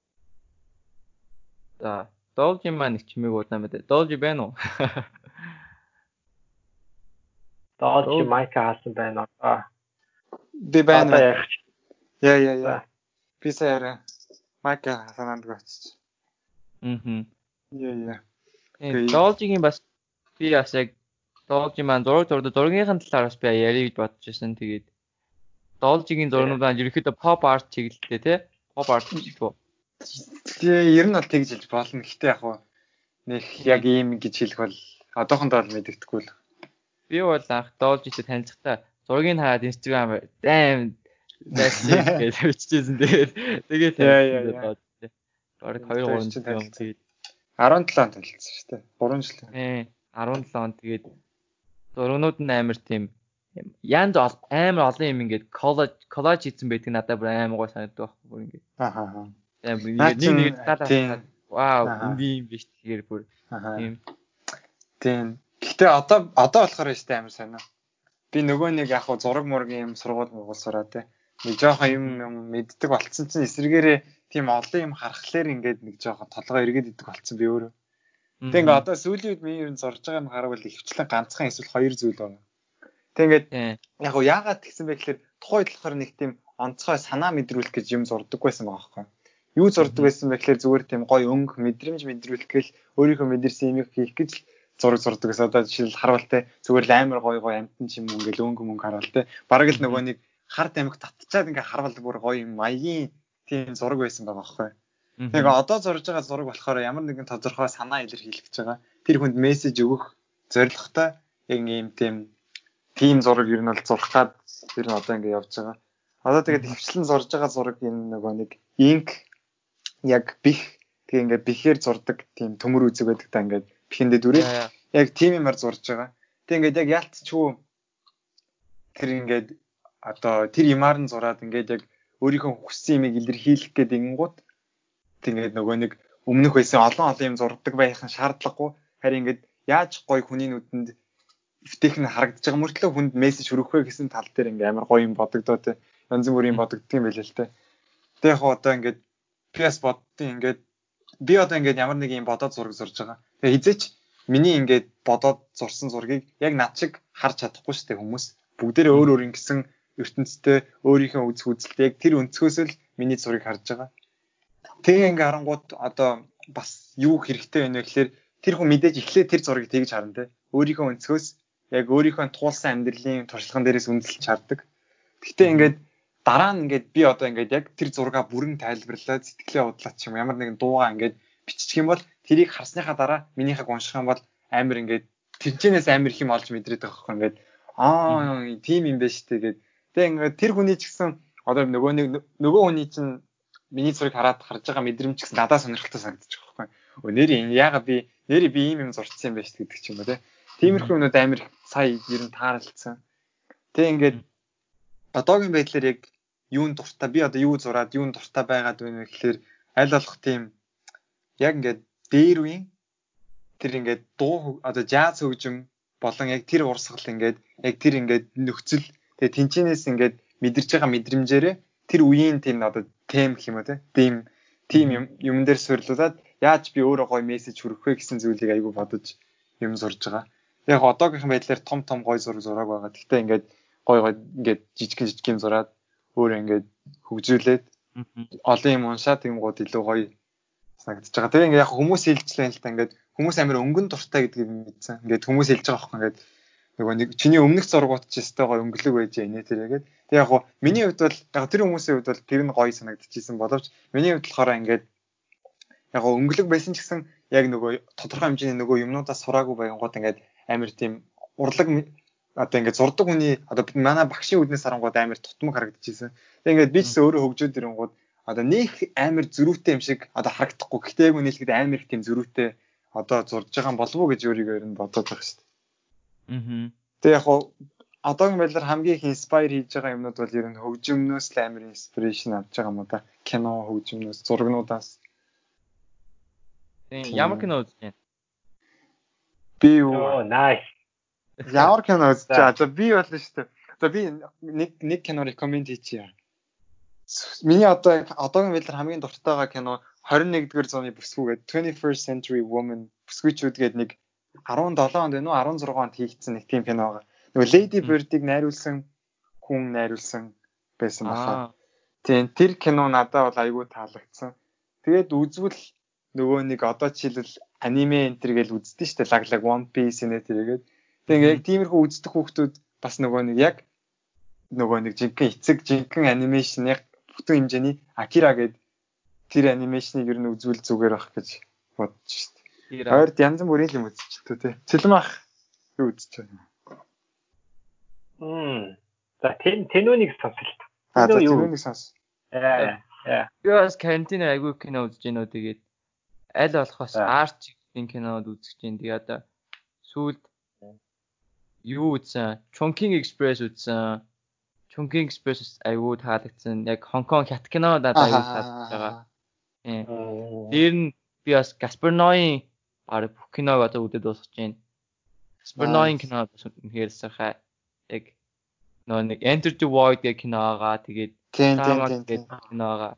За Должи маань их чимээг удаа мэдээ. Должи байна уу? Должи майка хаасан байна уу? Би байна. Яа яа яа. Би сая майка санаанд гоцсон. Мм. Яа яа. Э Должигийн бас би бас яг Должи маань зураг зурдаг зургийн талаар бас би ярих гэж бодож байсан. Тэгээд Должигийн зурнууд маань ерөөхдөө pop art чиглэлтэй тий? Pop art гэх үү? Тэгээ ер нь бол тэгж хэлж болно. Гэхдээ яг хуу нэг яг ийм гэж хэлэх бол одоохондоо бол мэддэхгүй л. Би бол анх Должитэй танилцахтаа зургийг хараад Instagram дэм that's it гэж бичижсэн. Тэгээд тэгээд танилцсан. Бараг хоёр гурван жил юм тэгээд арван долоо онд танилцсан шүү дээ. гурван жил. Ээ арван долоо онд тэгээд зургнууд нь амар тийм янз амар олон юм ингээд коллаж коллаж хийсэн байдаг надад бүр амар гой санагддаг байхгүй бүр ингээд. Аа аа. Тэгээд нэг нэг талаа вау энэ юм биш тэгэхээр бүр тийм. Тийм. Гэхдээ одоо одоо болохоор өстэй амар сонио. Би нөгөө нэг яг хуу зураг мургийн юм сургууль муулсараа те. Нэг жоохон юм юм мэддэг болцсон чинь эсрэгээрээ тийм олон юм харахлаар ингээд нэг жоохон толгой эргээд идэх болцсон би өөрөө. Тэг ингээд одоо сүүлийн үед би ер нь зурж байгаа юм харвал ихвчлэн ганцхан эсвэл хоёр зүйл байна. Тэг ингээд яг хуу яагаад тэгсэн бэ гэхээр тухайд болохоор нэг тийм онцгой санаа мэдрүүлэх гэж юм зурдаг байсан байгаа байхгүй. Юу зурдаг байсан бэ гэхээр зүгээр тийм гоё өнгө мэдрэмж мэдрүүлэх гээл өөрийнхөө мэдэрсэн юмыг хийх гэж зураг зурдаг гэсэн. Одоо жишээл харвал те зүгээр л амар гоё гоё амтан ч юм уу ингээл өнгө мөнгө харвал те бараг л нөгөө нэг хард амиг татчаад ингээ харвал бүр гоё юм маягийн тийм зураг байсан байгаа байхгүй. Тэгээ одоо зурж байгаа зураг болохоор ямар нэгэн тодорхой санаа илэрхийлэх гэж байгаа. Тэр хүнд мессеж өгөх зорилготой яг ийм тийм тийм зураг ер нь бол зурхаад ер нь одоо ингээ явж байгаа. Одоо тэгээд хвчлэн зурж байгаа зураг энэ нөгөө нэг инк яг бих тэгээ ингээ бихээр зурдаг тийм төмөр үзэг байдаг та ингээ бихэндээ дүрээ яг тийм юмар зурж байгаа. Тэг ингээд яг яалтчгүй тэр ингээд одоо тэр юмар нь зураад ингээд яг өөрийнхөө хүссэн юмыг илэрхийлэх гэдэг ингууд тэгээд нөгөө нэг өмнөх байсан олон олон юм зурдаг байх нь шаардлагагүй. Харин ингээд яаж гоё хүний нүдэнд эвтэйх нь харагдаж байгаа мөртлөө хүнд мессеж хүргэх вэ гэсэн тал дээр ингээ амар гоё юм бодогдоо те. Янз бүрийн бодогддог юм байл л те. Тэг яг одоо ингээд пи эс боддیں۔ Ингээд би одоо ингээд ямар нэг юм бодоод зураг зурж байгаа. Тэгээ хизээч миний ингээд бодоод зурсан зургийг яг над шиг харж чадахгүй шүү дээ хүмүүс. Бүгдээрээ өөр өөр ингэсэн ертөнцтэй өөрийнхөө үзэх үзэлтэй яг тэр өнцгөөс л миний зургийг харж байгаа. Тэгээ ингээ харангууд одоо бас юу хэрэгтэй байна вэ гэхээр тэр хүн мэдээж эхлээд тэр зургийг тэгж харна те. Өөрийнхөө өнцгөөс яг өөрийнхөө туулсан амьдралын туршлаган дээрээс үнэлж хардаг. Гэхдээ ингээд дараа нь ингээд би одоо ингээд яг тэр зургаа бүрэн тайлбарлаад сэтгэлээ удлаач юм ямар нэгэн дуугаа ингээд биччих юм бол тэрийг харсныхаа дараа минийхийг унших юм бол амар ингээд тэнцэнээс амар их юм олж мэдрээд байгаа байхгүй ингээд аа тийм юм байна шүү дээ гэд. Тэгээ ингээд тэр хүний ч гэсэн одоо нөгөө нэг нөгөө хүний чинь миний зургийг хараад харж байгаа мэдрэмж гэсэн надад сонирхолтой санагдчих واخхой. Өө нэр яагаад би нэр би ийм юм зурцсан юм бэ гэдэг ч юм уу те. Тиймэрхүү юмнууд амар сая ер нь таарлцсан. Тэг ингээд одоогийн байдлаар яг юунд дуртай би одоо юу зураад юунд дуртай байгаад байна вэ гэхээр аль болох тийм яг ингээд дээр үеийн тэр ингээд дуу одоо жаз хөгжим болон яг тэр урсгал ингээд яг тэр ингээд нөхцөл тэгээ тэнцэнээс ингээд мэдэрч байгаа мэдрэмжээрээ тэр үеийн тийм одоо тем гэх юм уу те тийм тийм юм юм дээр суйрлуулад яаж би өөрөө гоё мессеж хүргэх вэ гэсэн зүйлийг айгүй бодож юм зурж байгаа. Яг одоогийнхан байдлаар том том гоё зураг зураг байгаа. Гэхдээ ингээд гоё гоё ингээд жижигэн жижигэн зураад өөрөө ингээд хөгжүүлээд олон юм уншаад тэнгууд илүү гоё санагдаж байгаа. Тэгээ ингээд яг хүмүүс хэлжлээ л та ингээд хүмүүс амар өнгөн дуртай гэдгийг мэдсэн. Ингээд хүмүүс хэлж байгаа байхгүй ингээд нөгөө нэг чиний өмнөх зургууд ч өстой гоё өнгөлөг байж яанэ тэргээд. Тэг яг гоо миний хувьд бол яг тэр хүмүүсийн хувьд бол тэр нь гоё санагдчихсэн боловч миний хувьд болохоор ингээд яг гоо өнгөлөг байсан ч гэсэн яг нөгөө тодорхой хэмжээний нөгөө юмнуудаа сураагүй байнгут ингээд амар тийм урлаг одоо ингээд зурдаг хүний одоо манай багшийн үднээс харангууд амар тутмаг харагдчихсэн. Тэг ингээд би ч өөрөө хөгжөөд ирэнгууд одоо нэг амар зөрүүтэй юм шиг одоо харагдахгүй. Гэхдээ яг үнэлэхэд амар их тийм зөрүүтэй одоо зурж байгаа юм болов уу гэж өөрийгөө ер нь бодоод байгаа шүү дээ. Аа. Тэг яг гоо одоогийн байдлаар хамгийн их инспайр хийж байгаа юмнууд бол ер нь хөгжимнөөс л амар инспирэшн авч байгаа юм да. Кино, хөгжимнөөс, зурагнуудаас. Тийм ямар кино үзэж байна? Би юу? Oh, nice. Ямар кино үзэж байгаа? За би болно шүү дээ. За би нэг нэг кино рекоменд хийчихье. Миний одоо одоогийн байдлаар хамгийн дуртай байгаа кино двадцать and first зууны бүсгүй гэдэг twenty-first Century Woman бүсгүйчүүд гэдэг нэг seventeen онд байна уу sixteen онд хийгдсэн нэг тийм кино байгаа. Нөгөө Lady Bird-ийг найруулсан хүн найруулсан байсан баха. Тийм тэр кино надад бол айгүй таалагдсан. Тэгээд үзвэл нөгөө нэг одоо жишээлбэл аниме энэ төр гэж үздэг шүү дээ. Лаглаг One Piece нэ тэргээд. Тэгээд яг тиймэрхүү үздэг хүүхдүүд бас нөгөө нэг яг нөгөө нэг жинхэнэ эцэг жинхэнэ анимашн яг бүтэн хэмжээний Akira гэдэг тэр анимашныг ер нь үзвэл зүгээр байх гэж бодож шүү дээ. Хоёрд янз бүрийн юм үзчихлээ тий. Цэлмэн ах юу үзэж байна? Хм. За тэн тэнүүнийг сонсолт. Аа за тэнүүнийг сонс. Яа. Яа. Би бас карантин айгүй кино үзэж байна уу тэгээд аль болохоос арт чиглэлийн кинод үзэж байна. Тэгээ одоо сүүлд юу үзсэн? Chungking Express үзсэн. Chungking Express айгүй таалагдсан. Яг Хонконг хят кино надад айгүй таалагдж байгаа. Тийм. Тэр нь би бас Gaspar Noé арга бүх киног одоо үзээд дуусгаж байна. Gaspar Noé кино үнэхээр сайхан. Яг нөө нэг Enter the Void гэх киногаа тэгээд Tama гэх киногаа.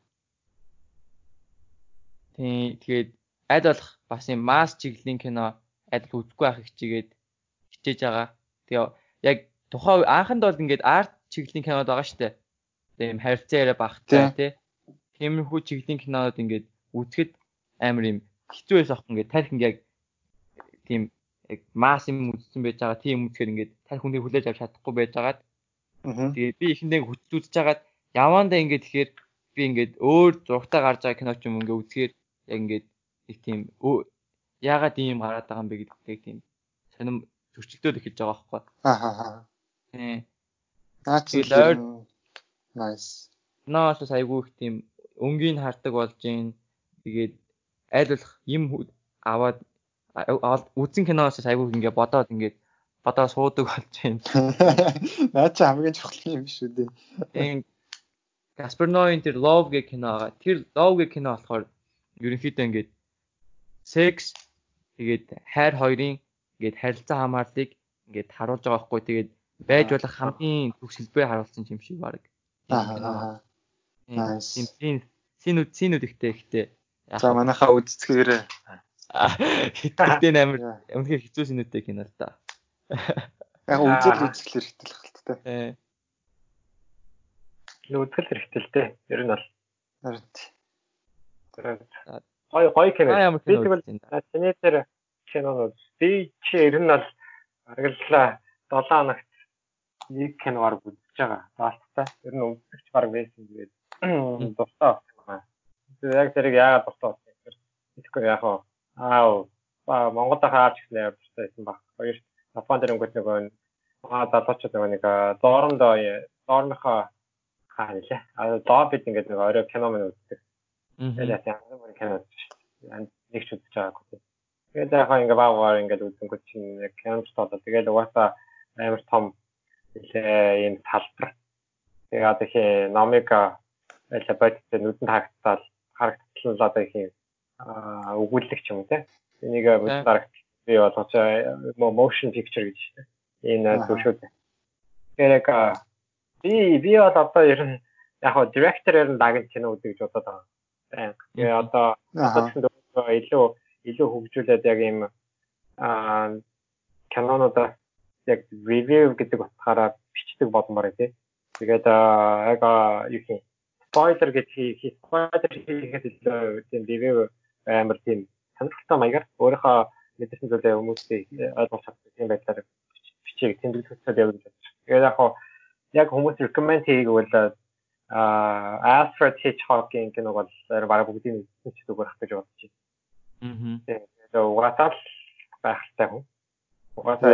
Тийм тэгээд аль болох бас юм масс чиглэлийн кино аль үзэхгүй байх хичээгээд хичээж байгаа. Тэгээ яг тухайн анханд бол ингээд арт чиглэлийн кинод байгаа шүү дээ. Тэгээ юм харилцаа яриа багтай тий. Тиймэрхүү чиглэлийн кинонод ингээд үзэхэд амар юм хэцүү байсан ах ингээд тарих ингээд тийм яг масс юм үзсэн байж байгаа. Тийм үзэхээр ингээд тарих хүнийг хүлээж авч чадахгүй байж байгаад. Тэгээд би ихэндээ хүчтэй үзэж хагаад явандаа ингээд тэгэхээр би ингээд өөр зургатаа гарч байгаа кино ч юм ингээд үзэхээр яг ингээд их тийм яагаад ийм гараад байгаа юм бэ гэдэг тийм сонирм зөрчилдөд эхэлж байгаа байхгүй. Аа. Тийм. Наа чи л nice. Наас айгүй их тийм өнгийг хардаг болж гин. Тэгээд аль болох юм аваад үзэн киноос айгүй ингээ бодоод ингээ бодоо суудаг болж гин. Наа чи хамгийн чухал юм шүү дээ. Тийм. Gaspar Noé тэр Love гэх кино байгаа. Тэр Love гэх кино болохоор ерөнхийдөө ингээ секс тэгээд хайр хоёрын ингээд харилцаа хамаарлыг ингээд харуулж байгаа байхгүй. Тэгээд байж болох хамгийн төгс хэлбэрээр харуулсан юм шиг баг. Аа. Nice. Тийм синүүд синүүд ихтэй ихтэй. За манайхаа үзцгээрээ. Хитгэдэй амар үнэхээр хэцүү синүүдтэй кино л та. Яг үзэл үзэх хэрэгтэй л хэлттэй. Э. Үзэл хэрэгтэй л дээ. Ер нь бол. Харин. Гой гой кино. Би тэгвэл таны тэр кино би чи ер нь бол аргаллаа seven хоногт нэг киноор үзэж байгаа. Таалттай. Ер нь үзэгч баг байсан тэгээд дуртай байна. Яг тэрийг яагаад дуртай болсон юм бэ? Тэгэхгүй яг аа аа Монголд хаач гэсэн юм дуртай байсан баг. Хоёр Японд ирэнгүүт нөгөө аа залуучууд нөгөө нэг доорондоо доорныхоо хаа нэлээ. Аа доо бид ингээд нэг орой кино мөн үздэг. Тэгээд яг ямар кино үзэж нэг ч үзэж байгаагүй. Тэгээд яг ингээд баагаар ингээд үзэнгүүт чинь яг кино тоолоо. Тэгээд угаасаа амар том нэлээ ийм талбар. Тэгээд одоо их номика элебэт нүдэнд харагдтал харагдтал одоо их аа өгүүлэгч юм те. Энийг бүдэрх би болгож motion picture гэж байна. Энэ зөвшөөрөл. Тэгээд би би бол одоо ер нь яг хоо директорээр нь дагж кино үзэж бодоод байгаа. Тэгээд одоо одоо илүү илүү хөгжүүлээд яг ийм аа кинонуудаа яг review гэдэг утгаараа бичдэг болмоор тий. Тэгээд яг юу юм spoiler гэж хий spoiler хийхэд илүү тийм review амар тийм сонирхолтой маягаар өөрийнхөө мэдсэн зүйлээ хүмүүстэй ойлгуулж чаддаг юм байдлаар бичиж тэмдэглэж явуулж байна. Тэгээд яг хоо яг хүмүүс recommend хийгвэл а Alfred Hitchcock-ийн киног бол бараг бүгдийг үзсэн ч зүгээр ах гэж бодож байна. Аа. Тэгээд угаасаа л байхтай хүн. Угаасаа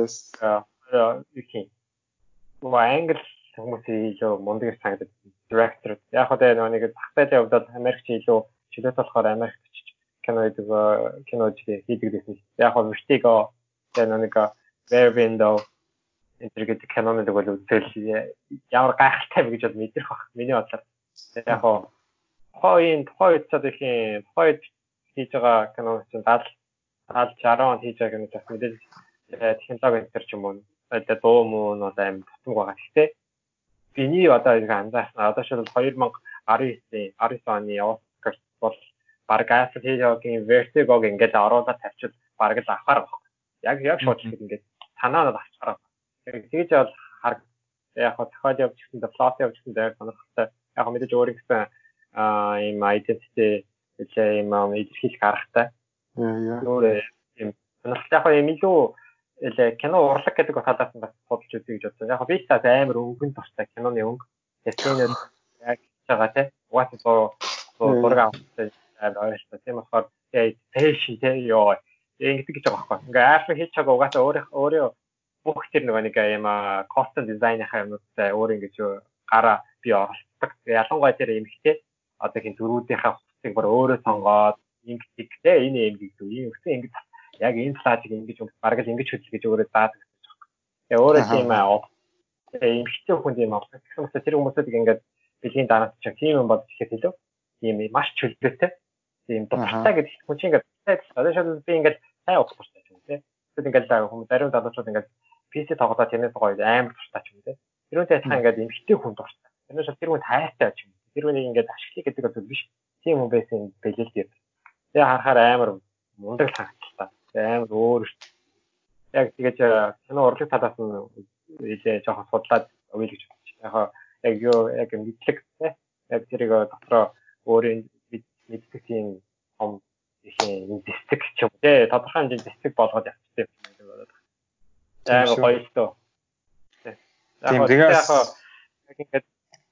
яг их уу англ хүмүүсийн илүү мундаг санагдаад director. Яг одоо нэг тахтайлын хувьд Америкч илүү чөлөөт болохоор Америкч кино гэдэг кинож хийдэг гэсэн. Яг нь Vertigo тэгээд нэг Rear Window энтергээд кинонууд бол үзэл ямар гайхалтай вэ гэж бол мэдрэх баг. Миний бодлоор яг хоо хойн хойд цад их хойд хийж байгаа кино чинь дал дал шараа он хийж байгаа кино бас мэдээж технологи энэ ч юм уу одоо дуу муу нь одоо аим тутамг байгаа. Гэхдээ биний одоо ингэ анзаарсан одоо шил two thousand nineteen оны Оскар бол баг Alfred Hitchcock-ийн Vertigo ингээд оруулаад тавьчихвал баг л авахаар баг. Яг яг шууд л ингээд санаанууд авчихараа. Тэгэж бол хар яг хоо тохиол явж гэсэн дэ плот явж гэсэн дэ сонирхолтой. Яг мэдээж өөр ихсэн аа ийм identity илүү ийм илэрхийлэх аргатай. Яа. Өөр ийм сонирхолтой яг ийм илүү илүү кино урлаг гэдэг талаас нь бас бодож үзье гэж бодсон. Яг би та амар өнгөн дуртай киноны өнгө. Тэсний яг байгаа те. Угаасаа зураг авах амар ойлтой. Тийм болохоор фэшн те ёо. Ингэдэг гэж байгаа байхгүй. Ингээ Alfred Hitchcock угаасаа өөрөө өөрөө бүх тэр нэг юм costume design-ийнхаа юмнуудтай өөр ингэж гараа би оролцдог. Ялангуяа тэр эмхтэй одоо хин дөрүүдийнхаа хувцсыг бүр өөрөө сонгоод ингэдэг те энэ юм гэдэг юм. Өссөн ингэж яг энэ слайдыг ингэж бараг л ингэж хөдөл гэж өөрөө заадаг гэсэн юм. Тэгээ өөрөө тийм аа эмхтэй хүнд юм авах. Тэгсэн мэт тэр хүмүүсийг ингээд бэлгийн дараад чиг тийм юм бодож ихэд хэлв. Тийм маш чөлөөтэй. Тийм дутагтай гэдэг хүн чинь ингээд одоо шууд би ингээд сайн уух хэрэгтэй юм те. Тэгвэл ингээд хүмүүс зарим залуучууд ингээд пи си тоглоод тэрнээс гоё амар дуртай ч юм те. Тэр үнтэй адилхан ингээд эмхтэй хүн дуртай. Тэрнээс тэр хүн тайртай ч юм. Тэр үнийг ингээд ашиглах гэдэг бол биш. Тийм хүн байсан бэлэл дээр. Тэгээ харахаар амар мундаг санагдчихлаа. Амар өөр. Яг тэгэж кино урлаг талаас нь илээ жоохон судлаад өгье гэж бодчих. Яг яг юу яг мэдлэг те. Яг тэрийг дотроо өөрийн мэддэг тийм том их юм дистик ч юм те. Тодорхой хэмжээний дистик болгоод явчихсан юм шиг болоод. Яг гоё шүү. Тийм тэгээд яг ингээд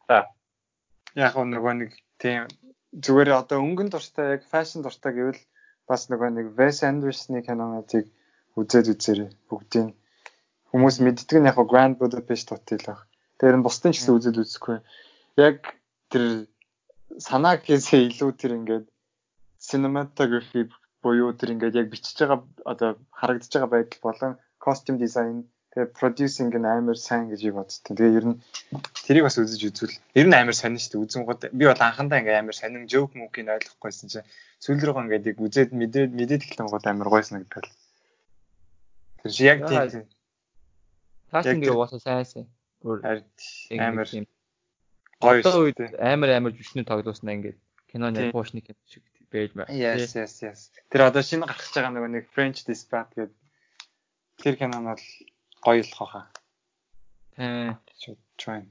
яг нөгөө нэг тийм зүгээр одоо өнгөн дуртай яг фэшн дуртай гэвэл бас нөгөө нэг Wes Anderson-ы кинонуудыг үзээд үзээрэй бүгдийг. Хүмүүс мэддэг нь яг Grand Budapest Hotel баг. Тэр нь бусдын ч гэсэн үзээд үзэхгүй. Яг тэр санаа гэхээсээ илүү тэр ингээд cinematography буюу тэр ингээд яг бичиж байгаа одоо харагдаж байгаа байдал болон costume design тэгээ producing нь амар сайн гэж бодсон. Тэгээ ер нь тэрийг бас үзэж үзвэл ер нь амар сонин шүү дээ. Үзэн гол би бол анхандаа ингээд амар сонин joke мөкийг ойлгохгүйсэн чинь сүүл рүүгээ ингээд яг үзээд мэдээд мэдээд эхлэн гол амар гоё санагдал. Тэр чи яг тийм таашин гээ уусаа сайнсан. Бүр амар гоё үед амар амар жүшнүү тоглосноо ингээд киноны пошны кино шиг байж байна. Yes yes yes. Тэр одоо шинэ гарч байгаа нөгөө нэг French Dispatch гэдэг тэр кино нь бол гоё л хаа. Тэ. Чойн.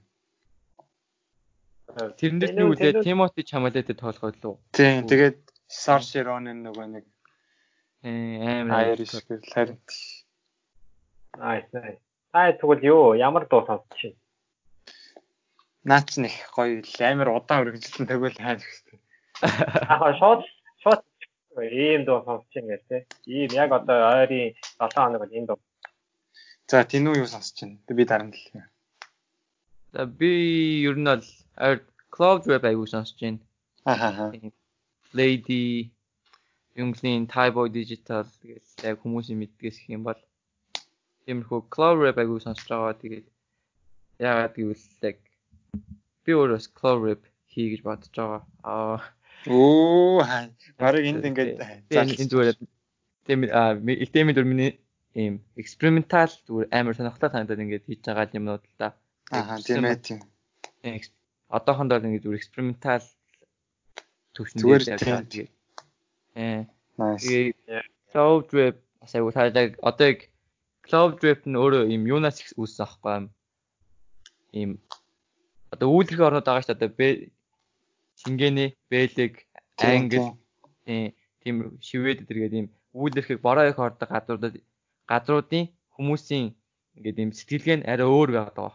Тэрнээс би үлээ Timothy Chalamet-тэй тоглоход лөө. Тийм. Тэгээд Saoirse Ronan нөгөө нэг амар Irish харин. Nice nice. Аа тэгвэл юу ямар дуу сонсож чинь? Наач нэг гоё амар удаан үргэлжлэн тэгвэл хайж гэсэн. Аа шууд шууд ийм дуу сонсож чинь гэх тээ. Ийм яг одоо ойрын seven хоног бол энэ дуу. За тийм үү юу сонсож чинь? Би дараа нь хэлье. За би ер нь бол Cloud Rap аягүй сонсож байна. Ахаа. Lady Youngling Tyboy Digital гэж яг хүмүүсийн мэддгээс их юм бол тиймэрхүү Cloud Rap аягүй сонсож байгаа. Тэгээд яагаад гэвэл яг би өөрөөс Cloud Rap хий гэж бодож байгаа. Аа. Оо хаа. Бараг энд ингээд энэ зүгээр тийм аа илтэмийн дөрмийн ийм экспериментал зүгээр амар сонирхолтой санагдаад ингээд хийж байгаа юмнууд л да. Аа тийм ээ тийм. Одоохондоо ингээд зүгээр экспериментал зүгээр тийм. Э. Nice. Cloud Rap асайгуу таадаг. Одоо яг Cloud Rap нь өөрөө ийм юунаас үүссэн аахгүй юм. Ийм одоо үүлэрхий орнууд байгаа шүү дээ. Одоо Шингэний, Бэлэг, Англи тийм Швед гэдэг ийм үүлэрхийг бороо их ордог газруудад газруудын хүмүүсийн ингээд ийм сэтгэлгээ нь арай өөр байдаг байхгүй.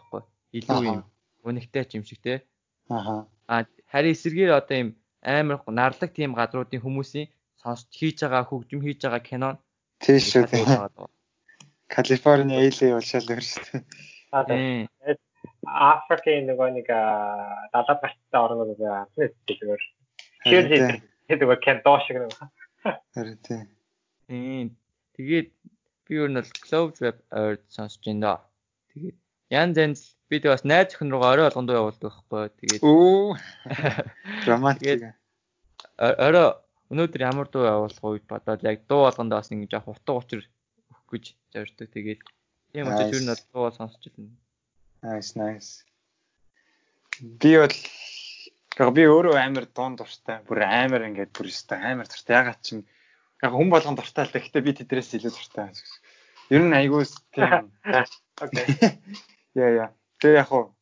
илүү юм өнөгтэй ч юм шиг те. Аха. А харин эсэргээр одоо юм амар нарлаг тийм гадруудын хүмүүсийн сонсч хийж байгаа хөгжим хийж байгаа кино тийш үү тийм. Калифорни эйлээ болшаал өөр шүү дээ. Аа тэгээд Африкийн нөгөө нэг далаад гарцтай орнууд байгаа зүгээр. Cheerleader гэдэг кендо шиг нэг. Харин тийм. Тийм. Тэгээд би өөр нь бол Clove Rap ойр сонсож байна. Тэгээд янз янз би тэг бас найз охин руугаа орой болгондоо явуулдаг байхгүй. Тэгээд Оо. Романтик. Орой өнөөдөр ямар дуу явуулах үед бодоод яг дуу болгондоо бас ингэ жоох утга учир өгөх гэж зорддог. Тэгээд тийм учраас ер нь бол дуу сонсож байна. Nice nice. Би бол би өөрөө амар дуун дуртай. Бүр амар ингээд бүр өстэй амар дуртай. Ягаад ч юм яг хүн болгон дуртай л гэхдээ би тэдрээс илүү дуртай. Ер нь айгуус тийм. Окей. Яа яа. Тэгээ яг хуу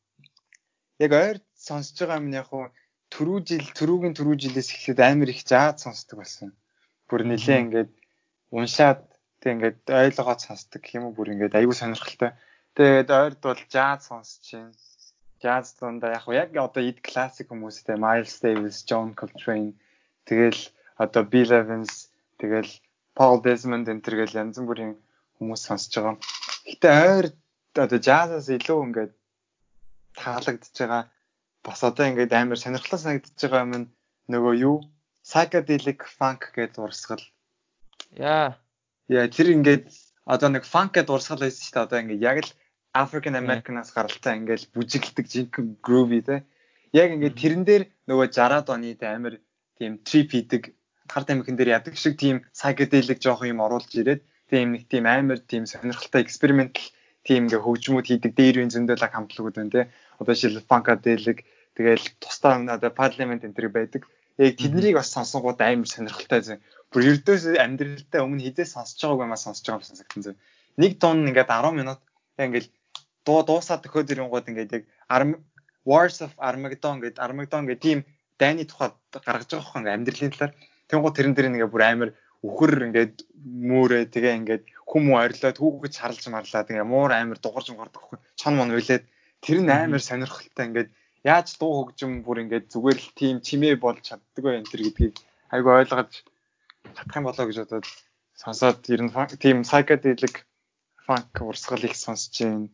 яг ойр сонсож байгаа юм яг хуу түрүү жил түрүүгийн түрүү жилээс эхлээд амар их жаад сонсдог болсон. Бүр нэлээ ингээд уншаад тэг ингээд ойлгоод сонсдог гэх юм уу бүр ингээд айгүй сонирхолтой. Тэгээд ойрд бол жаз сонсож байна. Jazz дундаа яг яг одоо ид классик хүмүүстэй Miles Davis, John Coltrane тэгэл одоо Bill Evans тэгэл Paul Desmond энэ төргээл янз бүрийн хүмүүс сонсож байгаа. Гэтэ ойр одоо jazz-аас илүү ингээд таалагдж байгаа. Бас одоо ингээд амар сонирхолтой санагдаж байгаа юм нөгөө юу? Psychedelic funk гэдэг урсгал. Яа. Яа тэр ингээд одоо нэг funk гэдэг урсгал байсан шүү дээ. Одоо ингээд яг л African American-аас гаралтай ингээл бүжиглдэг жинхэнэ groovy те. Яг ингээд тэрэн дээр нөгөө сixties оны амар тийм trip хийдэг хар тамхин дээр ядаг шиг тийм psychedelic жоох юм оруулж ирээд тийм нэг тийм амар тийм сонирхолтой experimental тийм ингээ хөгжмүүд хийдэг дээрвийн зөндөлөг хамтлагууд байна те. Одоо жишээл funkadelic тэгэл тусдаа одоо parliament энэ төр байдаг. Яг тэднийг бас сонсонгууд амар сонирхолтой зэн. Бүр ердөөс амьдралдаа өмнө хизээ сонсож байгааг юмаа сонсож байгаа юм санагдсан зэн. Нэг тон ингээд ten минут ингээл дуу дуусаад төхөөд ирэнгууд ингээд яг Wars of Armageddon гэдэг Armageddon гэдэг тийм дайны тухайд гаргаж байгаа хөө амьдралын талаар. Тэнгууд тэрэн дээр нэг бүр амар үхэр ингээд мөөрэ тэгээ ингээд хүм ойрлоод хүүгэж харлж марлаа тэгээ муур амар дугарж мгардаг хөө чон мон уйлаад тэр нь амар сонирхолтой ингээд яаж дуу хөгжим бүр ингээд зүгээр л тийм чимээ болж чаддаг вэ энэ төр гэдгийг айгу ойлгож чадах юм болоо гэж бодоод сонсоод ер нь тийм psychedelic funk урсгал их сонсож байна.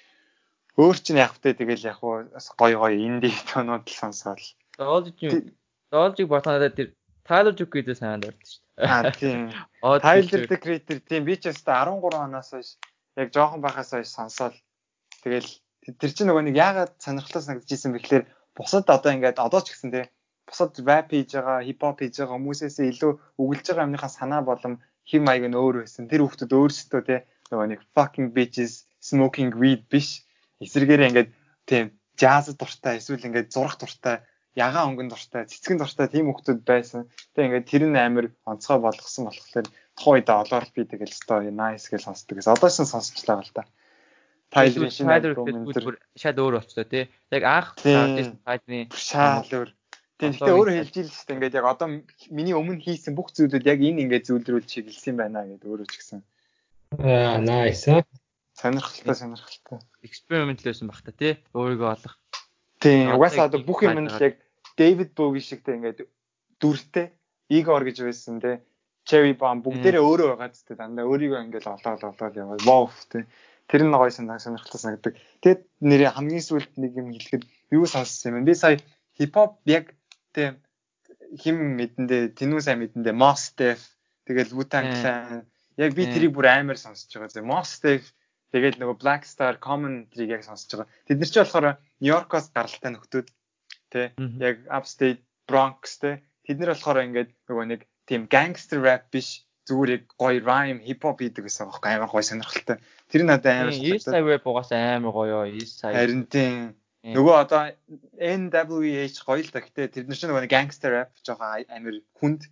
Өөр чинь яг хөтэй тэгэл яг гой гой инди тонууд л сонсоол. Доолж доолжиг ботноо тэр Tyler Duke гэдэг санаанд ордог шүү дээ. Аа тийм. Tyler the Creator тийм би ч өстой thirteen оноос хойш яг жоохон байхаас хойш сонсоол. Тэгэл тэр чинь нөгөө нэг яагаад сонирхолтой санагдчихсэн бэ гэхээр бусад одоо ингээд одоо ч гэсэн тийм бусад rap хийж байгаа, hip hop хийж байгаа хүмүүсээс илүү өгүүлж байгаа юмныхаа санаа болон хэм маяг нь өөр байсан. Тэр хүмүүс өөрсдөө тийм нөгөө нэг fucking bitches smoking weed биш. Эсвэргээр ингээд тийм jazz дуртай эсвэл ингээд зурах дуртай, ягаан өнгөн дуртай, цэцгэн дуртай тийм хүмүүс байсан. Тэгээ ингээд тэр нь амар онцгой болгосон болохоор тухайн үед олоор би тэгэл өстой nice гэж сонсдог гэсэн. Одоо ч сонсчлаа гал та. Tyler шинэ альбом энэ шал өөр болчихлоо тий. Яг анх Tyler-ийн шал өөр. Тэгтээ өөрөө хэлж ийл шүү дээ. Ингээд яг одоо миний өмнө хийсэн бүх зүйлүүд яг энэ ингээд зүйлдрүүл чиглэсэн байна гэдэг өөрөө ч гэсэн. Аа nice. Сонирхолтой сонирхолтой. Experiment л байсан баг та тий. Өөрийгөө олох. Тийм. Угаасаа одоо бүх юм нь яг David Bowie шигтэй ингээд дүртэй Igor гэж байсан тий. Cherry Bomb бүгдээрээ өөрөө байгаа зү дандаа өөрийгөө ингээд олоод олоод яваа. Wow тий. Тэр нь гоё сонирхолтой санагддаг. Тэгэд нэрээ хамгийн сүүлд нэг юм хэлэхэд юу сонссон юм бэ? Би сая hip hop яг тий хим мэдэндээ тэнүү сайн мэдэндээ Mos Def тэгэл Wu-Tang Clan яг би тэрийг бүр амар сонсож байгаа. Mos Def тэгээд нөгөө Black Star Common тэрийг яг сонсож байгаа. Тэд нар ч болохоор Нью-Йоркоос гаралтай нөхдүүд тий яг Upstate Bronx тий тэд нар болохоор ингээд нөгөө нэг тийм gangster rap биш зүгээр гоё rhyme hip hop хийдэг гэсэн аахгүй амар гоё сонирхолтой. Тэр надад амар сонирхолтой. East Side rap угаасаа амар гоё East Side. Харин тийм нөгөө одоо N W H гоё л та гэтээ тэр нар ч нөгөө gangster rap жоохон амар хүнд.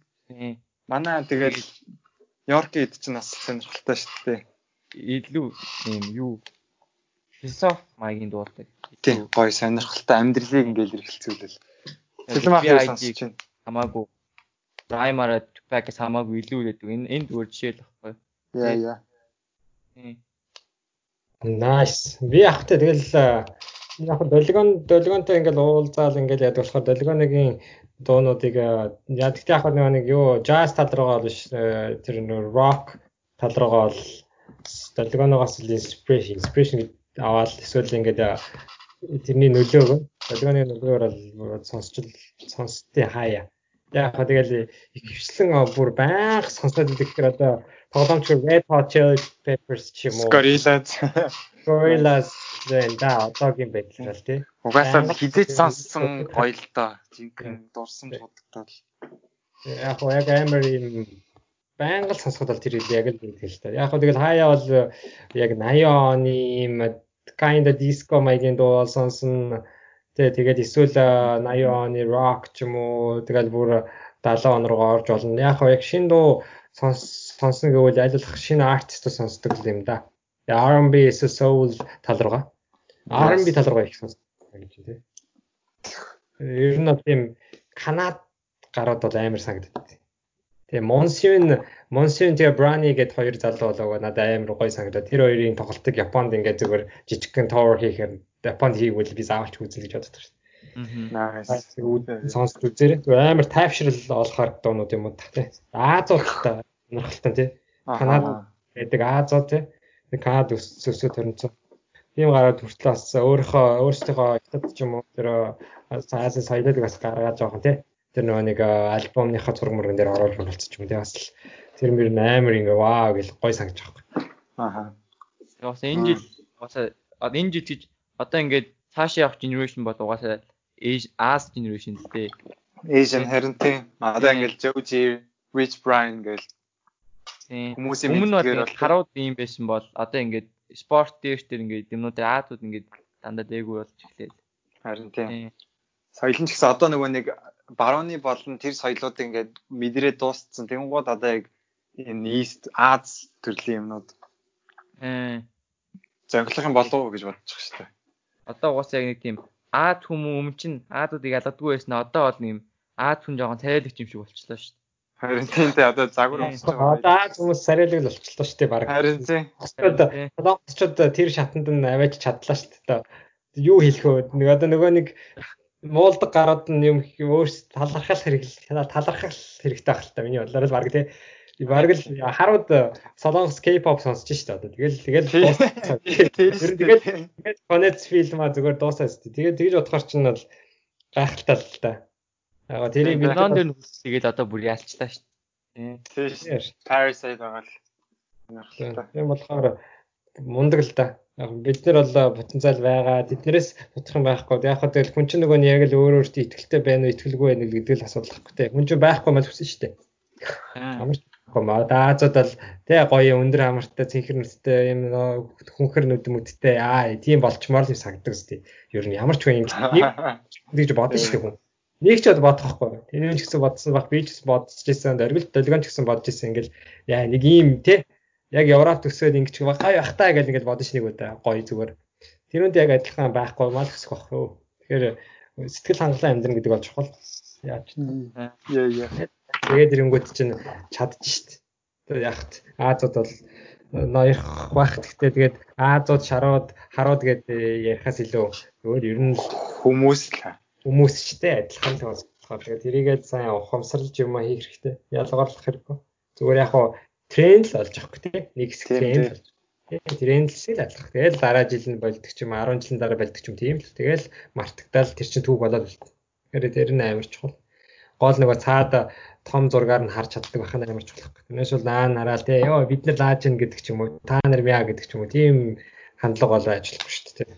Манай тэгээд Нью-Йоркийн хэд ч нас сонирхолтой шүү дээ. Илүү юм юу философи маягийн дуулдаг. Тийм гоё сонирхолтой амьдралыг ингээл эргэлцүүлэл. Film ахыг сонсож байна. Хамаагүй Rhyme-аараа Tupac-аас хамаагүй илүү гэдэг. Энэ энд өөр жишээ л баггүй. Яа яа. Nice. Би ахтай тэгэл Яг долгион долгионтой ингээл уулзаал ингээл яд болохоор долгионыгийн дуунуудыг яа гэхдээ яг нэг юу jazz тал руугаа биш тэр нэг rock тал руугаа бол долгионоос inspiration inspiration аваад эсвэл ингээд тэрний нөлөөгөө долгионы нөлөөгөөр бол сонсч сонсдээ хаяа. Яг хаа тэгэл их хвчлэн бүр байнга сонсоод идэх гэхээр одоо тоглоомч Red Hot Chili Peppers ч юм уу. Gorillaz. Gorillaz зэнда одоогийн байдлаар л тий. Угаасаа хизээч сонссон гоё л доо. Жинхэнэ дурсан дуудагдал. Яг хоо яг амар юм байнга л сонсоход бол тэр яг л гэдэг л та. Яг хоо тэгэл хаяа бол яг eighty оны юм kind of disco маягийн дуу сонсон. Тэ тэгээд эсвэл eighty оны rock ч юм уу тэгэл бүр seventy он руу орж болно. Яг хоо яг шинэ дуу сонсно гэвэл айлуулах шинэ артист сонсдог юм да. R and B эсвэл soul тал руугаа. R and B тал руугаа их сонсдог гэж тий. Ер нь тийм Канад гарууд бол амар санагддаг. Тэгээ Monsoon Monsoon тэгээ Brownie гэдэг хоёр залуу болоо надад амар гоё санагдаад тэр хоёрын тоглолтыг Японд ингээд зүгээр жижигхэн tower хийхээр Японд хийгвэл би заавалч үзэл гэж боддог шүү дээ. Аа. Сонсч үзээрэй. Зүгээр амар тайвшрал олохоор дуунууд юм уу та тий. Азиудтай сонирхолтой тий. Канад гэдэг Азиуд тий. Канад өсөсөө төрөнцөө. Тийм гараад хүртэл бас өөрийнхөө өөрсдийнхөө хятад ч юм уу тэр Азийн соёлыг бас гаргаж байгаа тий. Тэр нөгөө нэг альбомныхаа зураг мөргөн дээр оруулж болцсон юм тий. Бас л тэр мөр амар ингээ вау гэл гой санагдаж байгаа. Ааха. Бас энэ жил бас энэ жил гэж одоо ингээд цаашаа явах generation бол угаасаа As generation тий. Asian харин тий. Одоо ингээд Joji, Rich Brian гэл хүмүүсийн мэдгээр бол харууд ийм байсан бол одоо ингээд спорт дээр тэр ингээд юмнуудын Азууд ингээд дандаа дээгүү болж эхлэв. Харин тий. Соёлын ч гэсэн одоо нөгөө нэг барууны болон тэр соёлуудыг ингээд мэдрээ дууссан. Тэнгууд одоо яг энэ East Аз төрлийн юмнууд ээ зөнгөлөх юм болов уу гэж бодчих шүү дээ. Одоо угаасаа яг нэг тийм Аз хүмүүс өмнө чинь Азуудыг ялгадгүй байсан. Одоо бол нэг Аз хүн жоохон царайлагч юм шиг болчихлоо шүү дээ. Харин тийм дээ одоо загвар усч байгаа. Одоо Аз хүмүүс царайлагч болчихлоо шүү дээ баг. Харин тийм. Солонгосчууд тэр шатанд нь аваач чадлаа шүү дээ. Юу хэлэх вэ? Нэг одоо нөгөө нэг муулдаг гарууд нь юм өөрсд талархал хэрэгтэй талархал хэрэгтэй байх л та миний бодлоор л баг тий. Баг л харууд солонгос K-pop сонсож штэ одоо. Тэгэл тэгэл дууссан. Тэгэл тэгэл конец фильм а зүгээр дуусаа штэ. Тэгээд тэгж бодохоор чинь бол гайхалтай л та. Аа тэрийг Милан дээр нүс тэгээд одоо бүр яалчлаа штэ. Тийм. Parasite байгаа л. Тийм болохоор мундаг л да. Бид нар бол потенциал байгаа. Тэднэрээс бодох юм байхгүй. Яг хаа тэгэл хүн чинь нөгөө нь яг л өөр өөртөө ихтэй байна уу, итгэлгүй байна уу гэдэг л асуудал байхгүй те. Хүн чинь байхгүй мал хүсэн штэ. Амар гомоо даазад бол тэ гоё өндөр амартай цэнхэр нүдтэй юм хүнхэр нүд мүдтэй аа тийм болчмоор л сагддаг үстэй. Ер нь ямар ч хүн нэг гэж бодсон штэ хүн. Нэг ч бод бодохгүй. Тэр ч гэсэн бодсон баг би ч гэсэн бодсож байсан. Дөрвөл долгион ч гэсэн бодож байсан. Ингээл яа нэг юм те яг Европ төсөөд ингэж гай бахтаа гэж ингэж бодож нэг удаа гоё зүгээр. Тэрүүнд яг адилхан байхгүй мал хэсэх байх юу. Тэгэхээр сэтгэл хангалуун амьдрын гэдэг бол чухал. Яаж яа яа. Тэгээд ирэнгүүт чинь чадчих штт. Тэгээд яахт Азууд бол ноёрх байх гэхдээ тэгээд Азууд шарууд харууд гэдэг ярихаас илүү өөр ер нь хүмүүс л хүмүүс ч те адилхан л болохоор тэгээд тэрийгээд сайн ухамсарлаж юм хийх хэрэгтэй. Ялгарлах хэрэггүй. Зүгээр яг хаа тренд л олж авахгүй те нэг хэсэг тренд болж. Тэгээд тренд л шиг л ажиллах. Тэгээд дараа жил нь болдог ч юм ten жилийн дараа болдог ч юм тийм л. Тэгэл мартагдал тэр чин түүх болоод л. Тэгэхээр тэр нь амар чухал. Гол нөгөө цаад том зургаар нь харж чаддаг байх нь амар чухал. Тэрнээс бол наа нараал те ёо бид нар лааж ин гэдэг ч юм уу та нар мяа гэдэг ч юм уу тийм хандлага болоо ажиллахгүй шүү дээ.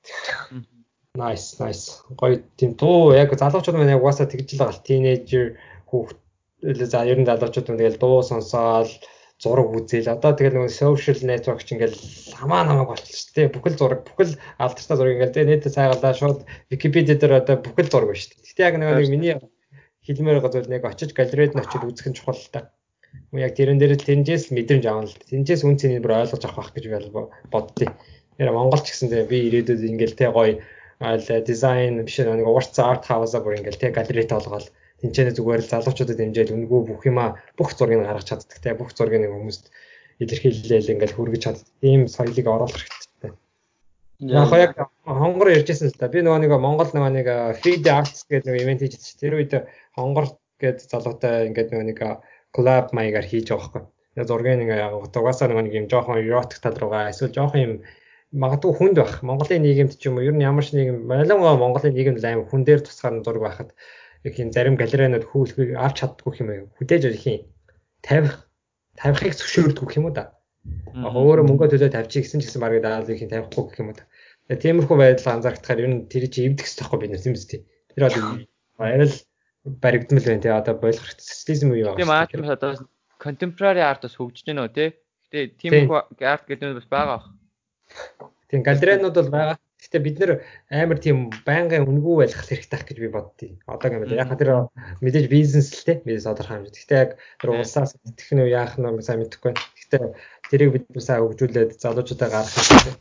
Nice nice. Гоё тийм дуу яг залуучууд маань яг угаасаа тэгж л байгаа. Teenager хүүхд за ер нь залуучууд маань тэгэл дуу сонсоол зураг үзээл одоо тэгэл нөгөө social network ч ингээл хамаа намаа болчихсон тий бүхэл зураг бүхэл алдартай зураг ингээл тий нийт цайгалаа шууд Википедиа дээр одоо бүхэл зураг байна шүү дээ. Гэтэ яг нөгөө миний хэлмээр байгаа зүйл нэг очиж галерейд нь очиж үзэх нь чухал л та. Мөн яг тэрэн дээр л тэрнээс л мэдрэмж авна л. Тэрнээс үн цэнийг бүр ойлгож авах гэж боддیں۔ Тэр Монгол ч гэсэн би ирээдүйд ингээл тий гоё дизайн биш нэг урт арт хаусаа бүр ингээл тий галерейд олгоод тэнцэнэ зүгээр л залуучуудад дэмжээл үнгүү бүх юма бүх зургийг гаргаж чаддаг тий бүх зургийг нэг хүмүүст илэрхийлээл ингээл хүргэж чаддаг. Ийм соёлыг оруулах хэрэгтэй. Яг яг хонгор ярьжсэн л та. Би нөгөө нэг Монгол нөгөө нэг Feed Arts гэдэг нэг ивент хийжсэн. Тэр үед хонгор гэдэг залуутай ингээд нөгөө нэг collab маягаар хийж байгаа байхгүй. Зургийн нэг яг угаасаа нөгөө нэг юм жоохон erotic тал руугаа эсвэл жоохон юм магадгүй хүнд байх. Монголын нийгэмд ч юм уу ер нь ямар ч нийгэм ялангуяа Монголын нийгэмд аим хүн дээр тусгаар зураг байхад их юм зарим галерейнууд хүүлхийг авч чаддгүй юм аа. Хүдээж их юм тавих тавихыг зөвшөөрдөг юм уу да. Яг өөрөө мөнгө төлөө тавьчих гэсэн ч гэсэн баг даал их юм тавихгүй гэх юм уу да. Тэгээ тиймэрхүү байдал анзаархдахаар ер нь тэр чинь эвдэх хэрэгтэй байхгүй бид нэс юм зү. Тэр одоо арай л баригдмал байна тий одоо болох социализм үе байгаа. Тийм аа тийм одоо contemporary art бас хөгжиж байна уу тий. Гэтэ тиймэрхүү арт гэдэг нь бас байгаа. Тийм галерейнууд бол байгаа. Гэтэ бид нэр амар тийм байнгын үнгүй байлгах хэрэгтэй гэж би боддیں۔ Одоогийн байдлаар яг тэр мэдээж бизнес л те бизнес тодорхой хэмжээ. Гэтэ яг тэр улсаас технөө яах нь сайн мэдэхгүй байна. Гэтэ тэрийг бид сайн хөгжүүлээд залуучуудаа гаргах хэрэгтэй.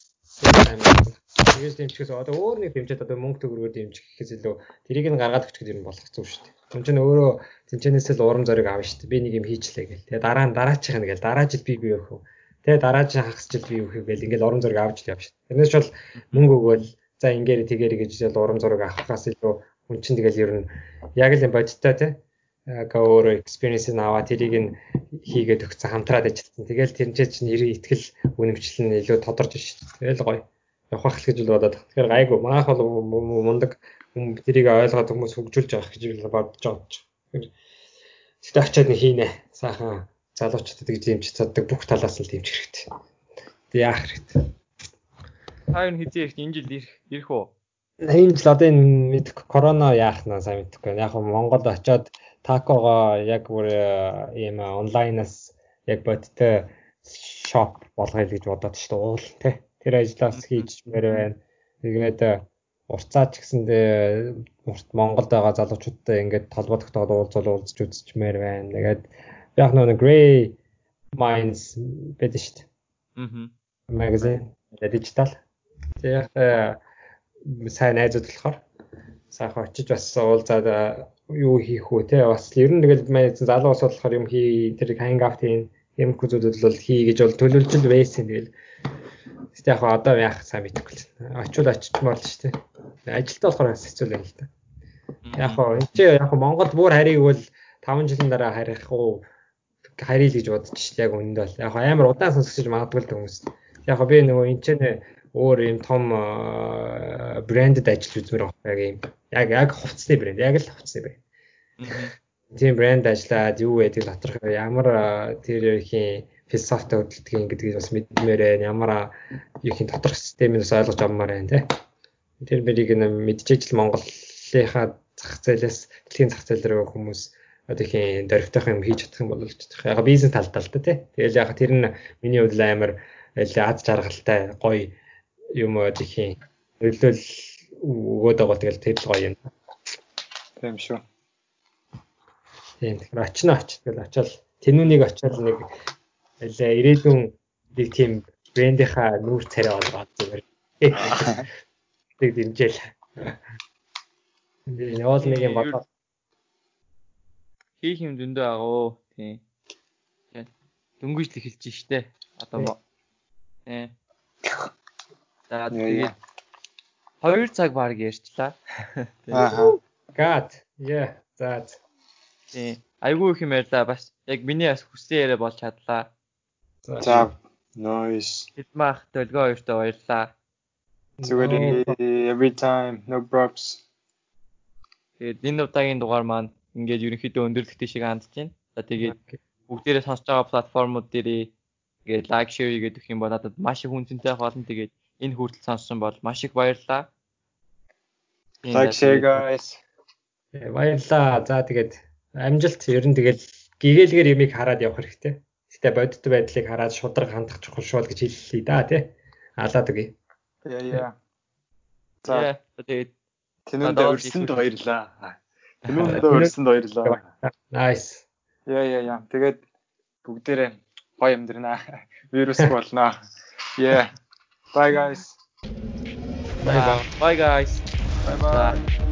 Тэгээс дэмжихээс одоо өөр нэг дэмжээд одоо мөнгө төгрөгөөр дэмжих гэхээс илүү тэрийг нь гаргаад өгчих гэдэг юм болох зүг шүү дээ. Хүн чинь өөрөө тэнцэнээсээ л урам зориг авна шүү дээ. Би нэг юм хийчлээ гэл. Тэгээ дараа нь дараачих нь гэл дараа жил би би өөх. Тэгээ дараа жил хагас жил би өөх гэл ингээл урам зориг авч л явна шүү дээ. Тэрнээс бол мөнгө өгөөл за ингээр тэгэр гэж л урам зориг авахаас илүү хүн чинь тэгэл ер нь яг л юм бодиттой те. Ага өөр experience-ийг аваад тэрийг нь хийгээд өгсөн хамтраад ажилласан. Тэгэл тэрнчээ чинь нэрийн итгэл үнэмшил нь илүү тодорж шүү дээ. Тэгэл гоё. Явах гэж л бодоод. Тэгэхээр гайгүй. Манайх бол мундаг хүмүүс тэрийг ойлгоод хүмүүс хөгжүүлж байгаа гэж би бодож байгаа. Тэгтээ очиад нэг хийнэ. Сайхан залуучуудад гэж дэмжиж чаддаг бүх талаас нь дэмжих хэрэгтэй. Тэг яах хэрэгтэй. Хаяа хэзээ ирэх энэ жил ирэх ирэх үү? Энэ жил одоо энэ мэдэх корона яах нь сайн мэдэхгүй. Яг нь Монголд очиод такого яг бүр ийм онлайнаас яг бодтой шоп болгоё гэж бодоод шүү дээ. Уул тий. Тэр ажлаас хийж мээр байна. Тэгээд урцаач гэсэндээ урт Монголд байгаа залуучуудтай ингээд толгой тогтоод уулзал уулзч үзчихмээр байна. Тэгээд яг нэг Grey Minds байдаг шүү дээ. Аа. Магазин, дижитал. Тэгээд сайн найзууд болохоор сайхан очиж бас уулзаад юу хийх үү те бас ер нь тэгэл манай залуу ус болохоор юм хий тэр хангаут хийн юм хүзүүдэд бол хий гэж бол төлөвлөж л байсан тэгэл. Тэгтээ яг одоо яах сайн мэдэхгүй л. Очвол очичмаар л шүү дээ. Ажилтаа болохоор хэцүү л юм л та. Яг гоо энэ чи яг Монголд бүр харийг бол таван жилийн дараа харих уу харийг гэж бодож шүү дээ яг үнэнд бол. Яг амар удаан сонсогч магадгүй л хүмүүс. Яг би нөгөө энэ ч өөр юм том брэндэд ажиллаж үзмээр байгаа юм. Яг яг хувцсны брэнд, яг л хувцсны брэнд. Тийм брэнд ажиллаад юу гэдэг доторх ямар тэр ихийн философитой хөдөлдөг гэдгийг бас мэдмээр байна. Ямар ихийн доторх системийг бас ойлгож авмаар байна тий. Тэр мэрийг нь мэдчихэж л Монголынхаа зах зээлээс дэлхийн зах зээл рүү хүмүүс одоо ихийн дөрвтойх юм хийж чадах юм бол л чадах. Яг бизнес талдаа л да тий. Тэгэл яг тэр нь миний хувьд амар аз жаргалтай гоё юм одоо ихийн нөлөөл өгөөд байгаа тэгэл тэр л гоё юм. Тийм шүү. Тийм тэгэхээр очно оч тэгэл очиад тэнүүнийг очиад нэг аль ирээдүйн нэг тийм брэндийнхаа нүүр царай болгоод зүгээр. Тэг дэмжээл. Энэ явал нэг юм бодоо. Хийх юм зөндөө агуу тийм. Дөнгөж л эхэлж штэ. Одоо ээ. За тэгээд хоёр цаг баг ярьчлаа. Аа. God. Yeah. За. Тийм. Айгүй их юм ярьлаа. Бас яг миний бас хүссэн яриа болж чадлаа. За. Nice. Хитмах төлгөө хоёртой баярлаа. Зүгээр every time no props. Тэгээд энэ удаагийн дугаар маань ингээд ерөнхийдөө өндөрлөлттэй шиг хандж байна. За тэгээд бүгдээрээ сонсож байгаа платформуд дээрээ ингээд лайк, шеэр хийгээд өгөх юм бол надад маш их үнцэнтэй болно. Тэгээд энэ хүртэл сонссон бол маш их баярлалаа. Like share guys. Баярлалаа. За тэгээд амжилт ер нь тэгэл гэгээлгээр ямиг хараад явах хэрэгтэй. Гэтэ бодит байдлыг хараад шудраг хандах чухал шуул гэж хэллээ да тий. Алаад үгүй. Яа яа. За тэгээд тэнүүндээ өрсөнд баярлаа. Тэнүүндээ өрсөнд баярлаа. Nice. Яа яа яа. Тэгээд бүгдээрээ гоё амьдрнаа. Вирус болноо. Yeah. Bye guys. Bye bye. Bye guys. Bye bye.